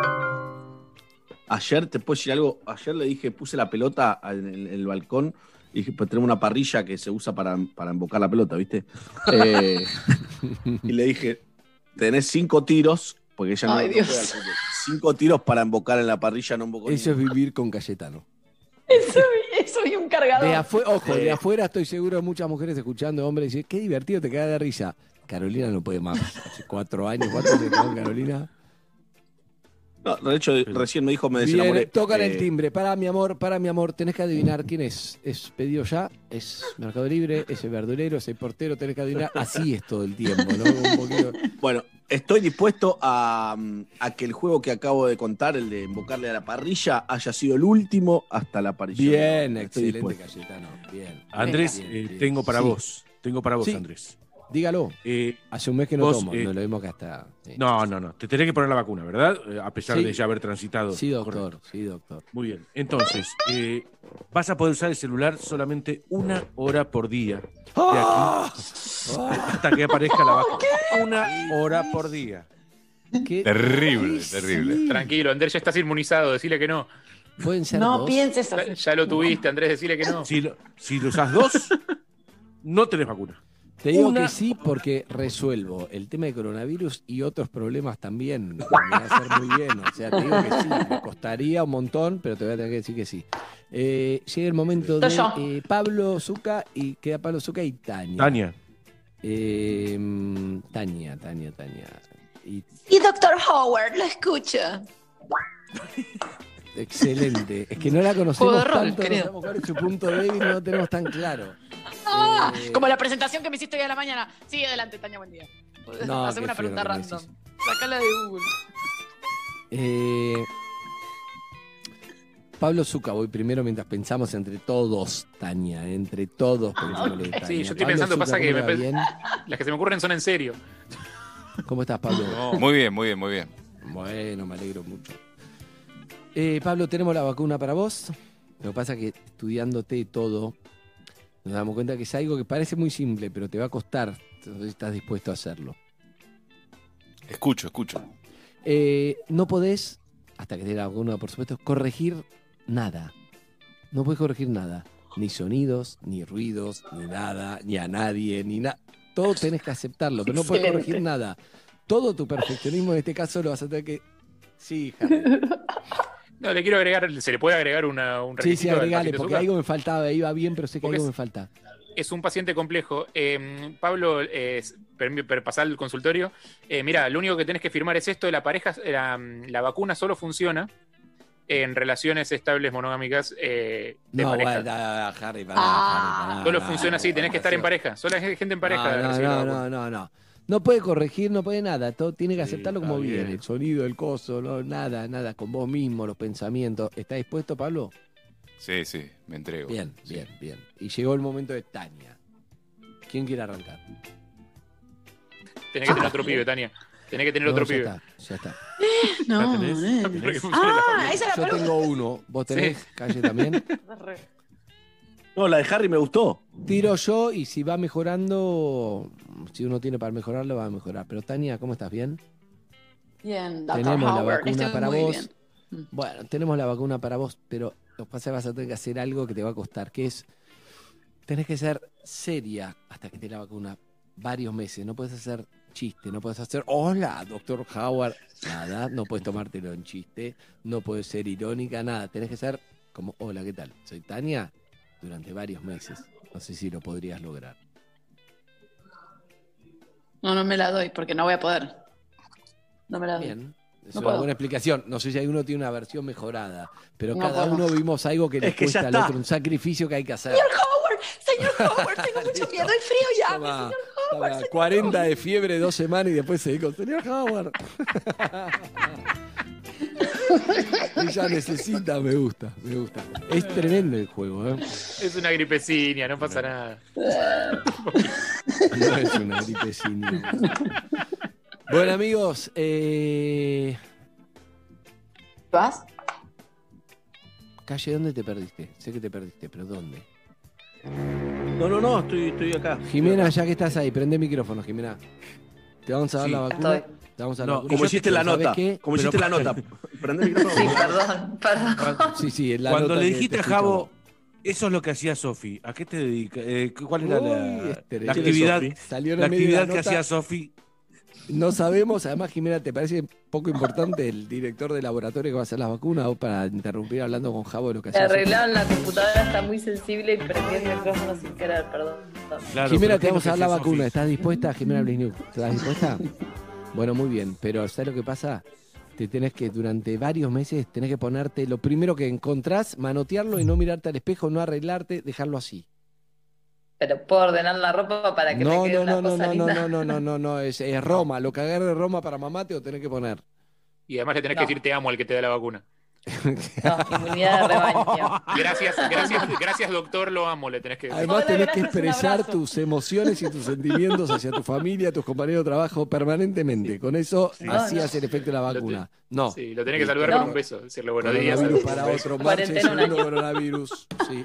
Ayer, te puedo decir algo, ayer le dije, puse la pelota en el, en el balcón y dije, pues tenemos una parrilla que se usa para, para embocar la pelota, ¿viste? Eh, y le dije, tenés cinco tiros, porque ella no, Ay, no Dios. juega al fútbol. Cinco tiros para embocar en la parrilla, no embocó Eso es vivir con Cayetano. Eso, eso y un cargador. De afuera, ojo, de afuera estoy seguro de muchas mujeres escuchando hombres y dicen, qué divertido, te caga de risa. Carolina no puede más. Hace cuatro años, cuatro años con Carolina. No, de hecho, recién me dijo, me Bien, desenamoré. tocan Eh, el timbre. Para, mi amor, para, mi amor. Tenés que adivinar quién es. ¿Es pedido ya? ¿Es Mercado Libre? ¿Es el verdulero? ¿Es el portero? Tenés que adivinar. Así es todo el tiempo, ¿no? Un poquito. Bueno, estoy dispuesto a, a que el juego que acabo de contar, el de invocarle a la parrilla, haya sido el último hasta la parrilla. Bien, Estoy excelente, dispuesto. Cayetano. Bien. Andrés, Bien, eh, bien. tengo para Sí. vos. Tengo para vos, Sí. Andrés. Dígalo. Eh, Hace un mes que no vos, tomo. eh, No lo vimos que hasta. Sí, No, no, no. Te tenés que poner la vacuna, ¿verdad? Eh, A pesar Sí. de ya haber transitado. Sí, doctor. Correcto. Sí, doctor. Muy bien. Entonces, eh, vas a poder usar el celular solamente una hora por día. De ¡Ah! aquí hasta que aparezca la vacuna. Una hora por día. ¿Qué? Terrible, Sí. terrible. Tranquilo, Andrés, ya estás inmunizado, decile que no. Pueden ser No dos. pienses Ya, así. ya lo tuviste, Andrés, decile que no. Si lo, si lo usás dos, no tenés vacuna. Te digo Una- que sí porque resuelvo el tema de coronavirus y otros problemas también. Me va a hacer muy bien. O sea, te digo que sí. Me costaría un montón, pero te voy a tener que decir que sí. Eh, llega el momento de Soy yo. eh, Pablo Zucca y queda Pablo Zucca y Tania. Tania. Eh, mm, Tania, Tania, Tania. Y, Y doctor Howard, lo escucha. excelente. Es que no la conocemos Juego de rol, tanto, no querido. sabemos cuál es su punto débil, no lo tenemos tan claro. Ah, Eh, como la presentación que me hiciste hoy a la mañana. Sigue adelante, Tania, buen día. No, Haceme qué una feo pregunta que me random. decís. Sacala de Google. Eh, Pablo Zucca, voy primero mientras pensamos entre todos, Tania, entre todos pensémosle de Tania. Sí, yo estoy Pablo pensando, Zucca, pasa que ¿cómo me le va pe- bien? las que se me ocurren son en serio. ¿Cómo estás, Pablo? Muy bien, muy bien, muy bien. Bueno, me alegro mucho. Eh, Pablo, tenemos la vacuna para vos. Lo que pasa es que estudiándote todo, nos damos cuenta que es algo que parece muy simple, pero te va a costar. Entonces estás dispuesto a hacerlo. Escucho, escucho. Eh, no podés, hasta que te dé la vacuna, por supuesto, corregir nada. No podés corregir nada. Ni sonidos, ni ruidos, ni nada, ni a nadie, ni nada. Todo tenés que aceptarlo, pero no podés Excelente. corregir nada. Todo tu perfeccionismo en este caso lo vas a tener que... Sí, Harry. No, le quiero agregar, se le puede agregar una, un Sí, sí, requisito al agregale, paciente porque Zucca. algo me faltaba, iba bien, pero sé que Porque algo es- me falta. Es un paciente complejo. Eh, Pablo, eh, per, per pasar al consultorio. Eh, mira, lo único que tenés que firmar es esto: la pareja, la, la vacuna solo funciona en relaciones estables monogámicas eh, de No, pareja. bueno, Harry, pará, Ah. Harry, pará, Solo no, funciona así, no, tenés que estar en no, pareja. Solo hay gente en pareja. No, no, recibe la no, vacuna. no, no, no. No puede corregir, no puede nada. Todo tiene que Sí, aceptarlo está como viene. bien. El sonido, el coso, no, nada, nada. Con vos mismo, los pensamientos. ¿Está dispuesto, Pablo? Sí, sí, me entrego. Bien, bien, bien. Y llegó el momento de Tania. ¿Quién quiere arrancar? Tenés que tener otro pibe, Tania. Tenés que tener No, otro ya pibe. está, ya está. No, ¿La tenés? nene. ¿La tenés? Ah, esa es Yo la pregunta. tengo uno. ¿Vos tenés, Calle, también? No, la de Harry me gustó. Tiro yo y si va mejorando, si uno tiene para mejorarlo, va a mejorar. Pero Tania, ¿cómo estás? ¿Bien? Bien, doctor Tenemos la Howard. vacuna Estoy para muy vos. bien. Bueno, tenemos la vacuna para vos, pero lo que pasa es que vas a tener que hacer algo que te va a costar, que es, tenés que ser seria hasta que te la vacuna varios meses. No puedes hacer chiste, no puedes hacer, hola, doctor Howard, nada, no puedes tomártelo en chiste, no puedes ser irónica, nada. Tenés que ser como, hola, ¿qué tal? Soy Tania, durante varios meses. No sé si lo podrías lograr. No, no me la doy porque no voy a poder. No me la doy. Bien. Es No una puedo. buena explicación. No sé si hay uno tiene una versión mejorada, pero No cada puedo. uno vimos algo que le Es que ya cuesta al está. otro, un sacrificio que hay que hacer. Señor Howard, señor Howard, tengo mucho miedo. Hay frío ya. Toma, señor toma, Howard, señor cuarenta de fiebre, dos semanas y después se dijo, señor Howard. Ella necesita, me gusta, me gusta. Es tremendo el juego, ¿eh? Es una gripecinia, no pasa nada. No es una gripecina. Bueno, amigos, eh, ¿Vas? Calle, ¿dónde te perdiste? Sé que te perdiste, pero ¿dónde? No, no, no, estoy, estoy acá. Jimena, ya que estás ahí, prende el micrófono, Jimena. Te vamos a dar Sí, la vacuna. estoy. Te vamos a dar No, la vacuna. como hiciste la ¿Sabes nota. qué? Como Pero- hiciste la nota. Prende el micrófono. Sí, perdón, perdón. Sí, sí, en la Cuando nota le que dijiste te a Javo, escuchamos. eso es lo que hacía Sofi. ¿A qué te dedicas? Eh, ¿Cuál era Uy, la, este la de actividad, Sofi. Salió en la el medio de la actividad que nota. hacía Sofi? No sabemos, además, Jimena, ¿te parece poco importante el director de laboratorio que va a hacer las vacunas o para interrumpir hablando con Javo de lo que Me hacía? arreglaron la computadora, está muy sensible y prendí el micrófono sin querer, perdón. Claro, Jimena, pero te ¿qué vamos es a lo dar la que hacía vacuna. Sofi? ¿Estás dispuesta, Jimena Blisniuk? ¿Estás dispuesta? Bueno, muy bien, pero ¿sabes lo que pasa? Te tenés que, durante varios meses, tenés que ponerte lo primero que encontrás, manotearlo y no mirarte al espejo, no arreglarte, dejarlo así. Pero puedo ordenar la ropa para que No, me quede no, una no, no, cosa no, linda. no, no, no, no, no, es, es Roma. Lo que agarre Roma para mamá te lo tenés que poner. Y además le tenés No. que decir te amo al que te da la vacuna. No, inmunidad de rebaño. Gracias, gracias, gracias doctor, lo amo, le tenés que decir. Además Hola, tenés que gracias, un expresar abrazo. tus emociones y tus sentimientos hacia tu familia, tus compañeros de trabajo permanentemente. Con eso así No, no. hace el efecto de la vacuna. No. Sí, lo tenés que saludar No. con un beso, decirle buenos días. Coronavirus para un beso. otro. Marche Cuarentena un segundo año. coronavirus. Sí.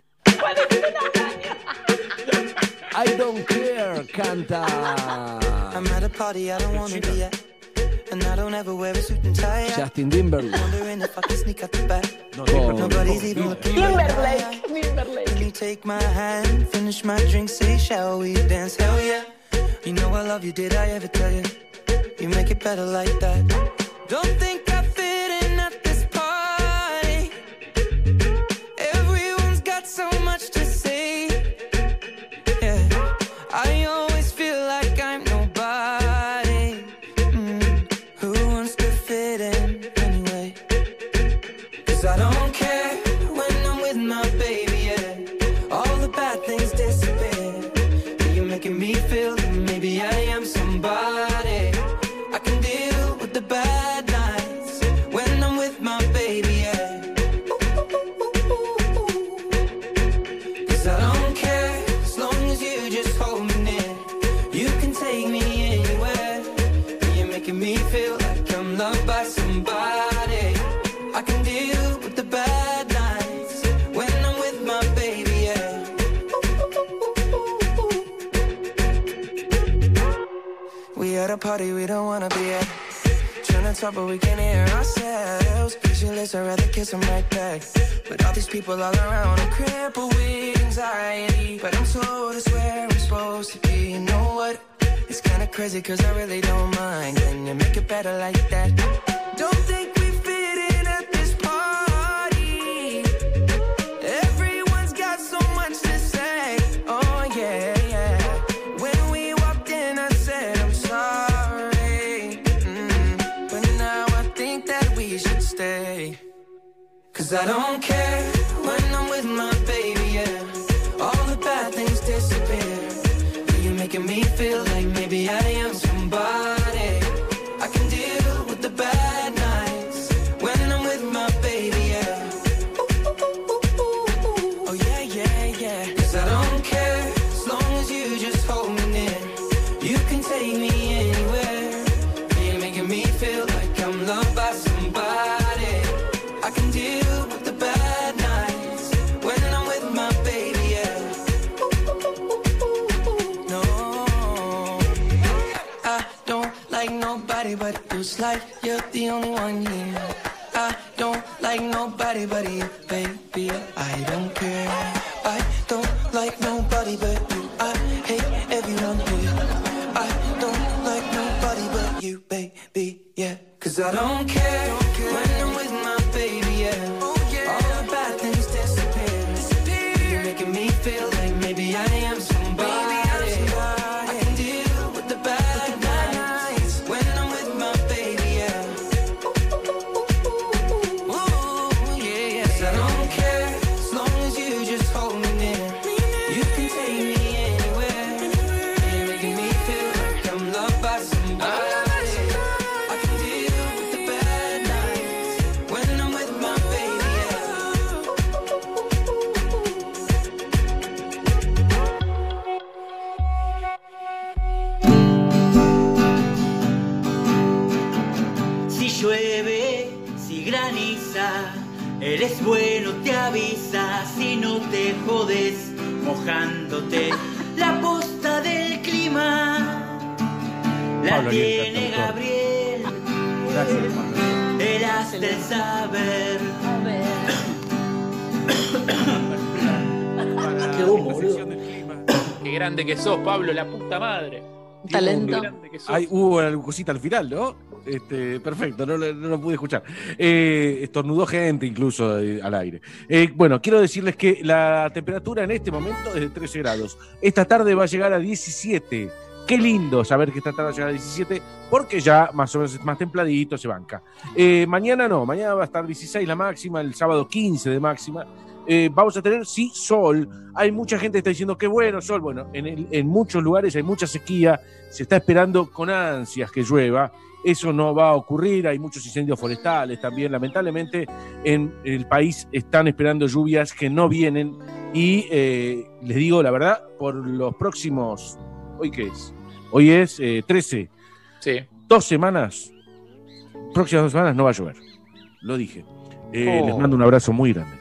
I don't care, canta. I'm at a party I don't wanna be at, and I don't ever wear a suit and tie. Justin Timberlake. Wondering if I can sneak out the back. Con- Nobody's even looking. Timberlake, Timberlake. Can you take my hand, finish my drink, say shall we dance? Hell yeah. You know I love you, did I ever tell you? You make it better like that. Don't think I fit in at this party. Everyone's got so much to say. Yeah, I always feel like I'm nobody. Mm, who wants to fit in anyway? 'Cause I don't care when I'm with my baby, yeah. All the bad things disappear. You're making me feel that maybe I am somebody. I can deal with the bad nights when I'm with my baby, yeah. 'Cause I don't care as long as you just hold me near. You can take me anywhere. You're making me feel like I'm loved by somebody. I can deal with the bad nights when I'm with my baby, yeah. We at a party we don't wanna be at. Trying to talk but we can't hear ourselves. Pictureless, I'd rather kiss them right back. But all these people all around, I'm crippled with anxiety. But I'm told it's where I'm supposed to be. You know what? It's kinda crazy cause I really don't mind. Can you make it better like that? Don't think we fit in at this party. Everyone's got so much to say. Oh yeah, yeah. When we walked in I said I'm sorry. Mm, but now I think that we should stay. Cause I don't care when I'm with my baby, yeah. All the bad things disappear. You're making me feel like maybe I am somebody. I can deal with the bad nights when I'm with my baby, yeah. Oh yeah, yeah, yeah. Cause I don't care as long as you just hold me near. You can take me anywhere. You're making me feel like I'm loved by somebody. I can deal with the bad nights when I'm with my baby, yeah. No, I don't like nobody but you. It's like you're the only one here. I don't like nobody but you, baby. I don't care. I don't like nobody but you. I hate everyone here. I don't like nobody but you, baby, yeah. Cause I don't care when I'm with my baby, yeah. All the bad things disappear. You're making me feel like maybe I am somebody. I can deal with the bad nights when I'm with my baby, yeah. Ooh, yeah, yeah. 'Cause I don't care as long as you just hold me near. You can take me anywhere. You're making me feel like I'm loved by somebody. I can deal with the bad nights when I'm with my baby, yeah. Si llueve, si graniza, Eres bueno, te avisas y no te jodes mojándote. La posta del clima la Pablo tiene Alienta, Gabriel. Gracias, Pablo. El as del saber. Qué humo, Qué grande que sos, Pablo, la puta madre. Talento. Qué grande que sos. Hay, hubo una cosita al final, ¿no? Este, perfecto, no, lo- no lo pude escuchar. Eh, estornudó gente incluso eh, al aire. Eh, bueno, quiero decirles que la temperatura en este momento es de trece grados. Esta tarde va a llegar a diecisiete. Qué lindo saber que esta tarde va a llegar a diecisiete, porque ya más o menos es más templadito, se banca. Eh, mañana no, mañana va a estar dieciséis la máxima, el sábado quince de máxima. Eh, vamos a tener, sí, sol. Hay mucha gente que está diciendo que bueno, sol. Bueno, en, el- en muchos lugares hay mucha sequía, se está esperando con ansias que llueva. Eso no va a ocurrir, hay muchos incendios forestales también. Lamentablemente en el país están esperando lluvias que no vienen y eh, les digo la verdad, por los próximos, ¿hoy qué es? Hoy es eh, trece. Sí. Dos semanas, próximas dos semanas no va a llover. Lo dije. Eh, Oh. Les mando un abrazo muy grande.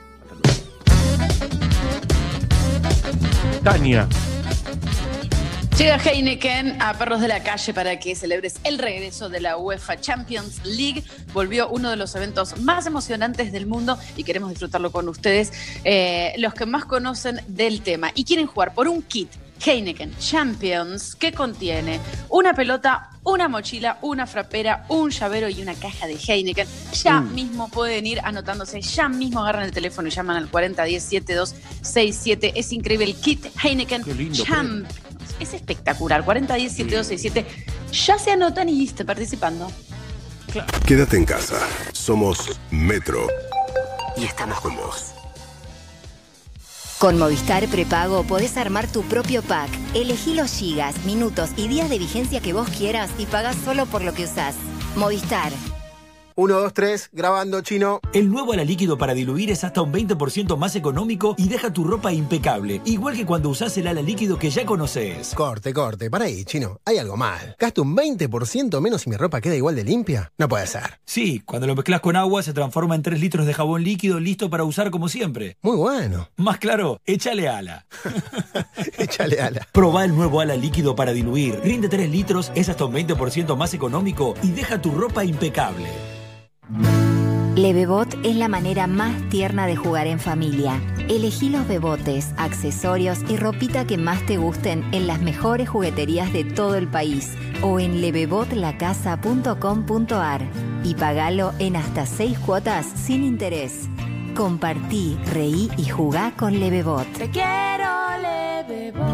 Tania. Llega Heineken a Perros de la Calle para que celebres el regreso de la UEFA Champions League. Volvió uno de los eventos más emocionantes del mundo y queremos disfrutarlo con ustedes, eh, los que más conocen del tema y quieren jugar por un kit Heineken Champions que contiene una pelota, una mochila, una frapera, un llavero y una caja de Heineken. Ya Mm. mismo pueden ir anotándose, ya mismo agarran el teléfono y llaman al cuarenta diez setenta y dos sesenta y siete. Es increíble el kit Heineken Qué lindo Champions. Es espectacular. cuarenta diez setenta y dos sesenta y siete. Ya se anotan y están participando. Quédate en casa. Somos Metro. Y estamos con vos. Con Movistar Prepago podés armar tu propio pack. Elegí los gigas, minutos y días de vigencia que vos quieras y pagás solo por lo que usás. Movistar. Uno, dos, tres, grabando, chino. El nuevo ala líquido para diluir es hasta un veinte por ciento más económico y deja tu ropa impecable, igual que cuando usás el ala líquido que ya conoces. Corte, corte, para ahí, chino. Hay algo mal. ¿Gasto un veinte por ciento menos y mi ropa queda igual de limpia? No puede ser. Sí, cuando lo mezclas con agua se transforma en tres litros de jabón líquido listo para usar como siempre. Muy bueno. Más claro, échale ala. Échale ala. Probá el nuevo ala líquido para diluir. Rinde tres litros, es hasta un veinte por ciento más económico y deja tu ropa impecable. Lebebot es la manera más tierna de jugar en familia. Elegí los bebotes, accesorios y ropita que más te gusten en las mejores jugueterías de todo el país o en lebebot la casa punto com punto ar y pagalo en hasta seis cuotas sin interés. Compartí, reí y jugá con Lebebot. Te quiero, Lebebot.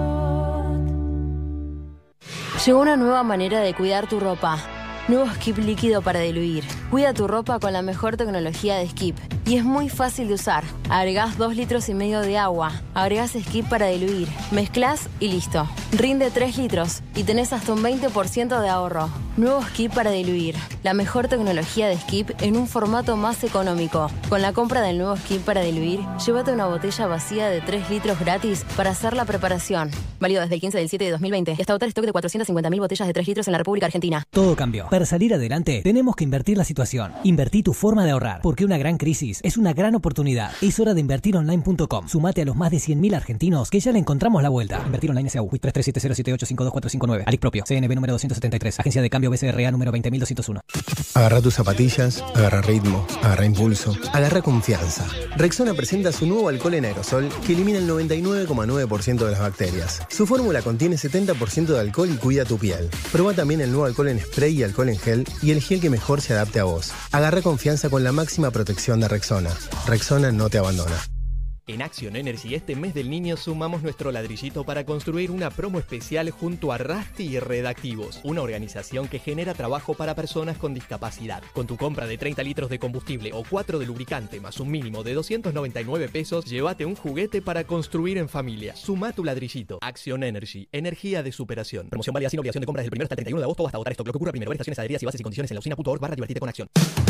Llegó una nueva manera de cuidar tu ropa. Nuevo Skip líquido para diluir. Cuida tu ropa con la mejor tecnología de Skip. Y es muy fácil de usar. Agregás dos litros y medio de agua. Agregás Skip para diluir. Mezclas y listo. Rinde tres litros y tenés hasta un veinte por ciento de ahorro. Nuevo Skip para diluir. La mejor tecnología de Skip en un formato más económico. Con la compra del nuevo Skip para diluir, llévate una botella vacía de tres litros gratis para hacer la preparación. Válido desde el quince del siete de dos mil veinte y hasta agotar stock de cuatrocientas cincuenta mil botellas de tres litros en la República Argentina. Todo cambió. Para salir adelante, tenemos que invertir la situación. Invertí tu forma de ahorrar, porque una gran crisis es una gran oportunidad. Es hora de invertir online punto com. Sumate a los más de cien mil argentinos que ya le encontramos la vuelta. Invertir online S A U. tres tres siete cero siete ocho cinco dos cuatro cinco nueve. Alic propio. C N B número doscientos setenta y tres. Agencia de cambio B C R A número veinte mil doscientos uno. Agarra tus zapatillas, agarra ritmo, agarra impulso, agarra confianza. Rexona presenta su nuevo alcohol en aerosol que elimina el noventa y nueve coma nueve por ciento de las bacterias. Su fórmula contiene setenta por ciento de alcohol y cuida tu piel. Proba también el nuevo alcohol en spray y alcohol en gel y el gel que mejor se adapte a vos. Agarra confianza con la máxima protección de Rexona. Rexona no te abandona. En Action Energy este mes del niño sumamos nuestro ladrillito para construir una promo especial junto a Rusty y Redactivos, una organización que genera trabajo para personas con discapacidad. Con tu compra de treinta litros de combustible o cuatro de lubricante más un mínimo de doscientos noventa y nueve pesos, llévate un juguete para construir en familia. Suma tu ladrillito. Action Energy, energía de superación. Promoción válida sin obligación de compra desde el primero hasta el treinta y uno de agosto o hasta agotar stock. Lo que ocurra primero. Ver estaciones, adheridas y bases y condiciones en la usina punto org barra divertirte con Acción.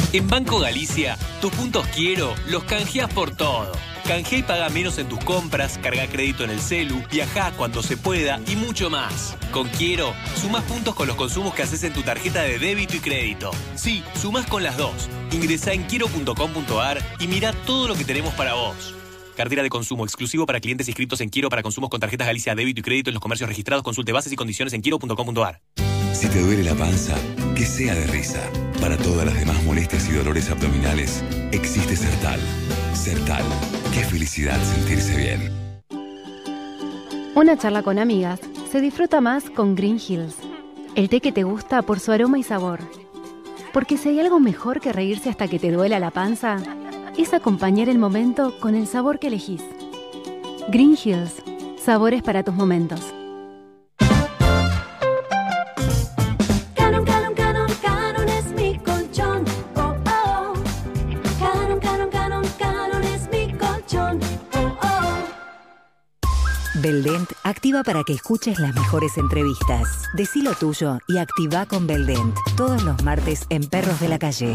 En Banco Galicia, tus puntos Quiero los canjeás por todo. Canjea y paga menos en tus compras, carga crédito en el celu, viajá cuando se pueda y mucho más. Con Quiero, sumás puntos con los consumos que haces en tu tarjeta de débito y crédito. Sí, sumás con las dos. Ingresá en quiero punto com punto ar y mirá todo lo que tenemos para vos. Cartera de consumo exclusivo para clientes inscritos en Quiero para consumos con tarjetas Galicia débito y crédito en los comercios registrados. Consulte bases y condiciones en quiero punto com punto ar. Si te duele la panza, que sea de risa. Para todas las demás molestias y dolores abdominales, existe Sertal. Sertal. Qué felicidad sentirse bien. Una charla con amigas se disfruta más con Green Hills. El té que te gusta por su aroma y sabor. Porque si hay algo mejor que reírse hasta que te duela la panza, es acompañar el momento con el sabor que elegís. Green Hills. Sabores para tus momentos. Beldent activa para que escuches las mejores entrevistas. Decí lo tuyo y activa con Beldent. Todos los martes en Perros de la Calle.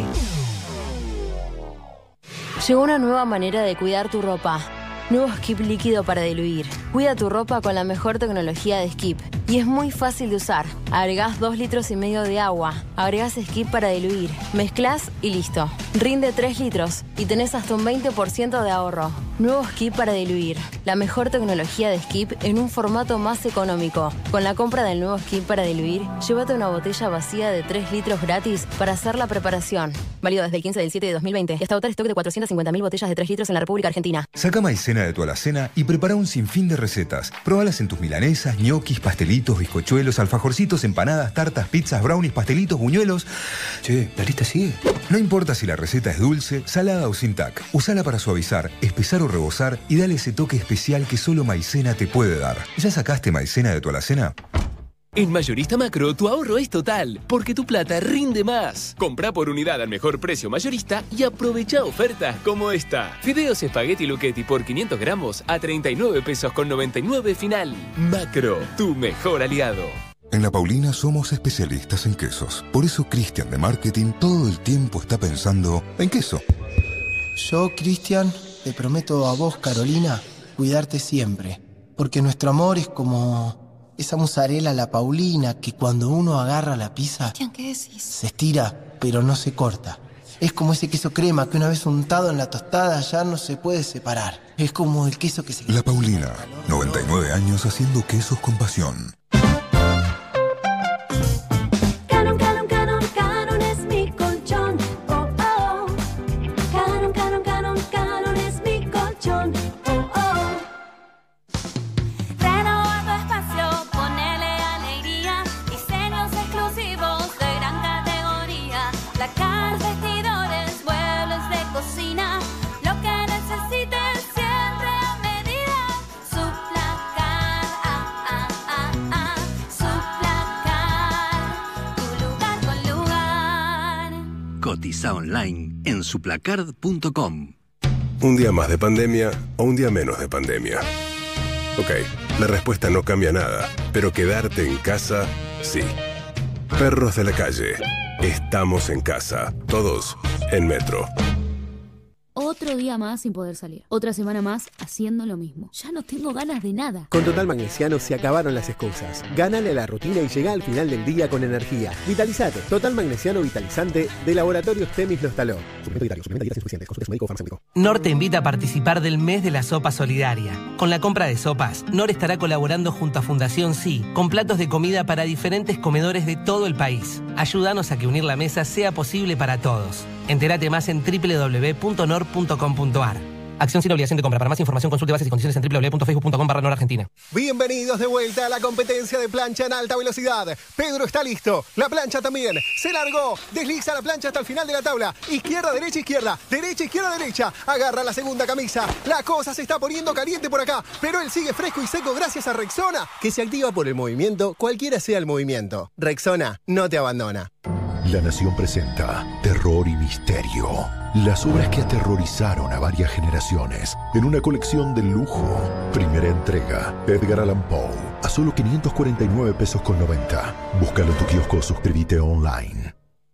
Llegó una nueva manera de cuidar tu ropa. Nuevo Skip líquido para diluir. Cuida tu ropa con la mejor tecnología de Skip. Y es muy fácil de usar. Agregás dos litros y medio de agua. Agregás Skip para diluir. Mezclás y listo. Rinde tres litros y tenés hasta un veinte por ciento de ahorro. Nuevo Skip para diluir. La mejor tecnología de Skip en un formato más económico. Con la compra del nuevo Skip para diluir, llévate una botella vacía de tres litros gratis para hacer la preparación. Válido desde el quince del siete de dos mil veinte y hasta agotar stock de cuatrocientas cincuenta mil botellas de tres litros en la República Argentina. Saca maicena de tu alacena y prepara un sinfín de recetas. Probalas en tus milanesas, ñoquis, pastelitos, bizcochuelos, alfajorcitos, empanadas, tartas, pizzas, brownies, pastelitos, buñuelos. Che, ¿la lista sigue? No importa si la receta es dulce, salada o sin tac. Usala para suavizar, espesar o rebozar y dale ese toque especial que solo maicena te puede dar. ¿Ya sacaste maicena de tu alacena? En Mayorista Macro, tu ahorro es total, porque tu plata rinde más. Comprá por unidad al mejor precio mayorista y aprovecha ofertas como esta. Fideos Espagueti Lucchetti por quinientos gramos a treinta y nueve pesos con noventa y nueve final. Macro, tu mejor aliado. En La Paulina somos especialistas en quesos. Por eso Cristian de Marketing todo el tiempo está pensando en queso. Yo, Cristian, te prometo a vos, Carolina, cuidarte siempre. Porque nuestro amor es como esa mozzarella a la Paulina que cuando uno agarra la pizza, Cristian, ¿qué decís? Se estira, pero no se corta. Es como ese queso crema que una vez untado en la tostada ya no se puede separar. Es como el queso que se... La Paulina, noventa y nueve años haciendo quesos con pasión. Canon, Canon, Canon, Canon es mi colchón. Oh, oh. Canon, Canon, Canon, Canon es mi colchón. Oh, oh. Renova tu espacio, ponele alegría. Diseños exclusivos de gran categoría. Placar, vestidores, muebles de cocina. Lo que necesites siempre a medida. Su placar, ah, ah, ah, ah. Su placar, tu lugar con lugar. Cotiza online en suplacard punto com. ¿Un día más de pandemia o un día menos de pandemia? Ok, la respuesta no cambia nada, pero quedarte en casa, sí. Perros de la Calle. Estamos en casa. Todos en Metro. Otro día más sin poder salir. Otra semana más haciendo lo mismo. Ya no tengo ganas de nada. Con Total Magnesiano se acabaron las excusas. Gánale a la rutina y llega al final del día con energía. Vitalizate. Total Magnesiano Vitalizante de Laboratorios Temis Lostaló. Suplemento dietario. Suplementa dieta insuficiente. Consulte a su médico o farmacéutico. NOR te invita a participar del mes de la sopa solidaria. Con la compra de sopas, NOR estará colaborando junto a Fundación Sí, con platos de comida para diferentes comedores de todo el país. Ayúdanos a que unir la mesa sea posible para todos. Entérate más en doble u doble u doble u punto nor punto com punto ar. Acción sin obligación de compra. Para más información consulte bases y condiciones en doble u doble u doble u punto facebook punto com barra nor argentina. Bienvenidos de vuelta a la competencia de plancha en alta velocidad. Pedro está listo. La plancha también. Se largó. Desliza la plancha hasta el final de la tabla. Izquierda, derecha, izquierda. Derecha, izquierda, derecha. Agarra la segunda camisa. La cosa se está poniendo caliente por acá. Pero él sigue fresco y seco gracias a Rexona, que se activa por el movimiento, cualquiera sea el movimiento. Rexona no te abandona. La Nación presenta Terror y Misterio. Las obras que aterrorizaron a varias generaciones en una colección de lujo. Primera entrega, Edgar Allan Poe, a solo quinientos cuarenta y nueve pesos con noventa. Búscalo en tu kiosco o suscríbete online.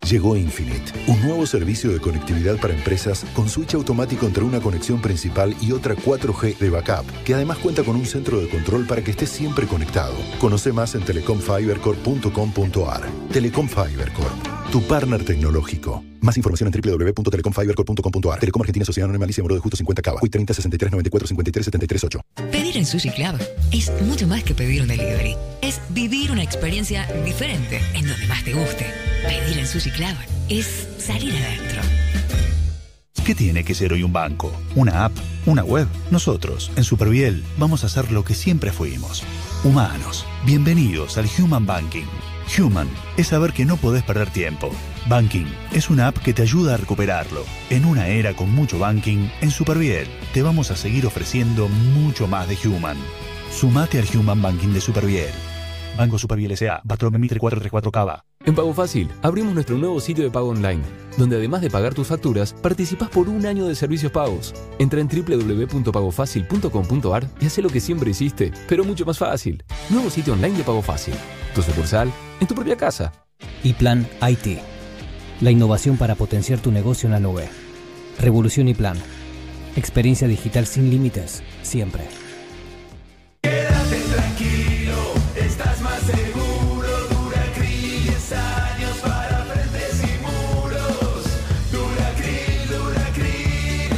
Llegó Infinite, un nuevo servicio de conectividad para empresas con switch automático entre una conexión principal y otra cuatro G de backup, que además cuenta con un centro de control para que estés siempre conectado. Conoce más en telecom fiber corp punto com punto a r. Telecom Fiber Corp, tu partner tecnológico. Más información en doble u doble u doble u punto telecom fiber corp punto com punto a r. Telecom Argentina Sociedad Anónima Alicia Moro de Justo cincuenta Cava. Hoy treinta sesenta y tres noventa y cuatro cincuenta y tres setenta y tres ocho. Pedir en Sushi Club es mucho más que pedir un delivery. Es vivir una experiencia diferente en donde más te guste. Pedir en Sushi Club es salir adentro. ¿Qué tiene que ser hoy un banco? ¿Una app? ¿Una web? Nosotros, en Superviel, vamos a hacer lo que siempre fuimos. Humanos. Bienvenidos al Human Banking. Human es saber que no podés perder tiempo. Banking es una app que te ayuda a recuperarlo. En una era con mucho banking, en Superviel te vamos a seguir ofreciendo mucho más de Human. Sumate al Human Banking de Superviel. Banco Superviel S A, Bartolomé Mitre cuatrocientos treinta y cuatro Cava. En Pago Fácil, abrimos nuestro nuevo sitio de pago online, donde además de pagar tus facturas, participás por un año de servicios pagos. Entra en doble u doble u doble u punto pago fácil punto com punto a r y haz lo que siempre hiciste, pero mucho más fácil. Nuevo sitio online de Pago Fácil. Tu sucursal, en tu propia casa. Y Plan I T. La innovación para potenciar tu negocio en la nube. Revolución y Plan. Experiencia digital sin límites, siempre. Quédate tranquilo, estás más seguro. Duracril, diez años para frentes y muros. Duracril, Duracril.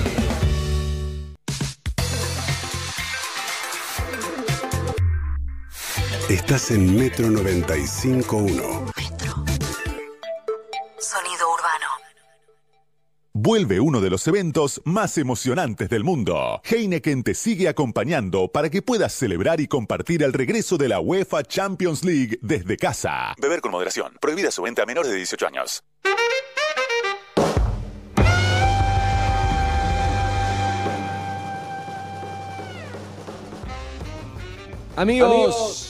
Estás en Metro noventa y cinco punto uno. Sonido urbano. Vuelve uno de los eventos más emocionantes del mundo. Heineken te sigue acompañando para que puedas celebrar y compartir el regreso de la UEFA Champions League desde casa. Beber con moderación. Prohibida su venta a menores de dieciocho años. Amigos. Amigos.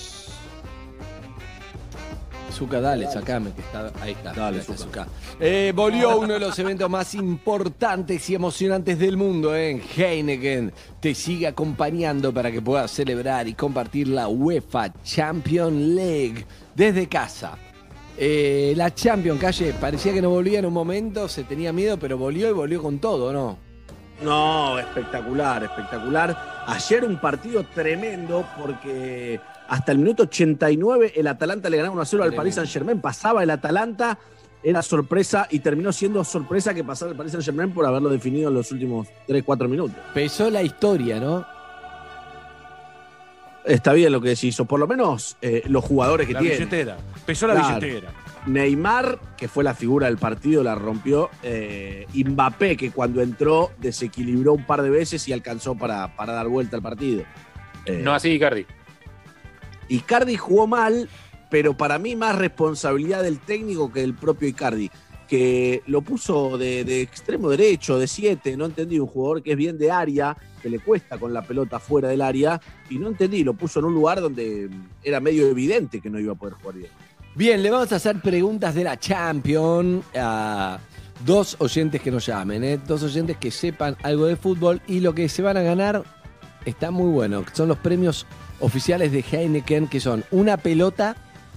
Zucca, dale, sacame, que está, ahí está. Dale, Zucca. Eh, volvió uno de los eventos más importantes y emocionantes del mundo, ¿eh? Heineken te sigue acompañando para que puedas celebrar y compartir la UEFA Champions League desde casa. Eh, la Champions, Calle, parecía que no volvía en un momento, se tenía miedo, pero volvió y volvió con todo, ¿no? No, espectacular, espectacular. Ayer un partido tremendo porque hasta el minuto ochenta y nueve el Atalanta le ganaba uno a cero al Paris Saint-Germain. Pasaba el Atalanta, era sorpresa y terminó siendo sorpresa que pasara el Paris Saint-Germain por haberlo definido en los últimos tres cuatro minutos. Pesó la historia, ¿no? Está bien lo que decís, o por lo menos eh, los jugadores que la tienen. billetera. Pesó la Claro. billetera. Neymar, que fue la figura del partido, la rompió. Eh, Mbappé, que cuando entró desequilibró un par de veces y alcanzó para, para dar vuelta al partido. Eh, No así Icardi. Icardi jugó mal, pero para mí más responsabilidad del técnico que del propio Icardi, que lo puso de, de extremo derecho, de siete, no entendí, un jugador que es bien de área, que le cuesta con la pelota fuera del área, y no entendí, lo puso en un lugar donde era medio evidente que no iba a poder jugar bien. Bien, le vamos a hacer preguntas de la Champions a dos oyentes que nos llamen, ¿eh? Dos oyentes que sepan algo de fútbol y lo que se van a ganar está muy bueno. Son los premios oficiales de Heineken, que son una pelota,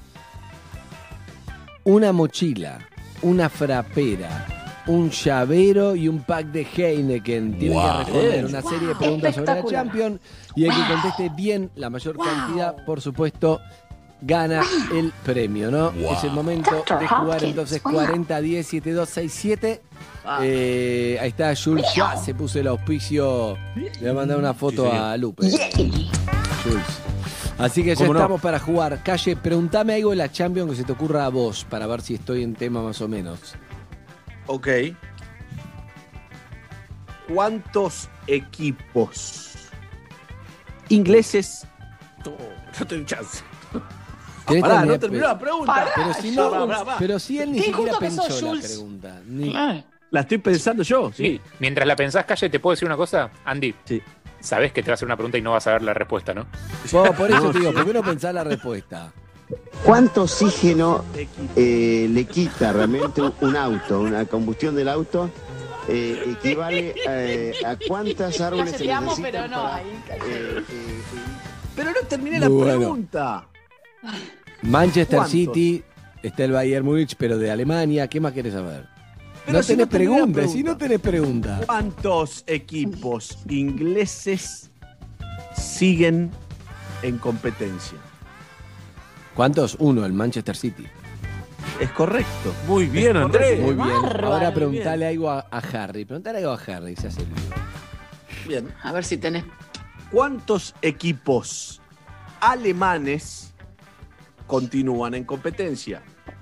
una mochila, una frapera, un llavero y un pack de Heineken. Tienen Wow. que responder una Wow. serie de preguntas sobre la Espectacular. Champions y el que conteste bien la mayor Wow. cantidad, por supuesto, gana el premio, ¿no? Wow. Es el momento Doctor de jugar Hopkins, entonces wow. cuarenta diez siete dos seis siete. Eh, ahí está Jules, ya se puso el auspicio. Le voy a mandar una foto Sí, señor. a Lupe. Jules. Así que ya ¿Cómo no? estamos para jugar. Calle, preguntame algo de la Champions que se te ocurra a vos para ver si estoy en tema más o menos. Ok. ¿Cuántos equipos ingleses? No, no tengo chance. Tenés Pará, también- no terminó la pregunta. Pará, pero si no, Pará, pará, pará. pero si él ni Qué siquiera injusto que pensó sos, la Jules. pregunta. Ni- La estoy pensando yo, sí. Sí. Mientras la pensás, Calle, ¿te puedo decir una cosa? Andy, sabés que te va a hacer una pregunta y no vas a ver la respuesta, ¿no? Vos, por eso te digo, ¿por qué no pensás la respuesta? ¿Cuánto oxígeno eh, le quita realmente un auto, una combustión del auto? Eh, equivale eh, a cuántas árboles se Te amo, necesitan pero no, para, ahí, eh, Pero no terminé Muy la bueno. pregunta. Manchester ¿Cuántos? City Está el Bayern Múnich, pero de Alemania. ¿Qué más querés saber? Pero no si tenés no tenés la preguntas, pregunta. si no tenés preguntas. ¿Cuántos equipos ingleses siguen en competencia? ¿Cuántos? Uno, el Manchester City. Es correcto. Muy bien, Andrés. Muy bien. Bárbaro. Ahora preguntale algo a, a Harry. Preguntale algo a Harry, se hace el lío. Bien. A ver si tenés. ¿Cuántos equipos alemanes continúan en competencia?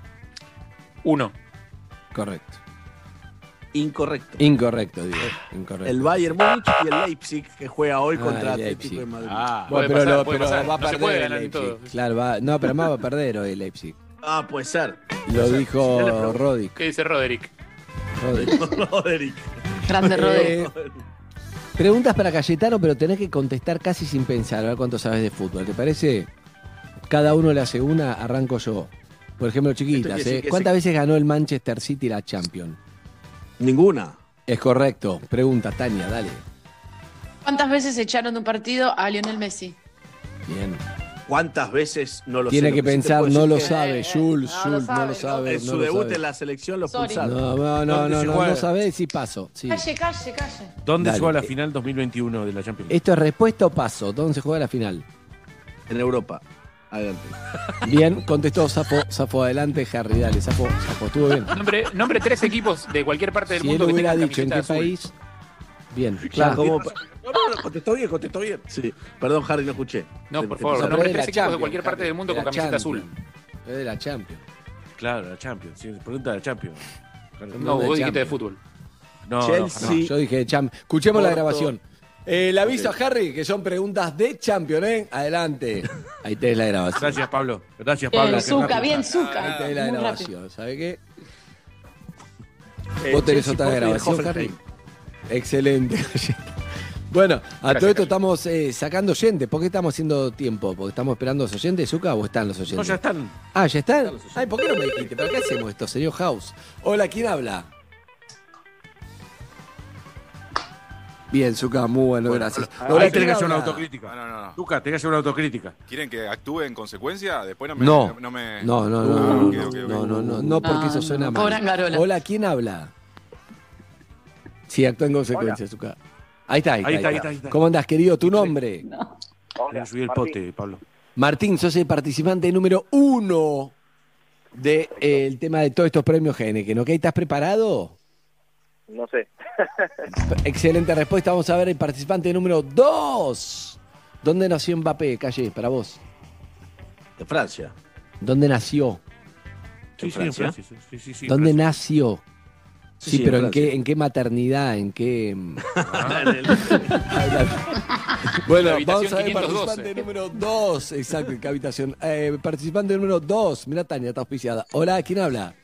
Uno. Correcto. Incorrecto. Incorrecto, digo. Incorrecto. El Bayern Múnich y el Leipzig, que juega hoy Ah, contra el Atlético Leipzig. de Madrid. Ah, Bueno, puede pero, pasar, lo- puede pero pasar. va a No se perder puede el ganar en Leipzig. todo. Claro, va, no, pero más va a perder hoy el Leipzig. Ah, puede ser. Lo Puede ser. dijo Ya le pregunto. Roddick. ¿Qué dice Roderick? Roddick. Roderick. Grande Roderick. Eh, preguntas para Cayetano, pero tenés que contestar casi sin pensar, a ver cuánto sabes de fútbol. ¿Te parece? Cada uno le hace una, arranco yo. Por ejemplo, chiquitas, Esto quiere ¿eh? decir que ¿Cuántas se- veces ganó el Manchester City la Champions? Ninguna. Es correcto. Pregunta, Tania, dale. ¿Cuántas veces echaron de un partido a Lionel Messi? Bien. ¿Cuántas veces no lo Tiene sé? que Lo sí te pensar, puedo no decir lo que sabe. Jules, no lo Jules, no lo sabe, sabe. En no su lo debut sabe. en la selección lo Sorry. expulsaron. No, no, no, ¿Dónde no, se no, juega? no sabés si paso. Sí. Calle, calle, calle. ¿Dónde Dale. se juega la final dos mil veintiuno de la Champions League? ¿Esto es respuesta o paso? ¿Dónde se juega la final? En Europa. Adelante. Bien, contestó Zafo, Zafo adelante, Harry, dale, Zafo, Zafo, estuvo bien. Nombre, nombre tres equipos de cualquier parte del Si mundo él que hubiera tengan dicho en camiseta qué azul. país, bien, Claro, claro. como- No, no, no, contestó bien, contestó bien. Sí. Perdón, Harry, no escuché. No, Te- por te- favor, No, nombre pero es tres la equipos de Champions, cualquier parte Harry, del mundo de con la camiseta azul. Champions. Es de la Champions. Claro, la Champions. Sí, pregunta de la Champions. No, de vos dijiste de Champions. fútbol. No, no, Chelsea. No, yo dije Champions. Escuchemos la Porto. grabación. Eh, le aviso a Harry que son preguntas de Champions, ¿eh? Adelante. Ahí tenés la grabación. Gracias, Pablo. Gracias, Pablo. Bien, Qué Zucca, rápido. bien, Zucca. Ahí tenés la Muy grabación. ¿Sabe qué? Eh, Vos tenés Chelsea, otra Porto y el grabación, Hoffenheim. Harry. Excelente. Bueno, a Gracias, todo esto Cayo. estamos eh, sacando oyentes. ¿Por qué estamos haciendo tiempo? ¿Porque estamos esperando a los oyentes, Zucca, o están los oyentes? No, ya están. Ah, ¿ya están? Ay, ¿por qué no me dijiste? ¿Para qué hacemos esto, señor House? Hola, ¿quién habla? Bien, Zucca, muy bueno, gracias. Ahí tenés ¿quién que hacer una habla? autocrítica. No, no, no. Zucca, tenés que hacer una autocrítica. ¿Quieren que actúe en consecuencia? Después no me... No. No, me... No, no, no, Ah, no, ok, no, ok, ok. no, no, no, no, porque No, eso suena no, mal. pobre Angarola. Hola, ¿quién habla? Sí, actúa en consecuencia, Zucca. Ahí está, ahí, Ahí está, está, ahí está, ahí está. ¿Cómo andás, querido? ¿Tu nombre? Voy a subir el pote, Pablo. Martín, sos el participante número uno del tema de todos estos premios Heineken, ¿ok? ¿Estás preparado? No sé. Excelente respuesta. Vamos a ver el participante número dos. ¿Dónde nació Mbappé, Calle, para vos? En Francia. ¿Dónde nació? Sí, sí, en Francia. Sí, sí, sí, sí, ¿Dónde Francia. nació? Sí, Sí, sí, pero en ¿en Francia. qué, ¿en qué maternidad? ¿En qué...? mm? En el- Bueno, La habitación vamos a ver quinientos doce. participante número dos. Exacto, ¿en qué habitación? Eh, participante número dos. Mira, Tania, está auspiciada. Hola, ¿quién habla?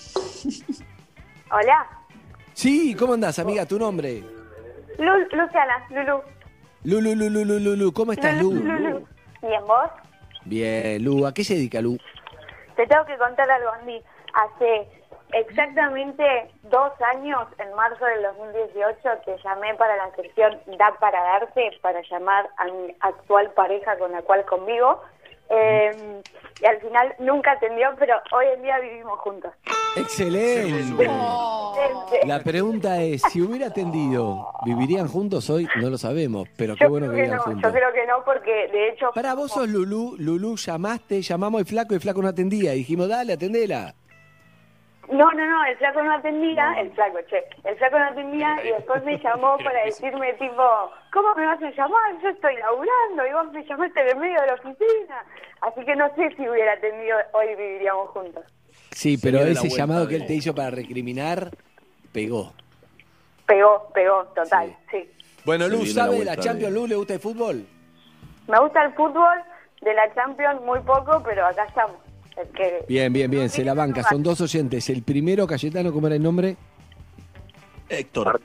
Hola, Sí, ¿cómo andás, amiga? ¿Tu nombre? Lu- Luciana, Lulu. Lulu, Lulu, Lulu, Lulu. ¿Cómo estás, Lu? Lulu. Bien, vos. Bien, Lu. ¿A qué se dedica, Lu? Te tengo que contar algo, Andy. Hace exactamente dos años, en marzo del dos mil dieciocho, te llamé para la sección Da para Darte, para llamar a mi actual pareja con la cual convivo. Eh, y al final nunca atendió, pero hoy en día vivimos juntos. Excelente. La pregunta es, si hubiera atendido, ¿vivirían juntos hoy? No lo sabemos, pero qué Yo bueno que creo que vivan no, juntos. yo creo que no, porque de hecho... Para vos sos Lulú, Lulú llamaste, llamamos al flaco y el flaco no atendía. Y dijimos, dale, atendela. No, no, no, el flaco no atendía, el flaco, che, el flaco no atendía y después me llamó para decirme tipo, ¿cómo me vas a llamar? Yo estoy laburando y vos me llamaste en el medio de la oficina. Así que no sé si hubiera atendido, hoy viviríamos juntos. Sí, pero viene la ese vuelta llamado que de- él te hizo para recriminar, pegó. Pegó, pegó, total, sí. Bueno, Se Lu, viene la ¿sabe de la vuelta Champions, de- Lu? ¿Le gusta el fútbol? Me gusta el fútbol, de la Champions muy poco, pero acá estamos. Es que... Bien, bien, bien, se la banca. Son dos oyentes. El primero, Cayetano, ¿cómo era el nombre? Héctor.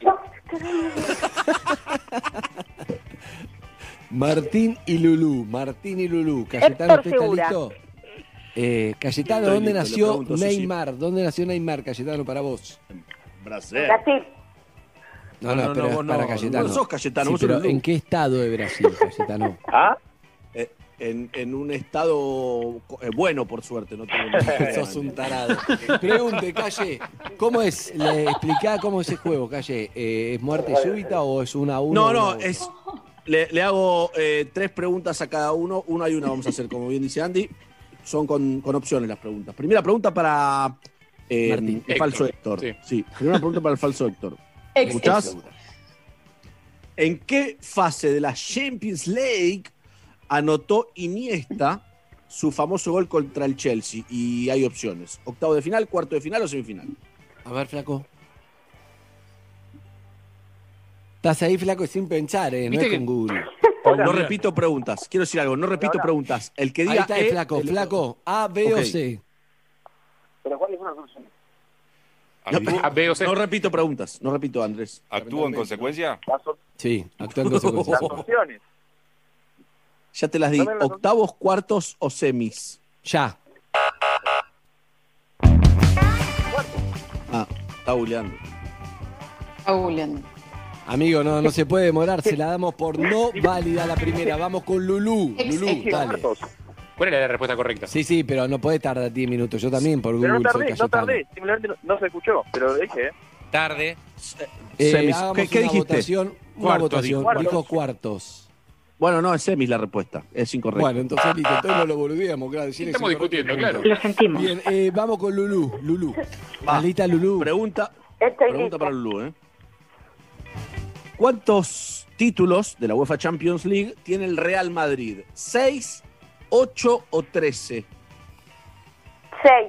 Martín y Lulú. Martín y Lulú. Cayetano, Héctor ¿usted está Segura. listo? Eh, Cayetano, Estoy ¿dónde listo, le nació pregunto, sí, sí. Neymar? ¿Dónde nació Neymar, Cayetano, para vos? Brasil. Brasil. No, no, No, no, pero no, es para vos no, Cayetano. vos sos Cayetano, Sí, vos sos pero Lulú. ¿en qué estado de Brasil, Cayetano? ¿Ah? Eh, en, en un estado eh, bueno, por suerte. No tengo Sos un tarado. Pregunte, Calle, ¿cómo es? Le explicá cómo es el juego, Calle. Eh, ¿Es muerte súbita o es una a uno? No, no, uno? es. Le, le hago eh, tres preguntas a cada uno. Una y una vamos a hacer, como bien dice Andy. Son con, con opciones las preguntas. Primera pregunta para eh, Martín. el falso Héctor. Sí. Sí, primera pregunta para el falso Héctor. Ex- ¿Escuchás? ¿En qué fase de la Champions League anotó Iniesta su famoso gol contra el Chelsea? Y hay opciones. ¿Octavo de final, cuarto de final o semifinal? A ver, flaco. Estás ahí, flaco, sin pensar, ¿eh? No ¿Viste es que- con Google. No repito preguntas. Quiero decir algo, no repito preguntas. El que diga Ahí está el E, flaco, el- flaco. A, B Ok. o C. ¿Pero cuáles son las opciones? No, A, B o C. no repito preguntas, no repito, Andrés. ¿Actúa en consecuencia? Las, op- Sí, actúa en consecuencia. las opciones. Ya te las di. Dame las ¿Octavos, cuartos o semis? Ya. Ah, está buleando. Julián. Amigo, no, no se puede demorar, se la damos por no válida la primera. Vamos con Lulú. Ex- Lulú, ex- dale. ¿Cuál era la respuesta correcta? Sí, sí, pero no podés tardar diez minutos. Yo también por Google Pero no soy tardé, no Cayetano. tardé. Simplemente no, no se escuchó, pero lo dije, ¿eh? Tarde. Eh, Semis. hagamos ¿Qué- qué una dijiste? votación. Una Cuartos, votación. dijo. Dijo cuartos. Bueno, no, es semis la respuesta. Es incorrecto. Bueno, entonces listo, entonces no lo boludeamos, claro. si Estamos es incorrecto, discutiendo, claro. Lo sentimos. Bien, eh, vamos con Lulú. Lulú. Va. ¿Estás Lulú? Pregunta, Estoy pregunta lista. para Lulú, ¿eh? ¿Cuántos títulos de la UEFA Champions League tiene el Real Madrid? ¿Seis, ocho o trece? Seis.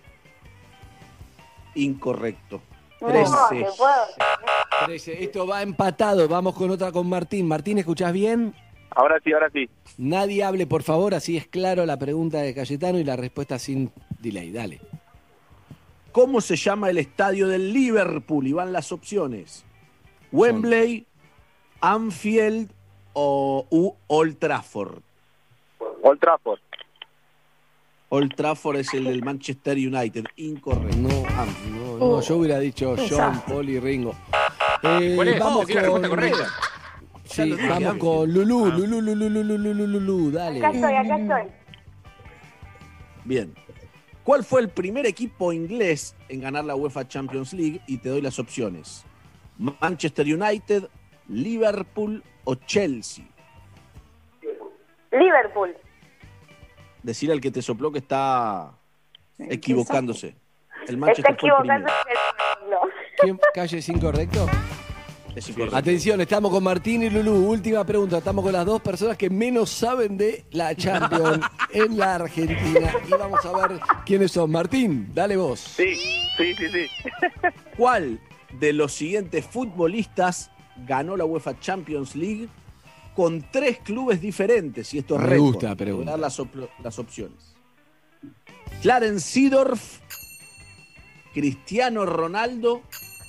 Incorrecto. No, Trece. te puedo. trece. Esto va empatado. Vamos con otra con Martín. Martín, ¿escuchás bien? Ahora sí, ahora sí. Nadie hable, por favor, así es claro la pregunta de Cayetano y la respuesta sin delay. Dale. ¿Cómo se llama el estadio del Liverpool? Y van las opciones. Wembley, Anfield o u Old Trafford. Old Trafford. Old Trafford es el del Manchester United. Incorrecto. No, no, no, yo hubiera dicho John, Paul y Ringo. Eh, ¿Cuál es? Vamos Sí, la respuesta con, correcta. sí, lo dije, vamos Anfield. con Lulú, Lulú, Lulú, Lulú, Lulú, Lulú, dale. Acá estoy, acá estoy. Bien. ¿Cuál fue el primer equipo inglés en ganar la UEFA Champions League? Y te doy las opciones. Manchester United, Liverpool o Chelsea. Liverpool. Decirle al que te sopló que está equivocándose. El Está Manchester fue el primero. equivocándose. ¿Quién? ¿Calle es incorrecto? Es incorrecto. Atención, estamos con Martín y Lulú. Última pregunta. Estamos con las dos personas que menos saben de la Champions en la Argentina. Y vamos a ver quiénes son. Martín, dale vos. Sí, sí, sí, sí. ¿Cuál de los siguientes futbolistas ganó la UEFA Champions League con tres clubes diferentes? Y esto es Me récord. gusta la pregunta. Voy a dar las, op- las opciones. Clarence Seedorf, Cristiano Ronaldo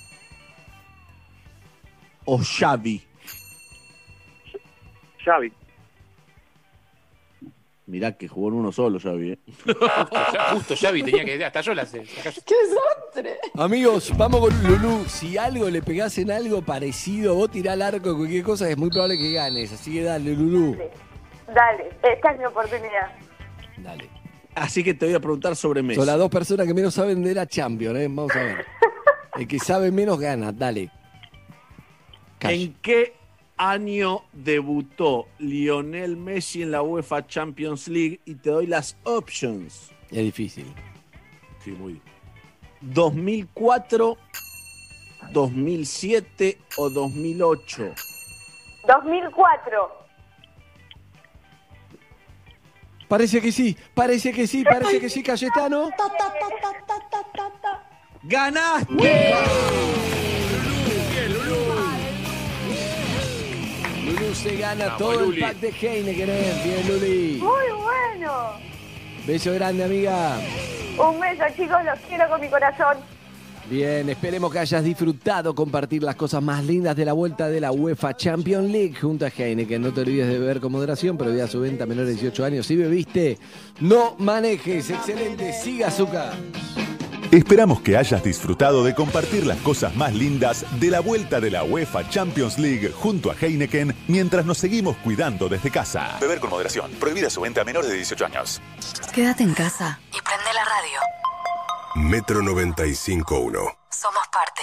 o Xavi. Xavi. Mirá que jugó en uno solo Xavi, ¿eh? Justo Xavi tenía que... Hasta yo la sé. ¡Qué desastre! Amigos, vamos con Lulú. Si algo le pegás en algo parecido, vos tirá al arco de cualquier cosa, es muy probable que ganes. Así que dale, Lulú. Dale, esta es mi oportunidad. Dale. Así que te voy a preguntar sobre Messi. Son las dos personas que menos saben de la Champions, ¿eh? Vamos a ver. El que sabe menos gana, dale. Calle. ¿En qué año debutó Lionel Messi en la UEFA Champions League? Y te doy las options. Es difícil. Sí, muy bien. ¿dos mil cuatro, dos mil siete o dos mil ocho? dos mil cuatro. Parece que sí, parece que sí, parece que sí, Cayetano. ¡Ganaste! Lulú se gana Vamos, todo Luli. el pack de Heineken. ¿eh? Bien, Luli. Muy bueno. Beso grande, amiga. Un beso, chicos, los quiero con mi corazón. Bien, esperemos que hayas disfrutado compartir las cosas más lindas de la vuelta de la UEFA Champions League junto a Heineken. No te olvides de beber con moderación, pero a su venta a menores de dieciocho años. Si bebiste, no manejes. Excelente, siga azúcar. Esperamos que hayas disfrutado de compartir las cosas más lindas de la vuelta de la UEFA Champions League junto a Heineken mientras nos seguimos cuidando desde casa. Beber con moderación. Prohibida su venta a menores de dieciocho años. Quédate en casa y prende la radio. Metro noventa y cinco punto uno. Somos parte.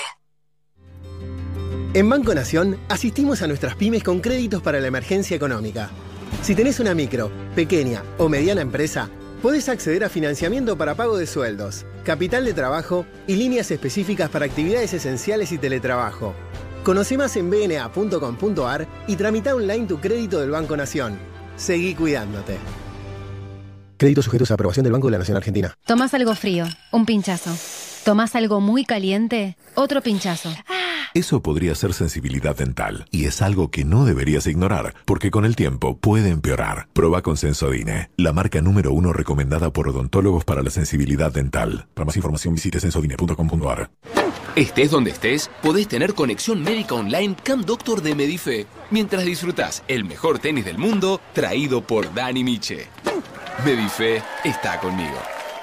En Banco Nación asistimos a nuestras pymes con créditos para la emergencia económica. Si tenés una micro, pequeña o mediana empresa, podés acceder a financiamiento para pago de sueldos, capital de trabajo y líneas específicas para actividades esenciales y teletrabajo. Conoce más en b n a punto com punto a r y tramita online tu crédito del Banco Nación. Seguí cuidándote. Créditos sujetos a aprobación del Banco de la Nación Argentina. Tomás algo frío, un pinchazo. Tomás algo muy caliente, otro pinchazo. Eso podría ser sensibilidad dental y es algo que no deberías ignorar porque con el tiempo puede empeorar. Proba con Sensodine, la marca número uno recomendada por odontólogos para la sensibilidad dental. Para más información visite sensodine punto com punto a r. Estés donde estés, podés tener conexión médica online Cam Doctor de Medife mientras disfrutás el mejor tenis del mundo traído por Dani Miche. Medife está conmigo.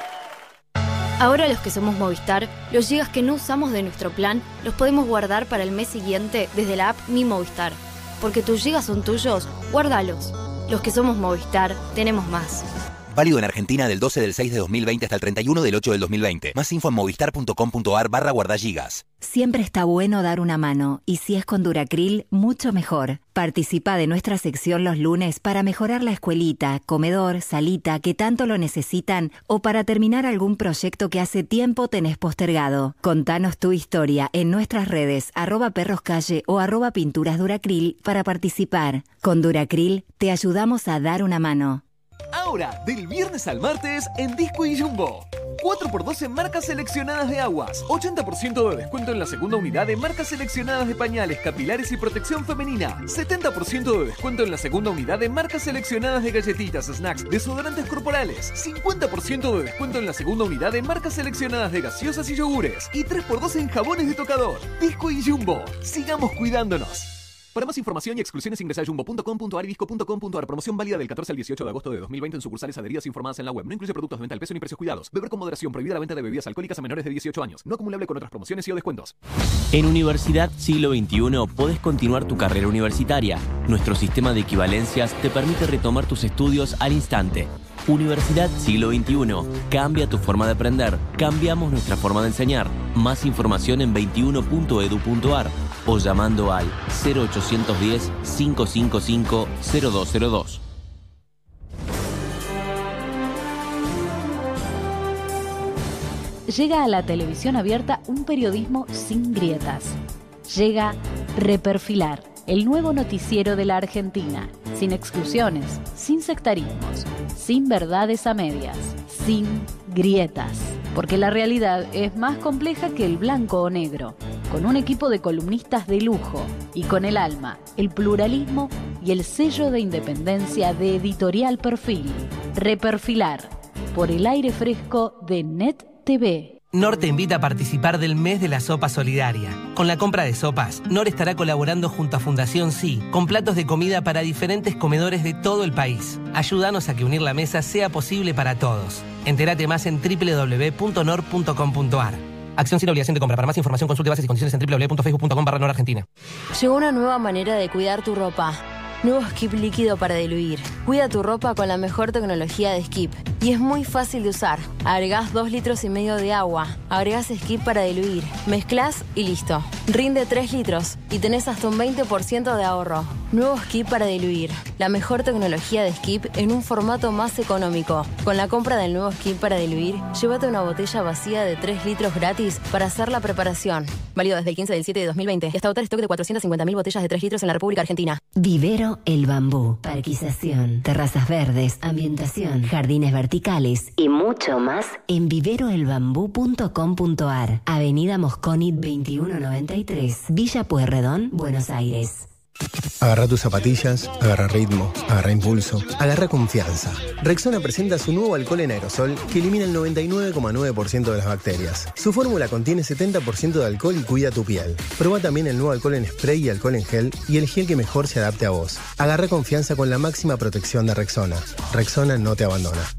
Ahora los que somos Movistar, los gigas que no usamos de nuestro plan los podemos guardar para el mes siguiente desde la app Mi Movistar. Porque tus gigas son tuyos, guárdalos. Los que somos Movistar, tenemos más. Válido en Argentina del doce del seis de dos mil veinte hasta el treinta y uno del ocho del dos mil veinte. Más info en movistar punto com punto a r barra guardagigas. Siempre está bueno dar una mano, y si es con Duracril, mucho mejor. Participa de nuestra sección los lunes para mejorar la escuelita, comedor, salita que tanto lo necesitan o para terminar algún proyecto que hace tiempo tenés postergado. Contanos tu historia en nuestras redes arroba perroscalle o arroba pinturas Duracril para participar. Con Duracril te ayudamos a dar una mano. Ahora, del viernes al martes, en Disco y Jumbo. cuatro por dos en marcas seleccionadas de aguas. ochenta por ciento de descuento en la segunda unidad de marcas seleccionadas de pañales, capilares y protección femenina. setenta por ciento de descuento en la segunda unidad de marcas seleccionadas de galletitas, snacks, desodorantes corporales. cincuenta por ciento de descuento en la segunda unidad de marcas seleccionadas de gaseosas y yogures. Y tres por dos en jabones de tocador. Disco y Jumbo. Sigamos cuidándonos. Para más información y exclusiones ingresa a jumbo punto com punto a r y disco punto com punto a r. Promoción válida del catorce al dieciocho de agosto de dos mil veinte en sucursales adheridas informadas en la web. No incluye productos de venta al peso ni precios cuidados. Beber con moderación. Prohibida la venta de bebidas alcohólicas a menores de dieciocho años. No acumulable con otras promociones y o descuentos. En Universidad Siglo veintiuno podés continuar tu carrera universitaria. Nuestro sistema de equivalencias te permite retomar tus estudios al instante. Universidad Siglo veintiuno. Cambia tu forma de aprender. Cambiamos nuestra forma de enseñar. Más información en veintiuno punto edu punto a r o llamando al cero ochocientos diez, cinco cinco cinco, cero dos cero dos. Llega a la televisión abierta un periodismo sin grietas. Llega Reperfilar, el nuevo noticiero de la Argentina. Sin exclusiones, sin sectarismos, sin verdades a medias, sin grietas. Porque la realidad es más compleja que el blanco o negro. Con un equipo de columnistas de lujo y con el alma, el pluralismo y el sello de independencia de Editorial Perfil. Reperfilar, por el aire fresco de Net T V. Nor te invita a participar del mes de la sopa solidaria. Con la compra de sopas, Nor estará colaborando junto a Fundación Sí, con platos de comida para diferentes comedores de todo el país. Ayúdanos a que unir la mesa sea posible para todos. Entérate más en doble u doble u doble u punto nor punto com punto a r. Acción sin obligación de compra. Para más información consulte bases y condiciones en doble u doble u doble u punto facebook punto com barra nor argentina. Llegó una nueva manera de cuidar tu ropa. Nuevo Skip líquido para diluir. Cuida tu ropa con la mejor tecnología de Skip. Y es muy fácil de usar. Agregás dos litros y medio de agua. Agregás Skip para diluir. Mezclás y listo. Rinde tres litros y tenés hasta un veinte por ciento de ahorro. Nuevo Skip para diluir. La mejor tecnología de Skip en un formato más económico. Con la compra del nuevo Skip para diluir, llévate una botella vacía de tres litros gratis para hacer la preparación. Válido desde el quince del siete de dos mil veinte. Y hasta agotar stock de cuatrocientas cincuenta mil botellas de tres litros en la República Argentina. Vivero El Bambú. Parquización, terrazas verdes, ambientación, jardines verticales y mucho más en vivero el bambú punto com punto a r. Avenida Mosconi veintiuno noventa y tres, Villa Pueyrredón, Buenos Aires. Agarra tus zapatillas, agarra ritmo, agarra impulso, agarra confianza. Rexona presenta su nuevo alcohol en aerosol que elimina el noventa y nueve coma nueve por ciento de las bacterias. Su fórmula contiene setenta por ciento de alcohol y cuida tu piel. Proba también el nuevo alcohol en spray y alcohol en gel y el gel que mejor se adapte a vos. Agarra confianza con la máxima protección de Rexona. Rexona no te abandona.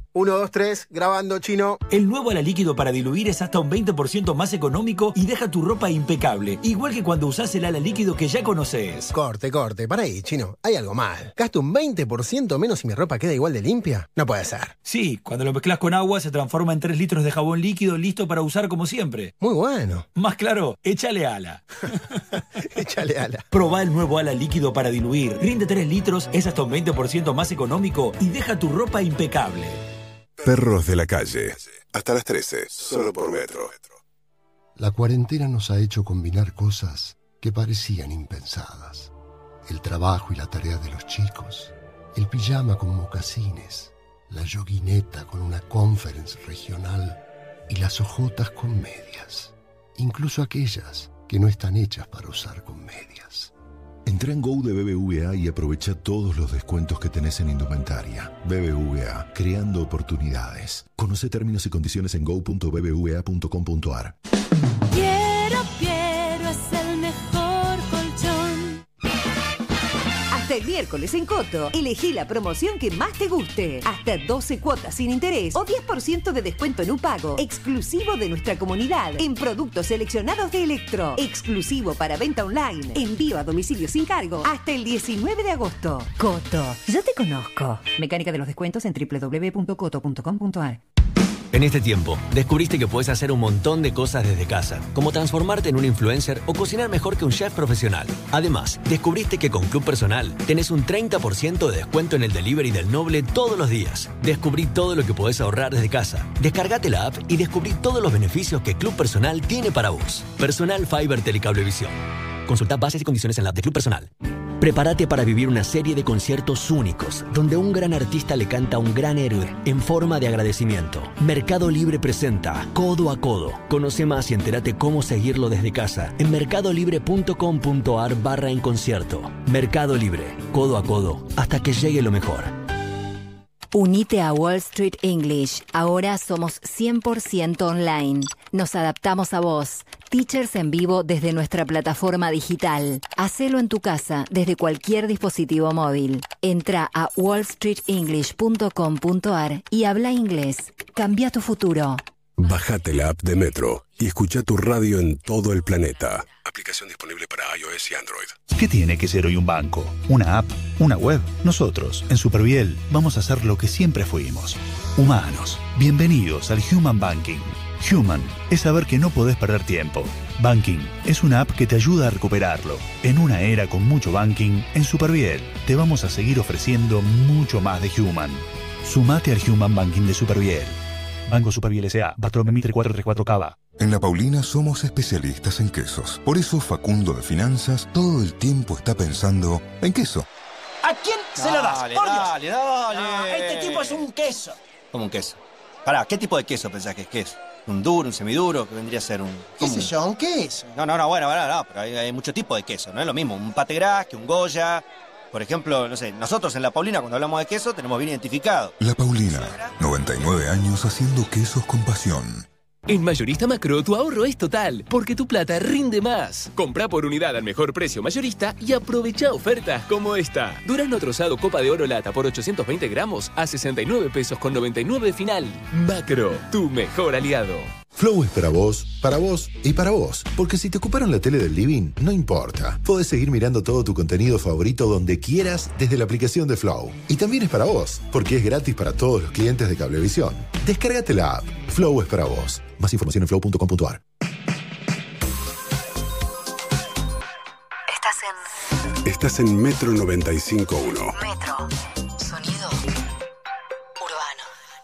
Uno, dos, tres, grabando, Chino. El nuevo Ala Líquido para diluir es hasta un veinte por ciento más económico y deja tu ropa impecable. Igual que cuando usás el Ala Líquido que ya conoces. Corte, corte, para ahí, Chino. Hay algo mal. ¿Gasto un veinte por ciento menos y mi ropa queda igual de limpia? No puede ser. Sí, cuando lo mezclas con agua se transforma en tres litros de jabón líquido listo para usar como siempre. Muy bueno. Más claro, échale Ala. Échale Ala. Probá el nuevo Ala Líquido para diluir. Rinde tres litros, es hasta un veinte por ciento más económico y deja tu ropa impecable. Perros de la calle. Hasta las trece, solo por Metro. La cuarentena nos ha hecho combinar cosas que parecían impensadas. El trabajo y la tarea de los chicos, el pijama con mocasines, la yoguineta con una conference regional y las ojotas con medias. Incluso aquellas que no están hechas para usar con medias. Entra en Go de B B V A y aprovecha todos los descuentos que tenés en indumentaria. B B V A, creando oportunidades. Conoce términos y condiciones en go punto b b v a punto com punto a r. Quiero, quiero, es el mejor colchón. Hasta el miércoles en Coto, elegí la promoción que más te guste. Hasta doce cuotas sin interés o diez por ciento de descuento en un pago. Exclusivo de nuestra comunidad. En productos seleccionados de Electro. Exclusivo para venta online. Envío a domicilio sin cargo. Hasta el diecinueve de agosto. Coto, yo te conozco. Mecánica de los descuentos en doble u doble u doble u punto coto punto com punto a r. En este tiempo, descubriste que puedes hacer un montón de cosas desde casa, como transformarte en un influencer o cocinar mejor que un chef profesional. Además, descubriste que con Club Personal tenés un treinta por ciento de descuento en el delivery del Noble todos los días. Descubrí todo lo que podés ahorrar desde casa. Descargate la app y descubrí todos los beneficios que Club Personal tiene para vos. Personal Fiber Telecablevisión. Consulta bases y condiciones en la app de Club Personal. Prepárate para vivir una serie de conciertos únicos, donde un gran artista le canta a un gran héroe en forma de agradecimiento. Mercado Libre presenta Codo a Codo. Conoce más y entérate cómo seguirlo desde casa en mercadolibre punto com punto a r barra en concierto. Mercado Libre, codo a codo, hasta que llegue lo mejor. Unite a Wall Street English. Ahora somos cien por ciento online. Nos adaptamos a vos. Teachers en vivo desde nuestra plataforma digital. Hacelo en tu casa desde cualquier dispositivo móvil. Entra a wall street english punto com punto a r y habla inglés. Cambia tu futuro. Bájate la app de Metro y escucha tu radio en todo el planeta. Aplicación disponible para iOS y Android. ¿Qué tiene que ser hoy un banco? ¿Una app? ¿Una web? Nosotros, en Superviel, vamos a hacer lo que siempre fuimos. Humanos. Bienvenidos al Human Banking. Human es saber que no podés perder tiempo. Banking es una app que te ayuda a recuperarlo. En una era con mucho banking, en Superviel te vamos a seguir ofreciendo mucho más de Human. Sumate al Human Banking de Superviel. Banco Superviel S A, Bartolomé Mitre cuatro tres cuatro Cava. En La Paulina somos especialistas en quesos. Por eso Facundo de Finanzas todo el tiempo está pensando en queso. ¿A quién se lo das? Dale, Por Dios. dale, dale. No, este tipo es un queso. ¿Cómo un queso? Pará, ¿qué tipo de queso pensás que es queso? ¿Un duro, un semiduro? ¿Qué vendría a ser un...? ¿Qué sé yo? ¿Un queso? No, no, no, bueno, bueno, no, pero hay, hay mucho tipo de queso, no es lo mismo. Un pate gras que un Goya. Por ejemplo, no sé, nosotros en La Paulina cuando hablamos de queso tenemos bien identificado. La Paulina, noventa y nueve años haciendo quesos con pasión. En Mayorista Macro tu ahorro es total, porque tu plata rinde más. Comprá por unidad al mejor precio mayorista y aprovecha ofertas como esta. Durazno trozado Copa de Oro lata por ochocientos veinte gramos a sesenta y nueve pesos con noventa y nueve final. Macro, tu mejor aliado. Flow es para vos, para vos y para vos. Porque si te ocuparon la tele del living, no importa. Podés seguir mirando todo tu contenido favorito donde quieras desde la aplicación de Flow. Y también es para vos, porque es gratis para todos los clientes de Cablevisión. Descárgate la app. Flow es para vos. Más información en flow punto com punto a r. Estás en... Estás en Metro noventa y cinco punto uno. Metro. Sonido urbano.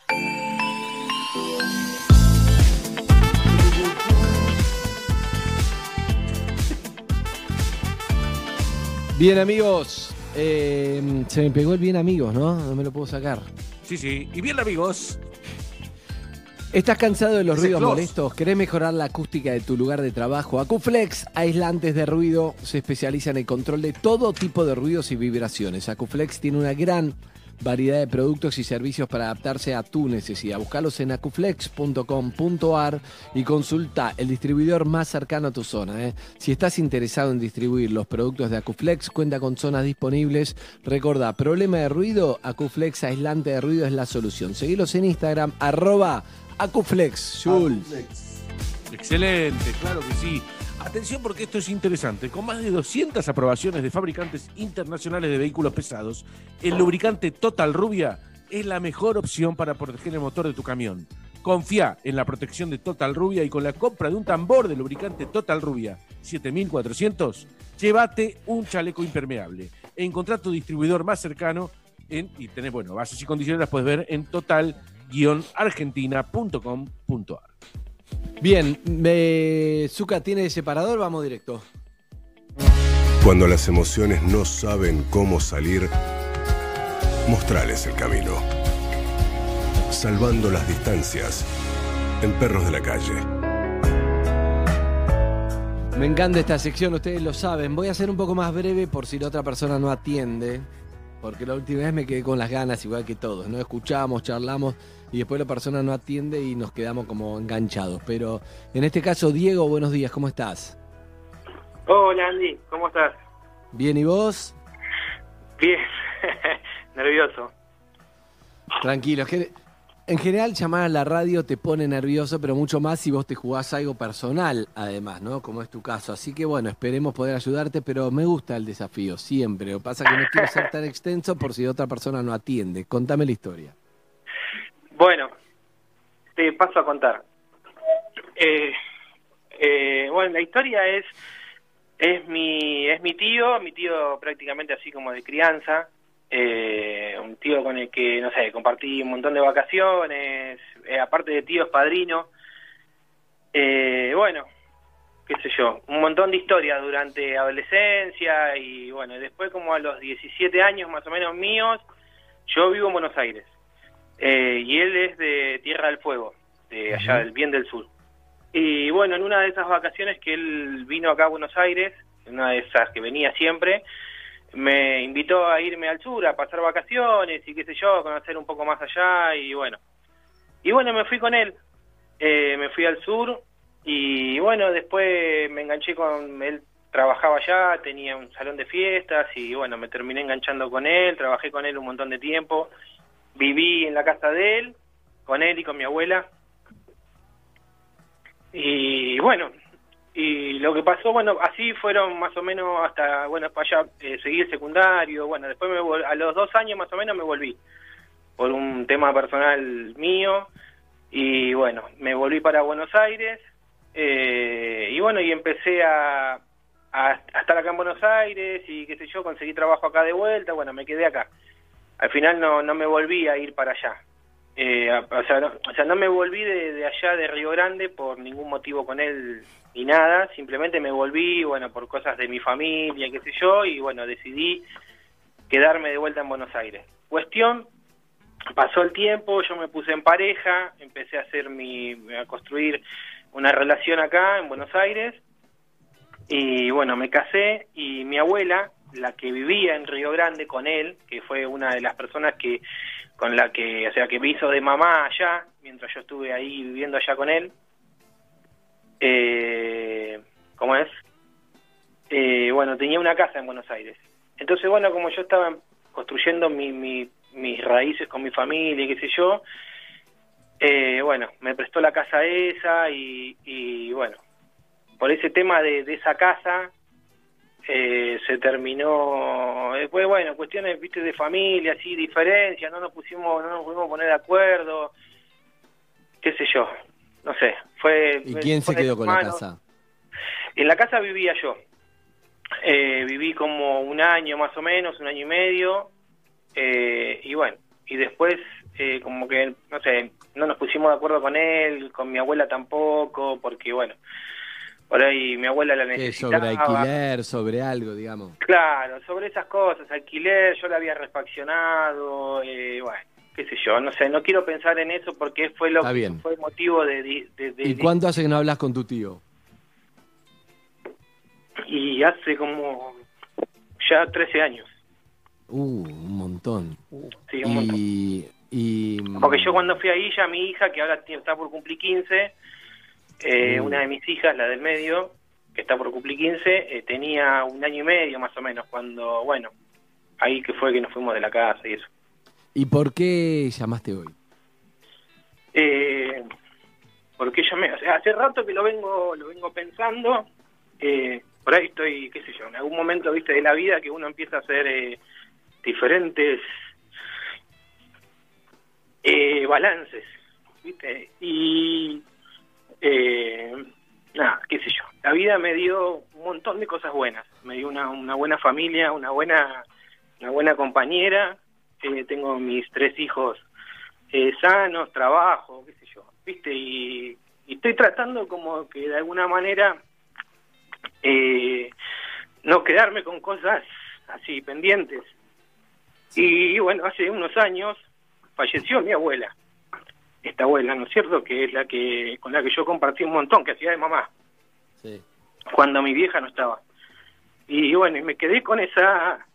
Bien, amigos. Eh, se me pegó el bien, amigos, ¿no? No me lo puedo sacar. Sí, sí. Y bien, amigos. ¿Estás cansado de los Ese ruidos close. molestos? ¿Querés mejorar la acústica de tu lugar de trabajo? Acuflex, aislantes de ruido, se especializa en el control de todo tipo de ruidos y vibraciones. Acuflex tiene una gran variedad de productos y servicios para adaptarse a tu necesidad. Buscalos en acuflex punto com punto ar y consulta el distribuidor más cercano a tu zona. ¿eh? Si estás interesado en distribuir los productos de Acuflex, cuenta con zonas disponibles. Recordá, problema de ruido, Acuflex aislante de ruido es la solución. Seguilos en Instagram, arroba Acuflex. Jules. Excelente, claro que sí. Atención porque esto es interesante. Con más de doscientas aprobaciones de fabricantes internacionales de vehículos pesados, el lubricante Total Rubia es la mejor opción para proteger el motor de tu camión. Confía en la protección de Total Rubia y con la compra de un tambor de lubricante Total Rubia siete mil cuatrocientos, llévate un chaleco impermeable. Encontrá tu distribuidor más cercano en, y tenés, bueno, bases y condiciones las puedes ver en total guion argentina punto com punto ar. Bien, me... Zucca tiene separador, vamos directo. Cuando las emociones no saben cómo salir, mostrales el camino. Salvando las distancias en Perros de la Calle. Me encanta esta sección, ustedes lo saben. Voy a ser un poco más breve por si la otra persona no atiende, porque la última vez me quedé con las ganas igual que todos, ¿no? Escuchamos, charlamos y después la persona no atiende y nos quedamos como enganchados. Pero en este caso, Diego, buenos días, ¿cómo estás? Hola Andy, ¿cómo estás? Bien, ¿y vos? Bien, nervioso. Tranquilo, es que en general llamar a la radio te pone nervioso, pero mucho más si vos te jugás algo personal, además, ¿no? Como es tu caso. Así que bueno, esperemos poder ayudarte, pero me gusta el desafío, siempre. Lo que pasa es que no quiero ser tan extenso por si otra persona no atiende. Contame la historia. Bueno, te paso a contar. Eh, eh, bueno, la historia es es mi es mi tío, mi tío prácticamente así como de crianza. Eh, un tío con el que, no sé, compartí un montón de vacaciones, eh, aparte de tío es padrino. Eh, bueno, qué sé yo, un montón de historias durante adolescencia y bueno, después como a los diecisiete años más o menos míos, yo vivo en Buenos Aires. Eh, y él es de Tierra del Fuego, de allá del bien del sur. Y bueno, en una de esas vacaciones que él vino acá a Buenos Aires, en una de esas que venía siempre, me invitó a irme al sur a pasar vacaciones y qué sé yo, a conocer un poco más allá y bueno. Y bueno, me fui con él, eh, me fui al sur y bueno, después me enganché con él, trabajaba allá, tenía un salón de fiestas y bueno, me terminé enganchando con él, trabajé con él un montón de tiempo, viví en la casa de él, con él y con mi abuela. Y bueno, y lo que pasó, bueno, así fueron más o menos hasta, bueno, para allá eh, seguí el secundario, bueno, después me vol- a los dos años más o menos me volví, por un tema personal mío, y bueno, me volví para Buenos Aires, eh, y bueno, y empecé a, a, a estar acá en Buenos Aires, y qué sé yo, conseguí trabajo acá de vuelta, bueno, me quedé acá. Al final no, no me volví a ir para allá. Eh, o, sea, no, o sea, no me volví de, de allá de Río Grande por ningún motivo con él ni nada, simplemente me volví, bueno, por cosas de mi familia, qué sé yo, y bueno, decidí quedarme de vuelta en Buenos Aires. Cuestión, pasó el tiempo, yo me puse en pareja, empecé a hacer mi, a construir una relación acá en Buenos Aires, y bueno, me casé, y mi abuela, la que vivía en Río Grande con él, que fue una de las personas que con la que, o sea, que me hizo de mamá allá, mientras yo estuve ahí viviendo allá con él, eh, ¿cómo es? Eh, bueno, tenía una casa en Buenos Aires. Entonces, bueno, como yo estaba construyendo mi, mi, mis raíces con mi familia, qué sé yo, eh, bueno, me prestó la casa esa y, y bueno, por ese tema de, de esa casa, Eh, se terminó, después bueno, cuestiones, viste, de familia, así, diferencias, no nos pusimos, no nos pudimos poner de acuerdo, qué sé yo, no sé, fue... ¿Y quién se quedó con la casa? En la casa vivía yo, eh, viví como un año más o menos, un año y medio, eh, y bueno, y después eh, como que, no sé, no nos pusimos de acuerdo con él, con mi abuela tampoco, porque bueno, por ahí mi abuela la necesitaba. Sobre alquiler, sobre algo, digamos. Claro, sobre esas cosas, alquiler, yo la había refaccionado, eh, bueno, qué sé yo, no sé, no quiero pensar en eso porque fue lo Está que bien. fue el motivo de... de, de, de ¿Y cuánto hace que no hablas con tu tío? Y hace como ya trece años. Uh, un montón. Sí, un y, montón. y Porque yo cuando fui ahí, ya mi hija, que ahora tiene- está por cumplir quince, eh, Mm. una de mis hijas, la del medio, que está por cumplir quince, eh, tenía un año y medio más o menos, cuando, bueno, ahí que fue que nos fuimos de la casa y eso. ¿Y por qué llamaste hoy? Eh, porque yo me, o sea, hace rato que lo vengo, lo vengo pensando, eh, por ahí estoy, qué sé yo, en algún momento, viste, de la vida que uno empieza a hacer eh, diferentes eh, balances, viste, y eh, nada, qué sé yo, la vida me dio un montón de cosas buenas, me dio una, una buena familia, una buena, una buena compañera, eh, tengo mis tres hijos eh, sanos, trabajo, qué sé yo, viste, y, y estoy tratando como que de alguna manera eh, no quedarme con cosas así pendientes. Y bueno, hace unos años falleció mi abuela, esta abuela, ¿no es cierto?, que es la que con la que yo compartí un montón, que hacía de mamá, Sí. cuando mi vieja no estaba. Y bueno, y me quedé con esa...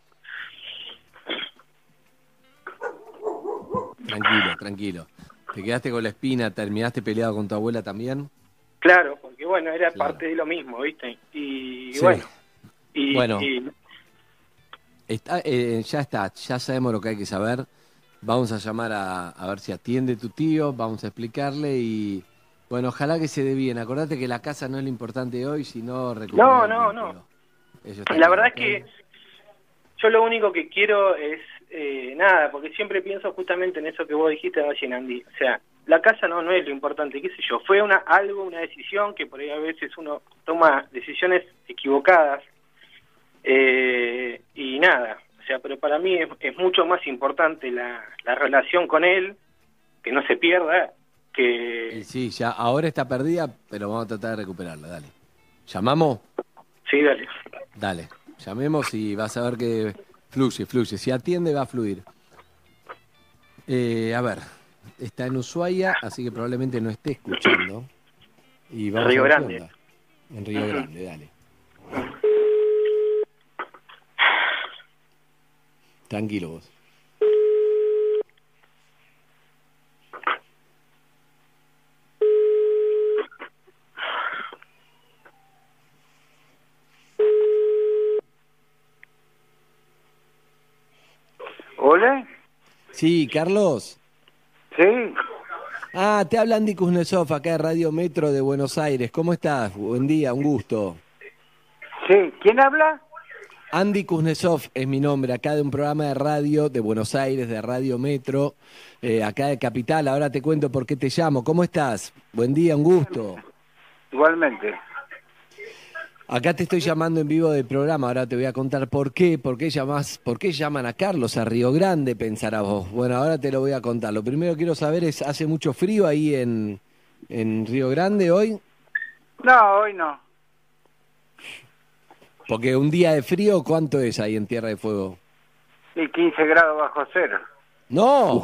Tranquilo, tranquilo. ¿Te quedaste con la espina? ¿Terminaste peleado con tu abuela también? Claro, porque bueno, era Claro. parte de lo mismo, ¿viste? Y Sí. bueno, y, Bueno. y- Está, eh, ya está, ya sabemos lo que hay que saber. Vamos a llamar a, a ver si atiende tu tío, vamos a explicarle y bueno, ojalá que se dé bien. Acordate que la casa no es lo importante hoy, sino recuperar no, el no, vínculo. no. Eso está La claro, verdad es ¿ok? que yo lo único que quiero es eh, nada, porque siempre pienso justamente en eso que vos dijiste recién, Andy. O sea, la casa no no es lo importante, qué sé yo. Fue una algo, una decisión que por ahí a veces uno toma decisiones equivocadas eh, y nada. O sea, pero para mí es, es mucho más importante la, la relación con él, que no se pierda, que... Y sí, ya ahora está perdida, pero vamos a tratar de recuperarla, dale. ¿Llamamos? Sí, dale. Dale, llamemos y vas a ver que fluye, fluye. Si atiende va a fluir. Eh, a ver, está en Ushuaia, así que probablemente no esté escuchando. Y vamos Río a ver qué Grande. onda. En Río Grande, dale. Tranquilo vos. ¿Hola? Sí, Carlos. Sí. Ah, te habla Andy Kuznetsov, acá de Radio Metro de Buenos Aires. ¿Cómo estás? Buen día, un gusto. Sí, ¿quién habla? Andy Kuznetsov es mi nombre, acá de un programa de radio de Buenos Aires, de Radio Metro, eh, acá de Capital. Ahora te cuento por qué te llamo. ¿Cómo estás? Buen día, un gusto. Igualmente. Acá te estoy llamando en vivo del programa, ahora te voy a contar por qué, por qué llamás, por qué llaman a Carlos a Río Grande, pensarás vos. Bueno, ahora te lo voy a contar. Lo primero que quiero saber es, ¿hace mucho frío ahí en, en Río Grande hoy? No, hoy no. Porque un día de frío, ¿cuánto es ahí en Tierra de Fuego? Y quince grados bajo cero. ¡No!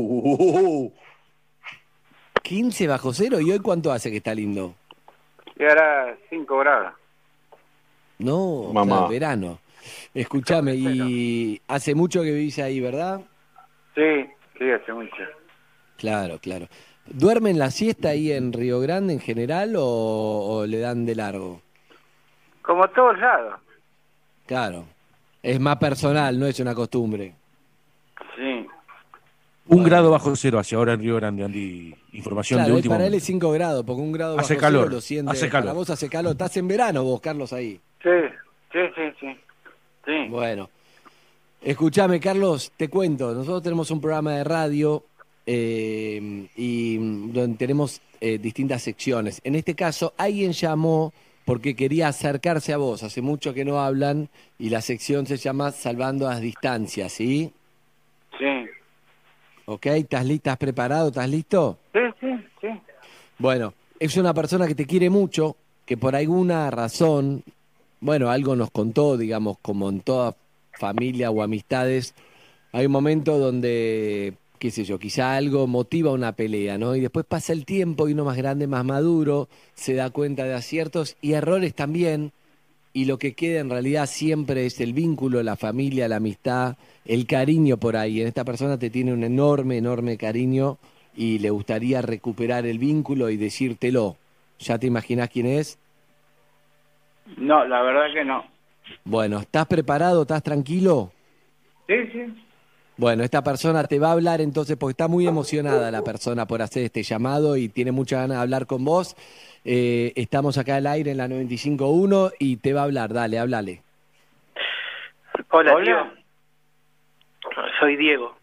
quince bajo cero, ¿y hoy cuánto hace que está lindo? Y ahora cinco grados. No, Mamá. claro, verano. Escúchame, y hace mucho que vivís ahí, ¿verdad? Sí, sí, hace mucho. Claro, claro. ¿Duermen la siesta ahí en Río Grande en general o, o le dan de largo? Como todos lados. Claro. Es más personal, no es una costumbre. Sí. Un grado bajo cero hacia ahora en Río Grande, Andy. Información Claro, de él- último para él momento. es cinco grados, porque un grado Hace bajo calor, cero lo siente. hace calor. Para vos hace calor. Estás en verano vos, Carlos, ahí. Sí, sí, sí, sí. Sí. Bueno. Escúchame, Carlos, te cuento. Nosotros tenemos un programa de radio eh, y mm, donde tenemos eh, distintas secciones. En este caso, alguien llamó porque quería acercarse a vos. Hace mucho que no hablan y la sección se llama Salvando las Distancias, ¿sí? Sí. ¿Ok? ¿Estás li- ¿Estás preparado? ¿Estás listo? Sí, sí, sí. Bueno, es una persona que te quiere mucho, que por alguna razón, bueno, algo nos contó, digamos, como en toda familia o amistades, hay un momento donde, qué sé yo, quizá algo motiva una pelea, ¿no? Y después pasa el tiempo y uno más grande, más maduro, se da cuenta de aciertos y errores también, y lo que queda en realidad siempre es el vínculo, la familia, la amistad, el cariño por ahí. En esta persona te tiene un enorme, enorme cariño y le gustaría recuperar el vínculo y decírtelo. ¿Ya te imaginás quién es? No, la verdad que no. Bueno, ¿estás preparado? ¿Estás tranquilo? Sí, sí. Bueno, esta persona te va a hablar entonces, porque está muy emocionada la persona por hacer este llamado y tiene muchas ganas de hablar con vos. Eh, estamos acá al aire en la noventa y cinco punto uno y te va a hablar. Dale, háblale. Hola, Hola. tío. Soy Diego.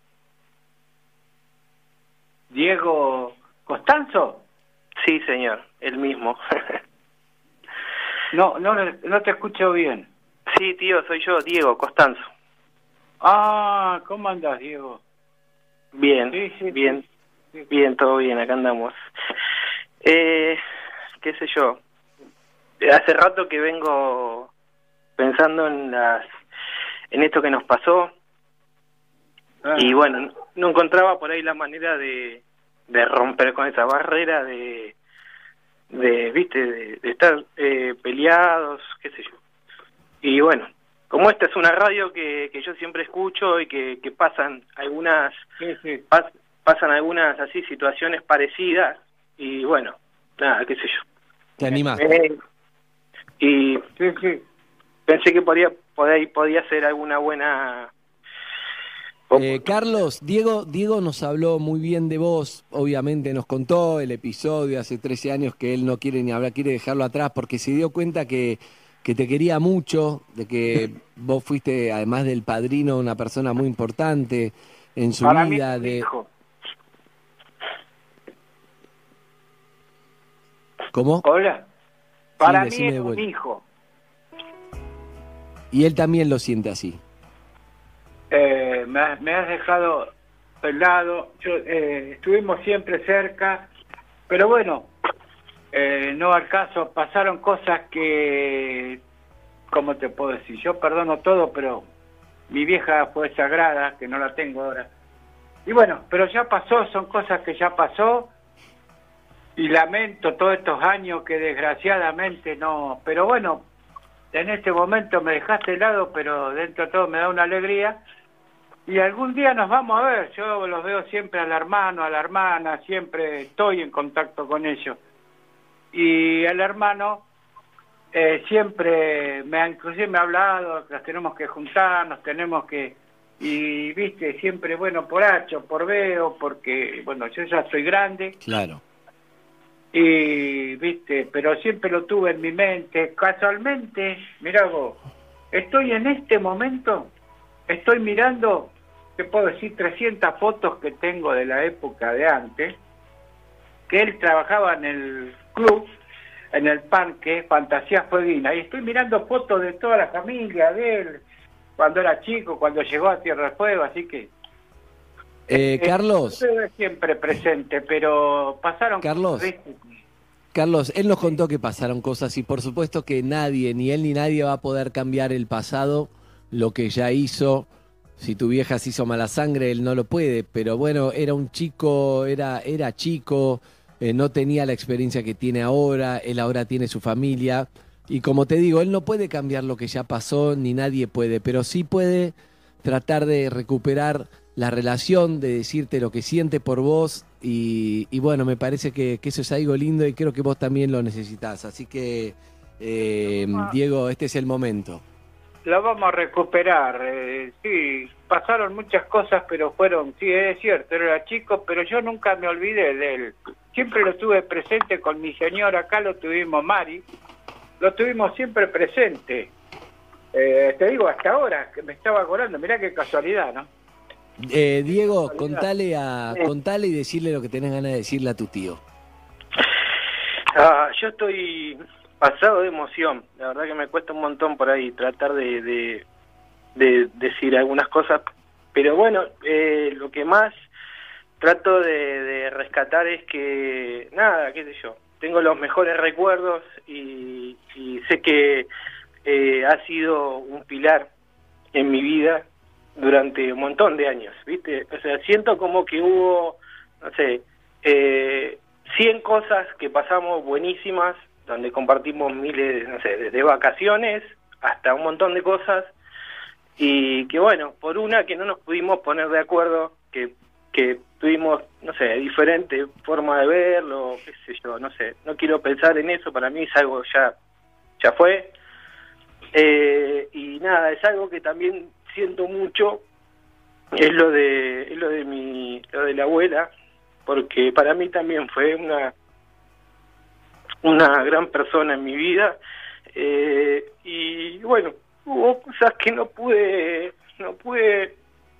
Diego Costanzo. Sí, señor, el mismo. No, no, no te escucho bien. Sí, tío, soy yo, Diego Costanzo. Ah, ¿cómo andas, Diego? Bien, Sí, sí, bien, sí. bien, todo bien, acá andamos. Eh, qué sé yo, hace rato que vengo pensando en las, en esto que nos pasó, Ah. y bueno, no encontraba por ahí la manera de, de romper con esa barrera de, de viste, de, de estar eh, peleados, qué sé yo. Y bueno, como esta es una radio que, que yo siempre escucho y que, que pasan algunas Sí, sí. pas, pasan algunas así situaciones parecidas, y bueno, nada, qué sé yo. ¿Te animás? Eh, y Sí, sí. pensé que podía, podía, podía ser alguna buena... Eh, Carlos, Diego, Diego nos habló muy bien de vos, obviamente nos contó el episodio hace trece años que él no quiere ni hablar, quiere dejarlo atrás porque se dio cuenta que, que te quería mucho, de que vos fuiste, además del padrino, una persona muy importante en su Para mí vida. es un de hijo. ¿Cómo? Hola. Para mí decime es de un vuelta. hijo. Y él también lo siente así. Eh, me, has, me has dejado pelado. Yo, eh, estuvimos siempre cerca, pero bueno, eh, no al caso. Pasaron cosas que, ¿cómo te puedo decir? Yo perdono todo, pero mi vieja fue sagrada, que no la tengo ahora. Y bueno, pero ya pasó, son cosas que ya pasó. Y lamento todos estos años que desgraciadamente no... Pero bueno, en este momento me dejaste helado, pero dentro de todo me da una alegría. Y algún día nos vamos a ver. Yo los veo siempre al hermano, a la hermana, siempre estoy en contacto con ellos. Y el hermano eh, siempre, me ha, inclusive me ha hablado, nos tenemos que juntar, nos tenemos que... Y viste, siempre, bueno, por H o por B o porque, bueno, yo ya estoy grande. Claro. Y, viste, pero siempre lo tuve en mi mente. Casualmente, mirá vos, estoy en este momento, estoy mirando, te puedo decir, trescientas fotos que tengo de la época de antes, que él trabajaba en el club, en el parque Fantasía Fueguina, y estoy mirando fotos de toda la familia de él, cuando era chico, cuando llegó a Tierra del Fuego, así que... Eh, Carlos. Estuve siempre presente, pero pasaron... Carlos. ¿viste? Carlos, él nos contó que pasaron cosas y por supuesto que nadie, ni él ni nadie va a poder cambiar el pasado, lo que ya hizo. Si tu vieja se hizo mala sangre, él no lo puede, pero bueno, era un chico, era, era chico, eh, no tenía la experiencia que tiene ahora, él ahora tiene su familia. Y como te digo, él no puede cambiar lo que ya pasó, ni nadie puede, pero sí puede tratar de recuperar la relación, de decirte lo que siente por vos y, y bueno, me parece que, que eso es algo lindo y creo que vos también lo necesitas. Así que, eh, Diego, este es el momento. Lo vamos a recuperar, eh, sí, pasaron muchas cosas, pero fueron, sí, es cierto, era chico, pero yo nunca me olvidé de él. Siempre lo tuve presente con mi señora, acá lo tuvimos Mari, lo tuvimos siempre presente. Eh, te digo, hasta ahora, que me estaba acordando, mirá qué casualidad, ¿no? Eh, Diego, contale, a, contale y decirle lo que tenés ganas de decirle a tu tío. Ah, yo estoy pasado de emoción, la verdad que me cuesta un montón por ahí tratar de, de, de decir algunas cosas, pero bueno, eh, lo que más trato de, de rescatar es que, nada, qué sé yo, tengo los mejores recuerdos y, y sé que eh, ha sido un pilar en mi vida durante un montón de años, ¿viste? O sea, siento como que hubo, no sé, eh, cien cosas que pasamos buenísimas, donde compartimos miles, no sé, desde vacaciones hasta un montón de cosas, y que bueno, por una que no nos pudimos poner de acuerdo, que, que tuvimos, no sé, diferente forma de verlo, qué sé yo, no sé, no quiero pensar en eso, para mí es algo ya, ya fue, eh, y nada, es algo que también siento mucho, es lo de, es lo de mi, lo de la abuela, porque para mí también fue una, una gran persona en mi vida, eh, y bueno, hubo cosas que no pude, no pude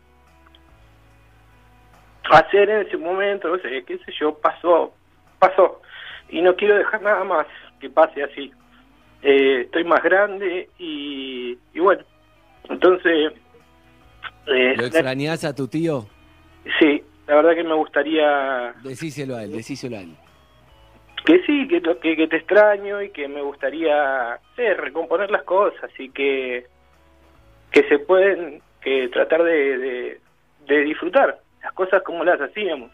hacer en ese momento, no sé, qué sé yo, pasó, pasó, y no quiero dejar nada más que pase así. Eh, estoy más grande y, y bueno, entonces... Eh, ¿Lo extrañás a tu tío? Sí, la verdad que me gustaría... Decíselo a él, decíselo a él. Que sí, que, que, que te extraño y que me gustaría, sí, recomponer las cosas y que, que se pueden, que tratar de, de, de disfrutar las cosas como las hacíamos.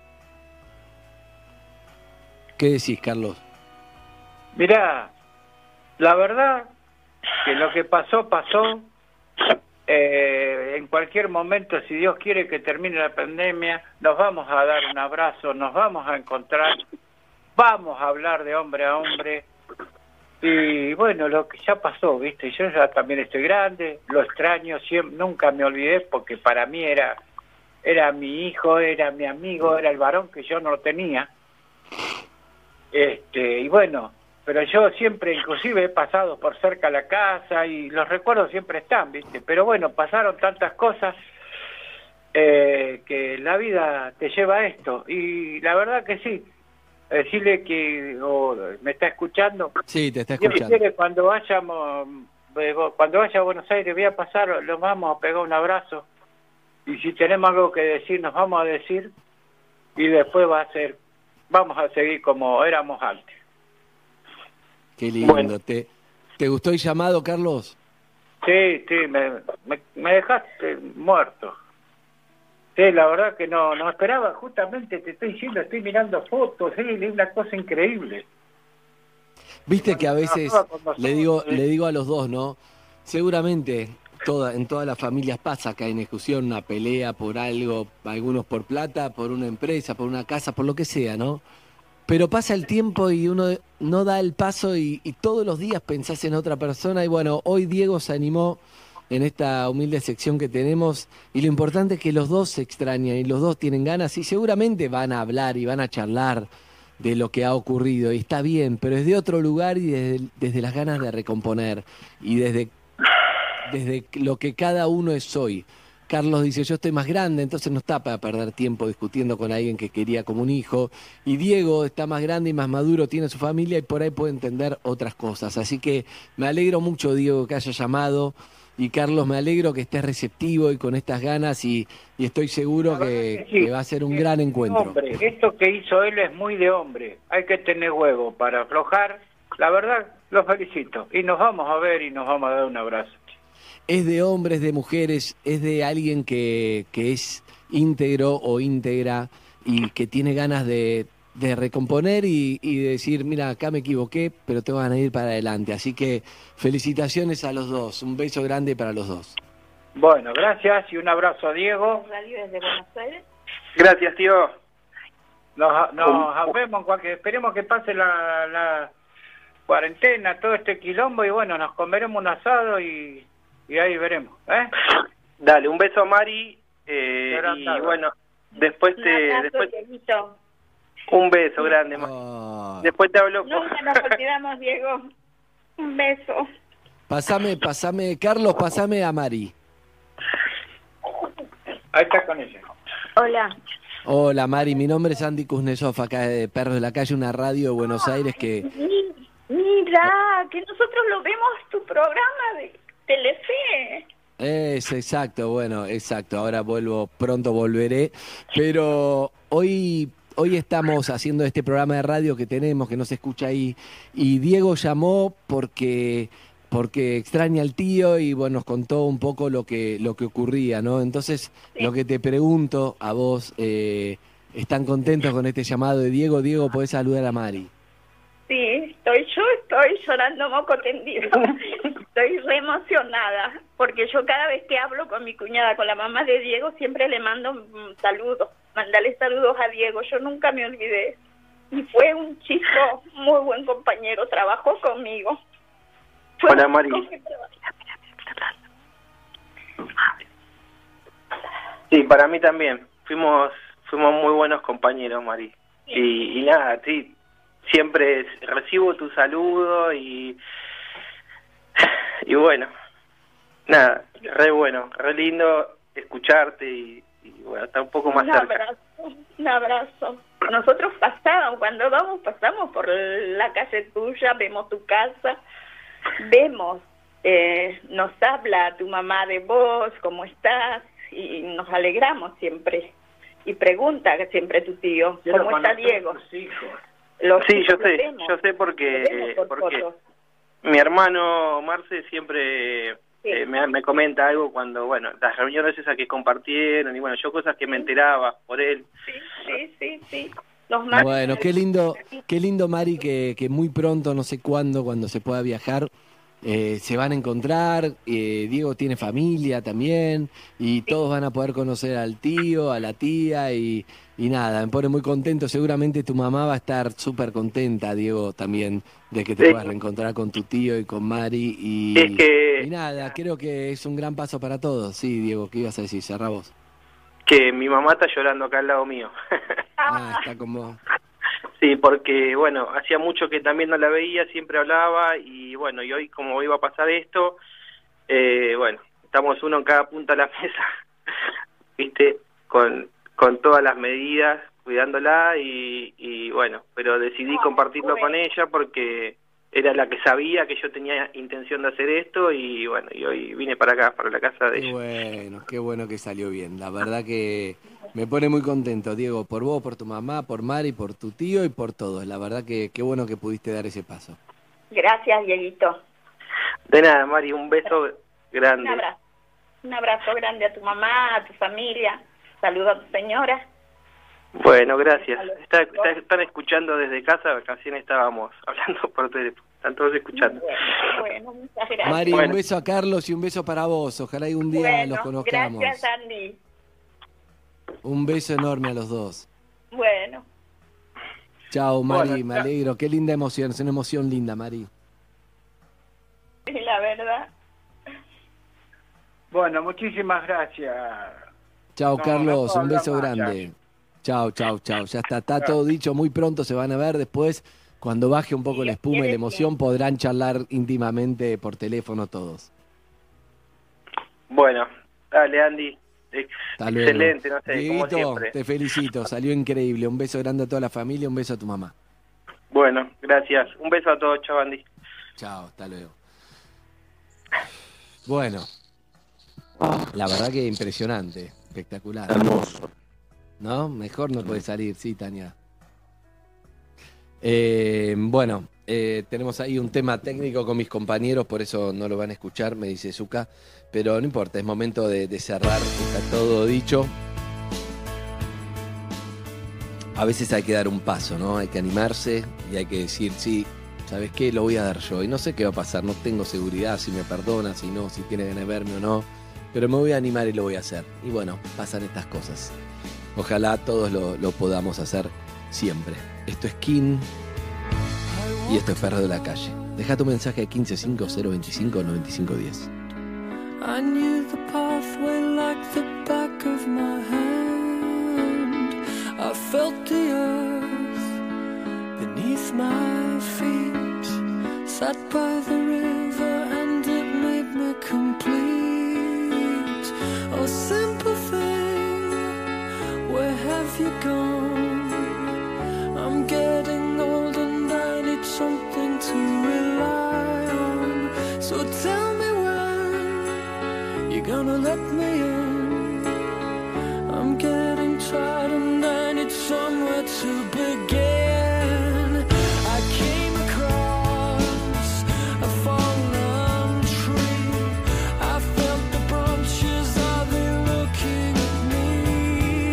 ¿Qué decís, Carlos? Mirá, la verdad que lo que pasó, pasó. Eh, en cualquier momento, si Dios quiere que termine la pandemia, nos vamos a dar un abrazo, nos vamos a encontrar, vamos a hablar de hombre a hombre. Y bueno, lo que ya pasó, ¿viste? Yo ya también estoy grande, lo extraño, siempre, nunca me olvidé, porque para mí era, era mi hijo, era mi amigo, era el varón que yo no tenía. Este, y bueno, pero yo siempre, inclusive, he pasado por cerca de la casa y los recuerdos siempre están, ¿viste? Pero bueno, pasaron tantas cosas eh, que la vida te lleva a esto. Y la verdad que sí, decirle que oh, me está escuchando. Sí, te está Dios escuchando. quiere, cuando vayamos, eh, cuando vaya a Buenos Aires, voy a pasar, los vamos a pegar un abrazo. Y si tenemos algo que decir, nos vamos a decir. Y después va a ser, vamos a seguir como éramos antes. Qué lindo. Bueno. ¿Te, ¿Te gustó el llamado, Carlos? Sí, sí, me, me, me dejaste muerto. Sí, la verdad que no no esperaba, justamente te estoy diciendo, estoy mirando fotos, sí, es una cosa increíble. Viste que a veces trabajaba con nosotros, le digo sí. le digo a los dos, ¿no? Seguramente toda, en todas las familias pasa que hay una discusión, una pelea por algo, algunos por plata, por una empresa, por una casa, por lo que sea, ¿no? Pero pasa el tiempo y uno no da el paso y, y todos los días pensás en otra persona. Y bueno, hoy Diego se animó en esta humilde sección que tenemos y lo importante es que los dos se extrañan y los dos tienen ganas y seguramente van a hablar y van a charlar de lo que ha ocurrido y está bien, pero es de otro lugar y desde, desde las ganas de recomponer y desde, desde lo que cada uno es hoy. Carlos dice, yo estoy más grande, entonces no está para perder tiempo discutiendo con alguien que quería como un hijo. Y Diego está más grande y más maduro, tiene su familia y por ahí puede entender otras cosas. Así que me alegro mucho, Diego, que haya llamado. Y Carlos, me alegro que estés receptivo y con estas ganas y, y estoy seguro que, que sí. que va a ser un gran encuentro. Hombre, esto que hizo él es muy de hombre. Hay que tener huevo para aflojar. La verdad, lo felicito. Y nos vamos a ver y nos vamos a dar un abrazo. Es de hombres, de mujeres, es de alguien que, que es íntegro o íntegra y que tiene ganas de, de recomponer y, y de decir, mira, acá me equivoqué, pero te van a ir para adelante. Así que felicitaciones a los dos, un beso grande para los dos. Bueno, gracias y un abrazo a Diego. Radio desde Buenos Aires. Gracias, tío. Nos, nos vemos, en cualquier, esperemos que pase la, la cuarentena, todo este quilombo y bueno, nos comeremos un asado y... Y ahí veremos, ¿eh? Dale, un beso a Mari eh, y tarde. bueno, después Un te... abrazo, Después, Dieguito. un beso grande, Mari. Oh. Después te hablo. Nunca nos olvidamos, Diego. Un beso. Pasame, pasame, Carlos, pasame a Mari. Ahí está con ella. Hola. Hola Mari, mi nombre es Andy Kuznetsov, acá de Perros de la Calle, una radio de Buenos Aires que... Mi- Mira, que nosotros lo vemos tu programa de Telefe. Es exacto, bueno, exacto, ahora vuelvo, pronto volveré, pero hoy... Hoy estamos haciendo este programa de radio que tenemos, que no se escucha ahí, y Diego llamó porque porque extraña al tío y bueno, nos contó un poco lo que lo que ocurría, ¿no? Entonces, Sí. lo que te pregunto a vos, eh, ¿están contentos con este llamado de Diego? Diego, ¿podés saludar a Mari? sí, estoy yo, estoy llorando moco tendido. Estoy re emocionada, porque yo cada vez que hablo con mi cuñada, con la mamá de Diego, siempre le mando un saludo, mandale saludos a Diego, yo nunca me olvidé. Y fue un chico muy buen compañero, trabajó conmigo. Fue Hola, un Mari. chico que trabajó. Sí, para mí también. Fuimos fuimos muy buenos compañeros, Mari. Y, y nada, sí, siempre recibo tu saludo y y bueno, nada, re bueno, re lindo escucharte y, y bueno, está un poco más Un cerca. abrazo, un abrazo. Nosotros pasamos, cuando vamos, pasamos por la calle tuya, vemos tu casa, vemos, eh, nos habla tu mamá de vos, cómo estás, y nos alegramos siempre. Y pregunta siempre tu tío, Yo ¿cómo lo está conozco Diego? tus hijos. Los Sí, yo hijos los sé, vemos, yo sé los porque vemos por porque fotos. mi hermano Marce siempre Sí. eh, me, me comenta algo cuando, bueno, las reuniones esas que compartieron y bueno, yo cosas que me enteraba por él. Sí, sí, sí. Los más- Bueno, qué lindo, qué lindo, Mari, que, que muy pronto, no sé cuándo, cuando se pueda viajar, eh, se van a encontrar. eh, Diego tiene familia también y todos van a poder conocer al tío, a la tía y, y nada, me pone muy contento. Seguramente tu mamá va a estar súper contenta, Diego, también, de que te Sí. puedas reencontrar con tu tío y con Mari. Y, Es que- y nada, creo que es un gran paso para todos. Sí, Diego, ¿qué ibas a decir? Cerrá vos. Que mi mamá está llorando acá al lado mío. Ah, está como... Sí, porque, bueno, hacía mucho que también no la veía, siempre hablaba y, bueno, y hoy como iba a pasar esto, eh, bueno, estamos uno en cada punta de la mesa, ¿viste? Con, con todas las medidas, cuidándola y, y, bueno, pero decidí compartirlo con ella porque era la que sabía que yo tenía intención de hacer esto y, bueno, y hoy vine para acá, para la casa de Qué ella. bueno, qué bueno que salió bien. La verdad que me pone muy contento, Diego, por vos, por tu mamá, por Mari, por tu tío y por todos. La verdad que qué bueno que pudiste dar ese paso. Gracias, Dieguito. De nada, Mari, un beso Un grande. abrazo. Un abrazo grande a tu mamá, a tu familia. Saludos a tu señora. Bueno, gracias. Está, está- están escuchando desde casa, recién estábamos hablando por teléfono. Están todos escuchando. Bueno, muchas gracias. Mari, Bueno. un beso a Carlos y un beso para vos. Ojalá algún día Bueno, los conozcamos. gracias, Andy. Un beso enorme a los dos. Bueno, Chao, Mari, Bueno, me chao. alegro. Qué linda emoción, es una emoción linda, Mari. sí, la verdad. Bueno, muchísimas gracias. Chao, No, Carlos, no puedo un beso hablar más, grande. Chao, chao, chao. Ya está, está todo dicho. Muy pronto se van a ver. Después, cuando baje un poco la espuma y la emoción, podrán charlar íntimamente por teléfono todos. Bueno, dale, Andy. Hasta luego. Excelente, no sé, como Dieguito, siempre. te felicito, salió increíble. Un beso grande a toda la familia, un beso a tu mamá. Bueno, gracias. Un beso a todos, chao, Andy. Chao, hasta luego. Bueno, la verdad que impresionante, espectacular. Hermoso. ¿No? Mejor no puede salir, sí, Tania. Eh, bueno, eh, tenemos ahí un tema técnico con mis compañeros, por eso no lo van a escuchar, me dice Zucca, pero no importa, es momento de, de cerrar, está todo dicho. A veces hay que dar un paso, ¿no? Hay que animarse y hay que decir, sí, ¿sabes qué? Lo voy a dar yo. Y no sé qué va a pasar, no tengo seguridad si me perdona, si no, si tiene ganas de verme o no, pero me voy a animar y lo voy a hacer. Y bueno, pasan estas cosas. Ojalá todos lo, lo podamos hacer siempre. Esto es King y esto es Perro de la Calle. Deja tu mensaje a quince cinco cero veinticinco noventa y cinco diez. I knew the pathway like the back of my hand. I felt the earth beneath my feet. Sat by the river and it made me complete. Oh, simple thing, where have you gone? I'm getting old and I need something to rely on. So tell me when you're gonna let me in. I'm getting tired and I need somewhere to begin. I came across a fallen tree. I felt the branches, are they looking at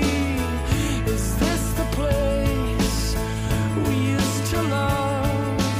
me? Is this the place we used to love?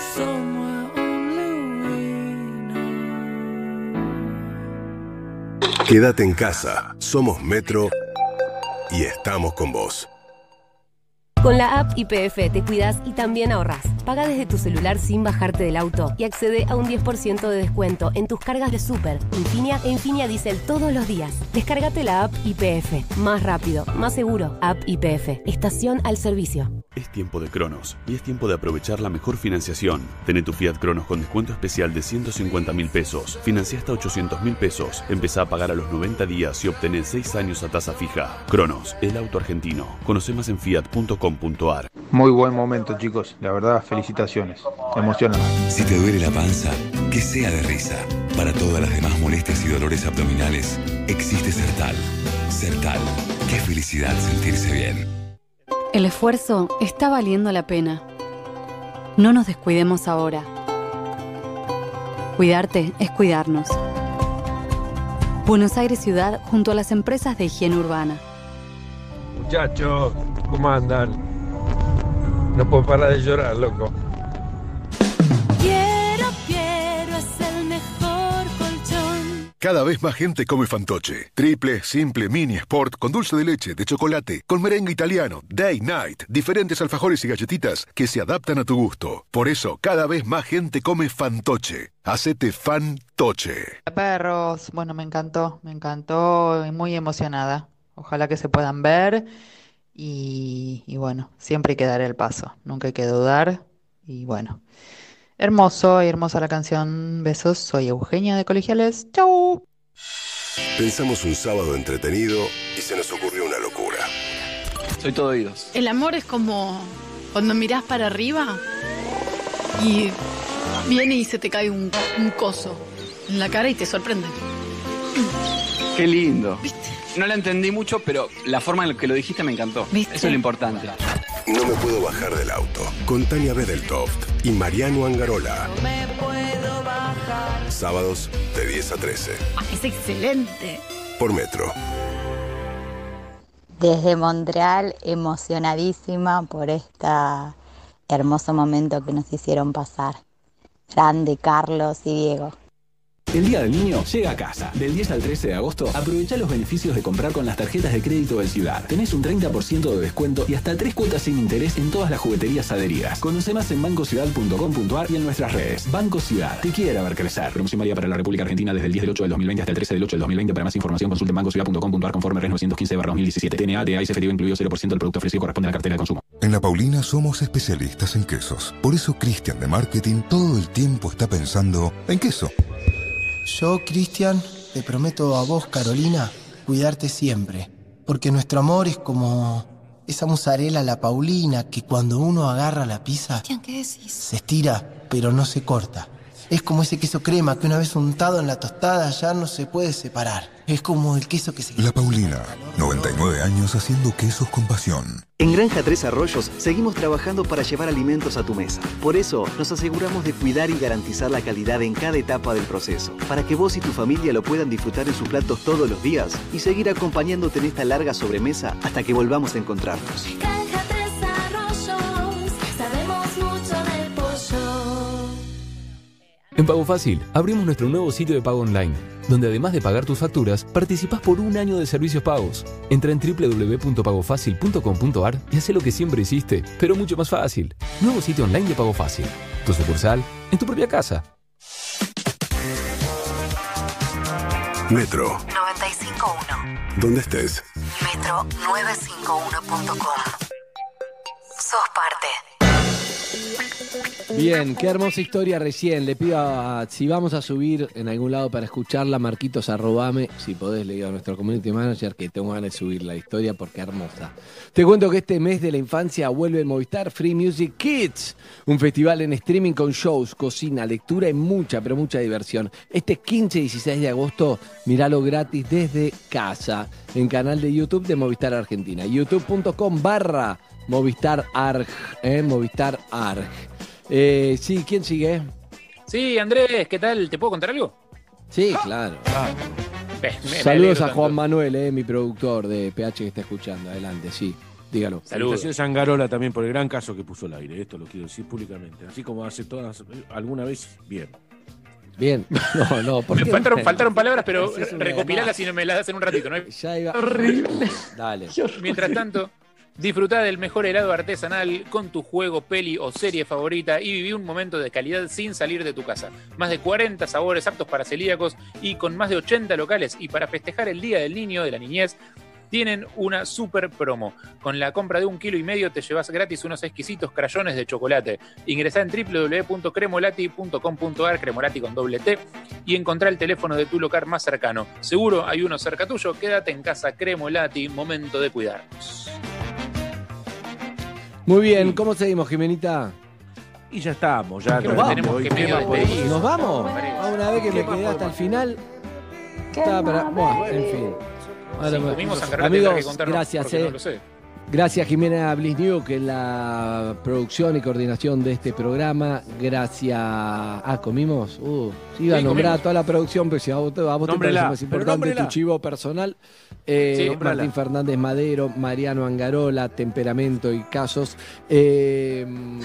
somewhere only we know. Quédate en casa. Somos Metro y estamos con vos. Con la app Y P F te cuidas y también ahorrás. Paga desde tu celular sin bajarte del auto y accede a un diez por ciento de descuento en tus cargas de Super, Infinia e Infinia Diesel todos los días. Descárgate la app Y P F. Más rápido, más seguro. App Y P F. Estación al servicio. Es tiempo de Cronos y es tiempo de aprovechar la mejor financiación. Tené tu Fiat Cronos con descuento especial de ciento cincuenta mil pesos. Financia hasta ochocientos mil pesos. Empezá a pagar a los noventa días y obtenés seis años a tasa fija. Cronos, el auto argentino. Conoce más en fiat punto com punto ar. Muy buen momento, chicos. La verdad, felicitaciones. Emocionante. Si te duele la panza, que sea de risa. Para todas las demás molestias y dolores abdominales, existe Sertal. Sertal. Qué felicidad sentirse bien. El esfuerzo está valiendo la pena. No nos descuidemos ahora. Cuidarte es cuidarnos. Buenos Aires Ciudad junto a las empresas de higiene urbana. Muchachos, ¿cómo andan? No puedo parar de llorar, loco. Quiero, quiero, es el mejor colchón. Cada vez más gente come Fantoche. Triple, simple, mini, sport, con dulce de leche, de chocolate, con merengue italiano, day, night, diferentes alfajores y galletitas que se adaptan a tu gusto. Por eso, cada vez más gente come Fantoche. Hacete Fantoche. Perros, bueno, me encantó, me encantó y muy emocionada. Ojalá que se puedan ver y, y bueno, siempre hay que dar el paso, nunca hay que dudar y bueno. Hermoso y hermosa la canción. Besos, soy Eugenia de Colegiales. ¡Chau! Pensamos un sábado entretenido y se nos ocurrió una locura. Soy todo oídos. El amor es como cuando mirás para arriba y viene y se te cae un, un coso en la cara y te sorprende. Qué lindo. ¿Viste? No la entendí mucho, pero la forma en la que lo dijiste me encantó. ¿Viste? Eso es lo importante. No me puedo bajar del auto. Con Tania Bedeltoft y Mariano Angarola. No me puedo bajar. Sábados de diez a trece. Es excelente. Por Metro. Desde Montreal, emocionadísima por este hermoso momento que nos hicieron pasar. Grande, Carlos y Diego. El Día del Niño llega a casa. Del diez al trece de agosto, aprovecha los beneficios de comprar con las tarjetas de crédito del Ciudad. Tenés un treinta por ciento de descuento y hasta tres cuotas sin interés en todas las jugueterías adheridas. Conoce más en banco ciudad punto com punto ar y en nuestras redes. Banco Ciudad, te quiere ver crecer. Promoción válida para la República Argentina desde el diez del ocho del dos mil veinte hasta el trece del ocho del dos mil veinte. Para más información consulte en banco ciudad punto com punto ar conforme R novecientos quince barra dos mil diecisiete. T N A, T A y C F D incluido cero por ciento del producto ofrecido corresponde a la cartera de consumo. En La Paulina somos especialistas en quesos. Por eso Cristian de Marketing todo el tiempo está pensando en queso. Yo, Cristian, te prometo a vos, Carolina, cuidarte siempre. Porque nuestro amor es como esa mozzarella La Paulina que cuando uno agarra la pizza, Cristian, ¿qué decís? se estira, pero no se corta. Es como ese queso crema que una vez untado en la tostada ya no se puede separar. Es como el queso que se... La Paulina, noventa y nueve años haciendo quesos con pasión. En Granja Tres Arroyos seguimos trabajando para llevar alimentos a tu mesa. Por eso nos aseguramos de cuidar y garantizar la calidad en cada etapa del proceso, para que vos y tu familia lo puedan disfrutar en sus platos todos los días y seguir acompañándote en esta larga sobremesa hasta que volvamos a encontrarnos. Granja Tres Arroyos, sabemos mucho del pollo. En Pago Fácil, abrimos nuestro nuevo sitio de pago online, donde además de pagar tus facturas, participás por un año de servicios pagos. Entra en doble u doble u doble u punto pago fácil punto com punto ar y haz lo que siempre hiciste, pero mucho más fácil. Nuevo sitio online de Pago Fácil. Tu sucursal, en tu propia casa. Metro. noventa y cinco punto uno. ¿Dónde estés? Metro novecientos cincuenta y uno punto com. Sos parte. Bien, qué hermosa historia recién. Le pido a, si vamos a subir en algún lado para escucharla, Marquitos, arrobame, si podés, le digo a nuestro community manager que tengo ganas de subir la historia porque hermosa. Te cuento que este mes de la infancia vuelve Movistar Free Music Kids, un festival en streaming con shows, cocina, lectura y mucha, pero mucha diversión. Este quince y dieciséis de agosto, míralo gratis desde casa, en canal de YouTube de Movistar Argentina, youtube punto com barra Movistar Arg, eh, Movistar Arg. Eh, sí, ¿quién sigue? Sí, Andrés, ¿qué tal? ¿Te puedo contar algo? Sí, claro. Ah, me, me Saludos a tanto. Juan Manuel, eh, mi productor de P H que está escuchando. Adelante, sí. Dígalo. Salutaciones a Angarola también por el gran caso que puso al aire. Esto lo quiero decir públicamente. Así como hace todas, alguna vez, bien. Bien. No, no. ¿por Me qué? faltaron, faltaron palabras, pero Es una recopilalas y no me las das en un ratito, ¿no? Ya iba. Horrible. Dale. Mientras tanto, disfrutá del mejor helado artesanal con tu juego, peli o serie favorita y viví un momento de calidad sin salir de tu casa. Más de cuarenta sabores aptos para celíacos y con más de ochenta locales. Y para festejar el Día del Niño, de la Niñez, tienen una super promo. Con la compra de un kilo y medio te llevas gratis unos exquisitos crayones de chocolate. Ingresá en doble u doble u doble u punto cremolati punto com punto a r, Cremolati con doble T, y encontrá el teléfono de tu local más cercano. Seguro hay uno cerca tuyo. Quédate en casa, Cremolati, momento de cuidarnos. Muy bien, ¿cómo seguimos, Jimenita? Y ya estamos, ya nos vamos. tenemos que medio despedir. ¿Nos vamos? Una vez que me quedé hasta el final. Estaba para... Bueno, en fin. Ahora, Sí, comimos Angarola, amigos, tendrá que contarnos gracias. porque Eh. no lo sé. Gracias Jimena Blisniuk en la producción y coordinación de este programa. Gracias. Ah, ¿comimos? Uh, sí, iba a Sí, nombrar comimos. a toda la producción, pero si a vos, a vos te Nómbrela, parece más pero importante nómbrela. tu chivo personal. Eh, Sí, nómbrala. Martín Fernández Madero, Mariano Angarola, Temperamento y Casos. Eh,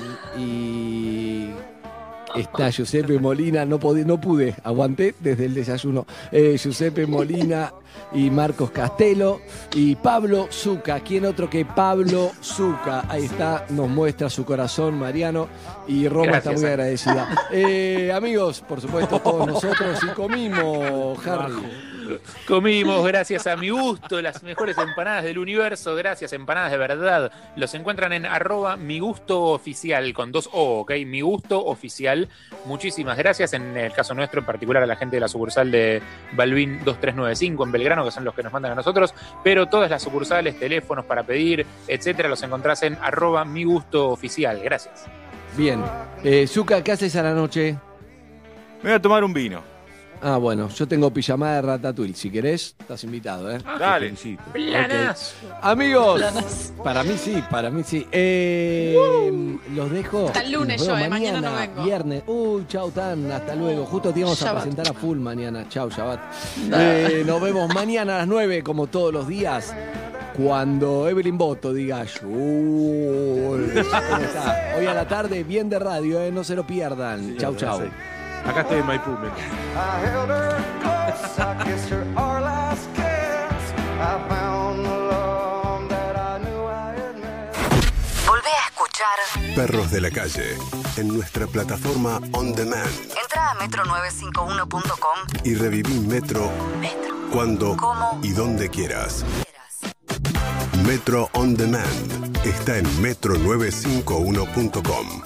y está Giuseppe Molina, no, podí- no pude, aguanté desde el desayuno. Eh, Giuseppe Molina y Marcos Castelo y Pablo Zucca. ¿Quién otro que Pablo Zucca? Ahí está, nos muestra su corazón, Mariano, y Roma Gracias, está muy eh. agradecida. Eh, amigos, por supuesto, todos nosotros, y comimos, Harry. Comimos, gracias a Mi Gusto, las mejores empanadas del universo. Gracias, empanadas de verdad. Los encuentran en arroba Mi Gusto Oficial, con dos O, ¿ok? Mi Gusto Oficial. Muchísimas gracias. En el caso nuestro, en particular a la gente de la sucursal de Balvin dos tres nueve cinco en Belgrano, que son los que nos mandan a nosotros. Pero todas las sucursales, teléfonos para pedir, etcétera, los encontrás en arroba Mi Gusto Oficial. Gracias. Bien. Eh, Zucca, ¿qué haces a la noche? Me voy a tomar un vino. Ah, bueno, yo tengo pijamada de Ratatouille. Si querés, estás invitado, ¿eh? Dale. Planazo. Amigos, Planazo. para mí sí, para mí sí. Eh, los dejo. Hasta el lunes Nos vemos yo, eh, mañana no vengo. Viernes. Uy, chau, Tan, hasta luego. Justo te íbamos a Shabbat. presentar a full mañana. Chau, Shabbat. Eh, nos vemos mañana a las nueve, como todos los días. Cuando Evelyn Boto diga "Yul". ¿Cómo está? Hoy a la tarde, bien de radio, ¿eh? No se lo pierdan. Sí, chau, ya chau. sé. Acá estoy en Maipú, men. I held her close, I kissed her our last kiss. I found the love that I knew I had missed. Volvé a escuchar Perros de la Calle en nuestra plataforma On Demand Entra a metro novecientos cincuenta y uno punto com y reviví Metro, cuando ¿Cómo? y donde quieras. Metro On Demand está en metro novecientos cincuenta y uno punto com.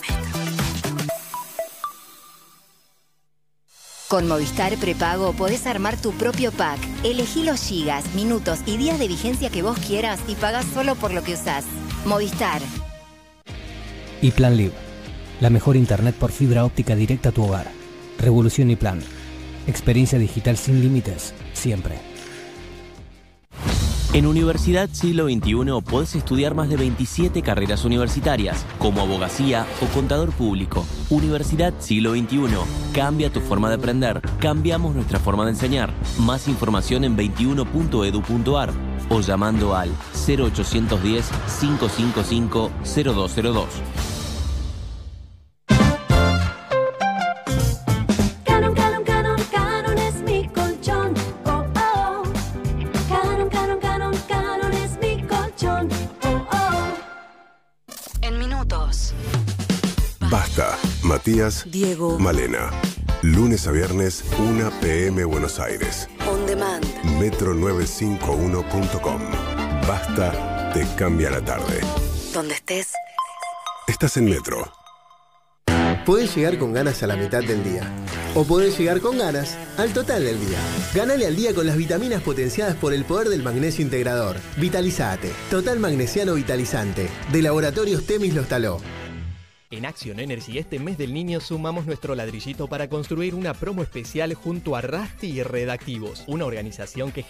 Con Movistar Prepago podés armar tu propio pack. Elegí los gigas, minutos y días de vigencia que vos quieras y pagás solo por lo que usás. Movistar. Y Plan Live, la mejor internet por fibra óptica directa a tu hogar. Revolución y Plan. Experiencia digital sin límites, siempre. En Universidad Siglo veintiuno podés estudiar más de veintisiete carreras universitarias, como abogacía o contador público. Universidad Siglo veintiuno. Cambia tu forma de aprender. Cambiamos nuestra forma de enseñar. Más información en veintiuno punto edu punto ar o llamando al cero ochocientos diez, cinco cinco cinco, cero dos cero dos. Canon, Canon, Canon, Canon es mi colchón. Oh, oh. Canon, Canon, Canon, Canon es mi colchón. Oh, oh. En minutos. Basta, Matías, Diego, Malena. Lunes a viernes, una pe eme Buenos Aires. On Demand. metro novecientos cincuenta y uno punto com. Basta, te cambia la tarde. Donde estés. Estás en Metro. Podés llegar con ganas a la mitad del día. O podés llegar con ganas al total del día. Ganale al día con las vitaminas potenciadas por el poder del magnesio integrador. Vitalizate. Total Magnesiano Vitalizante. De Laboratorios Temis Lostaló. En Action Energy este mes del niño sumamos nuestro ladrillito para construir una promo especial junto a Rusty y Redactivos, una organización que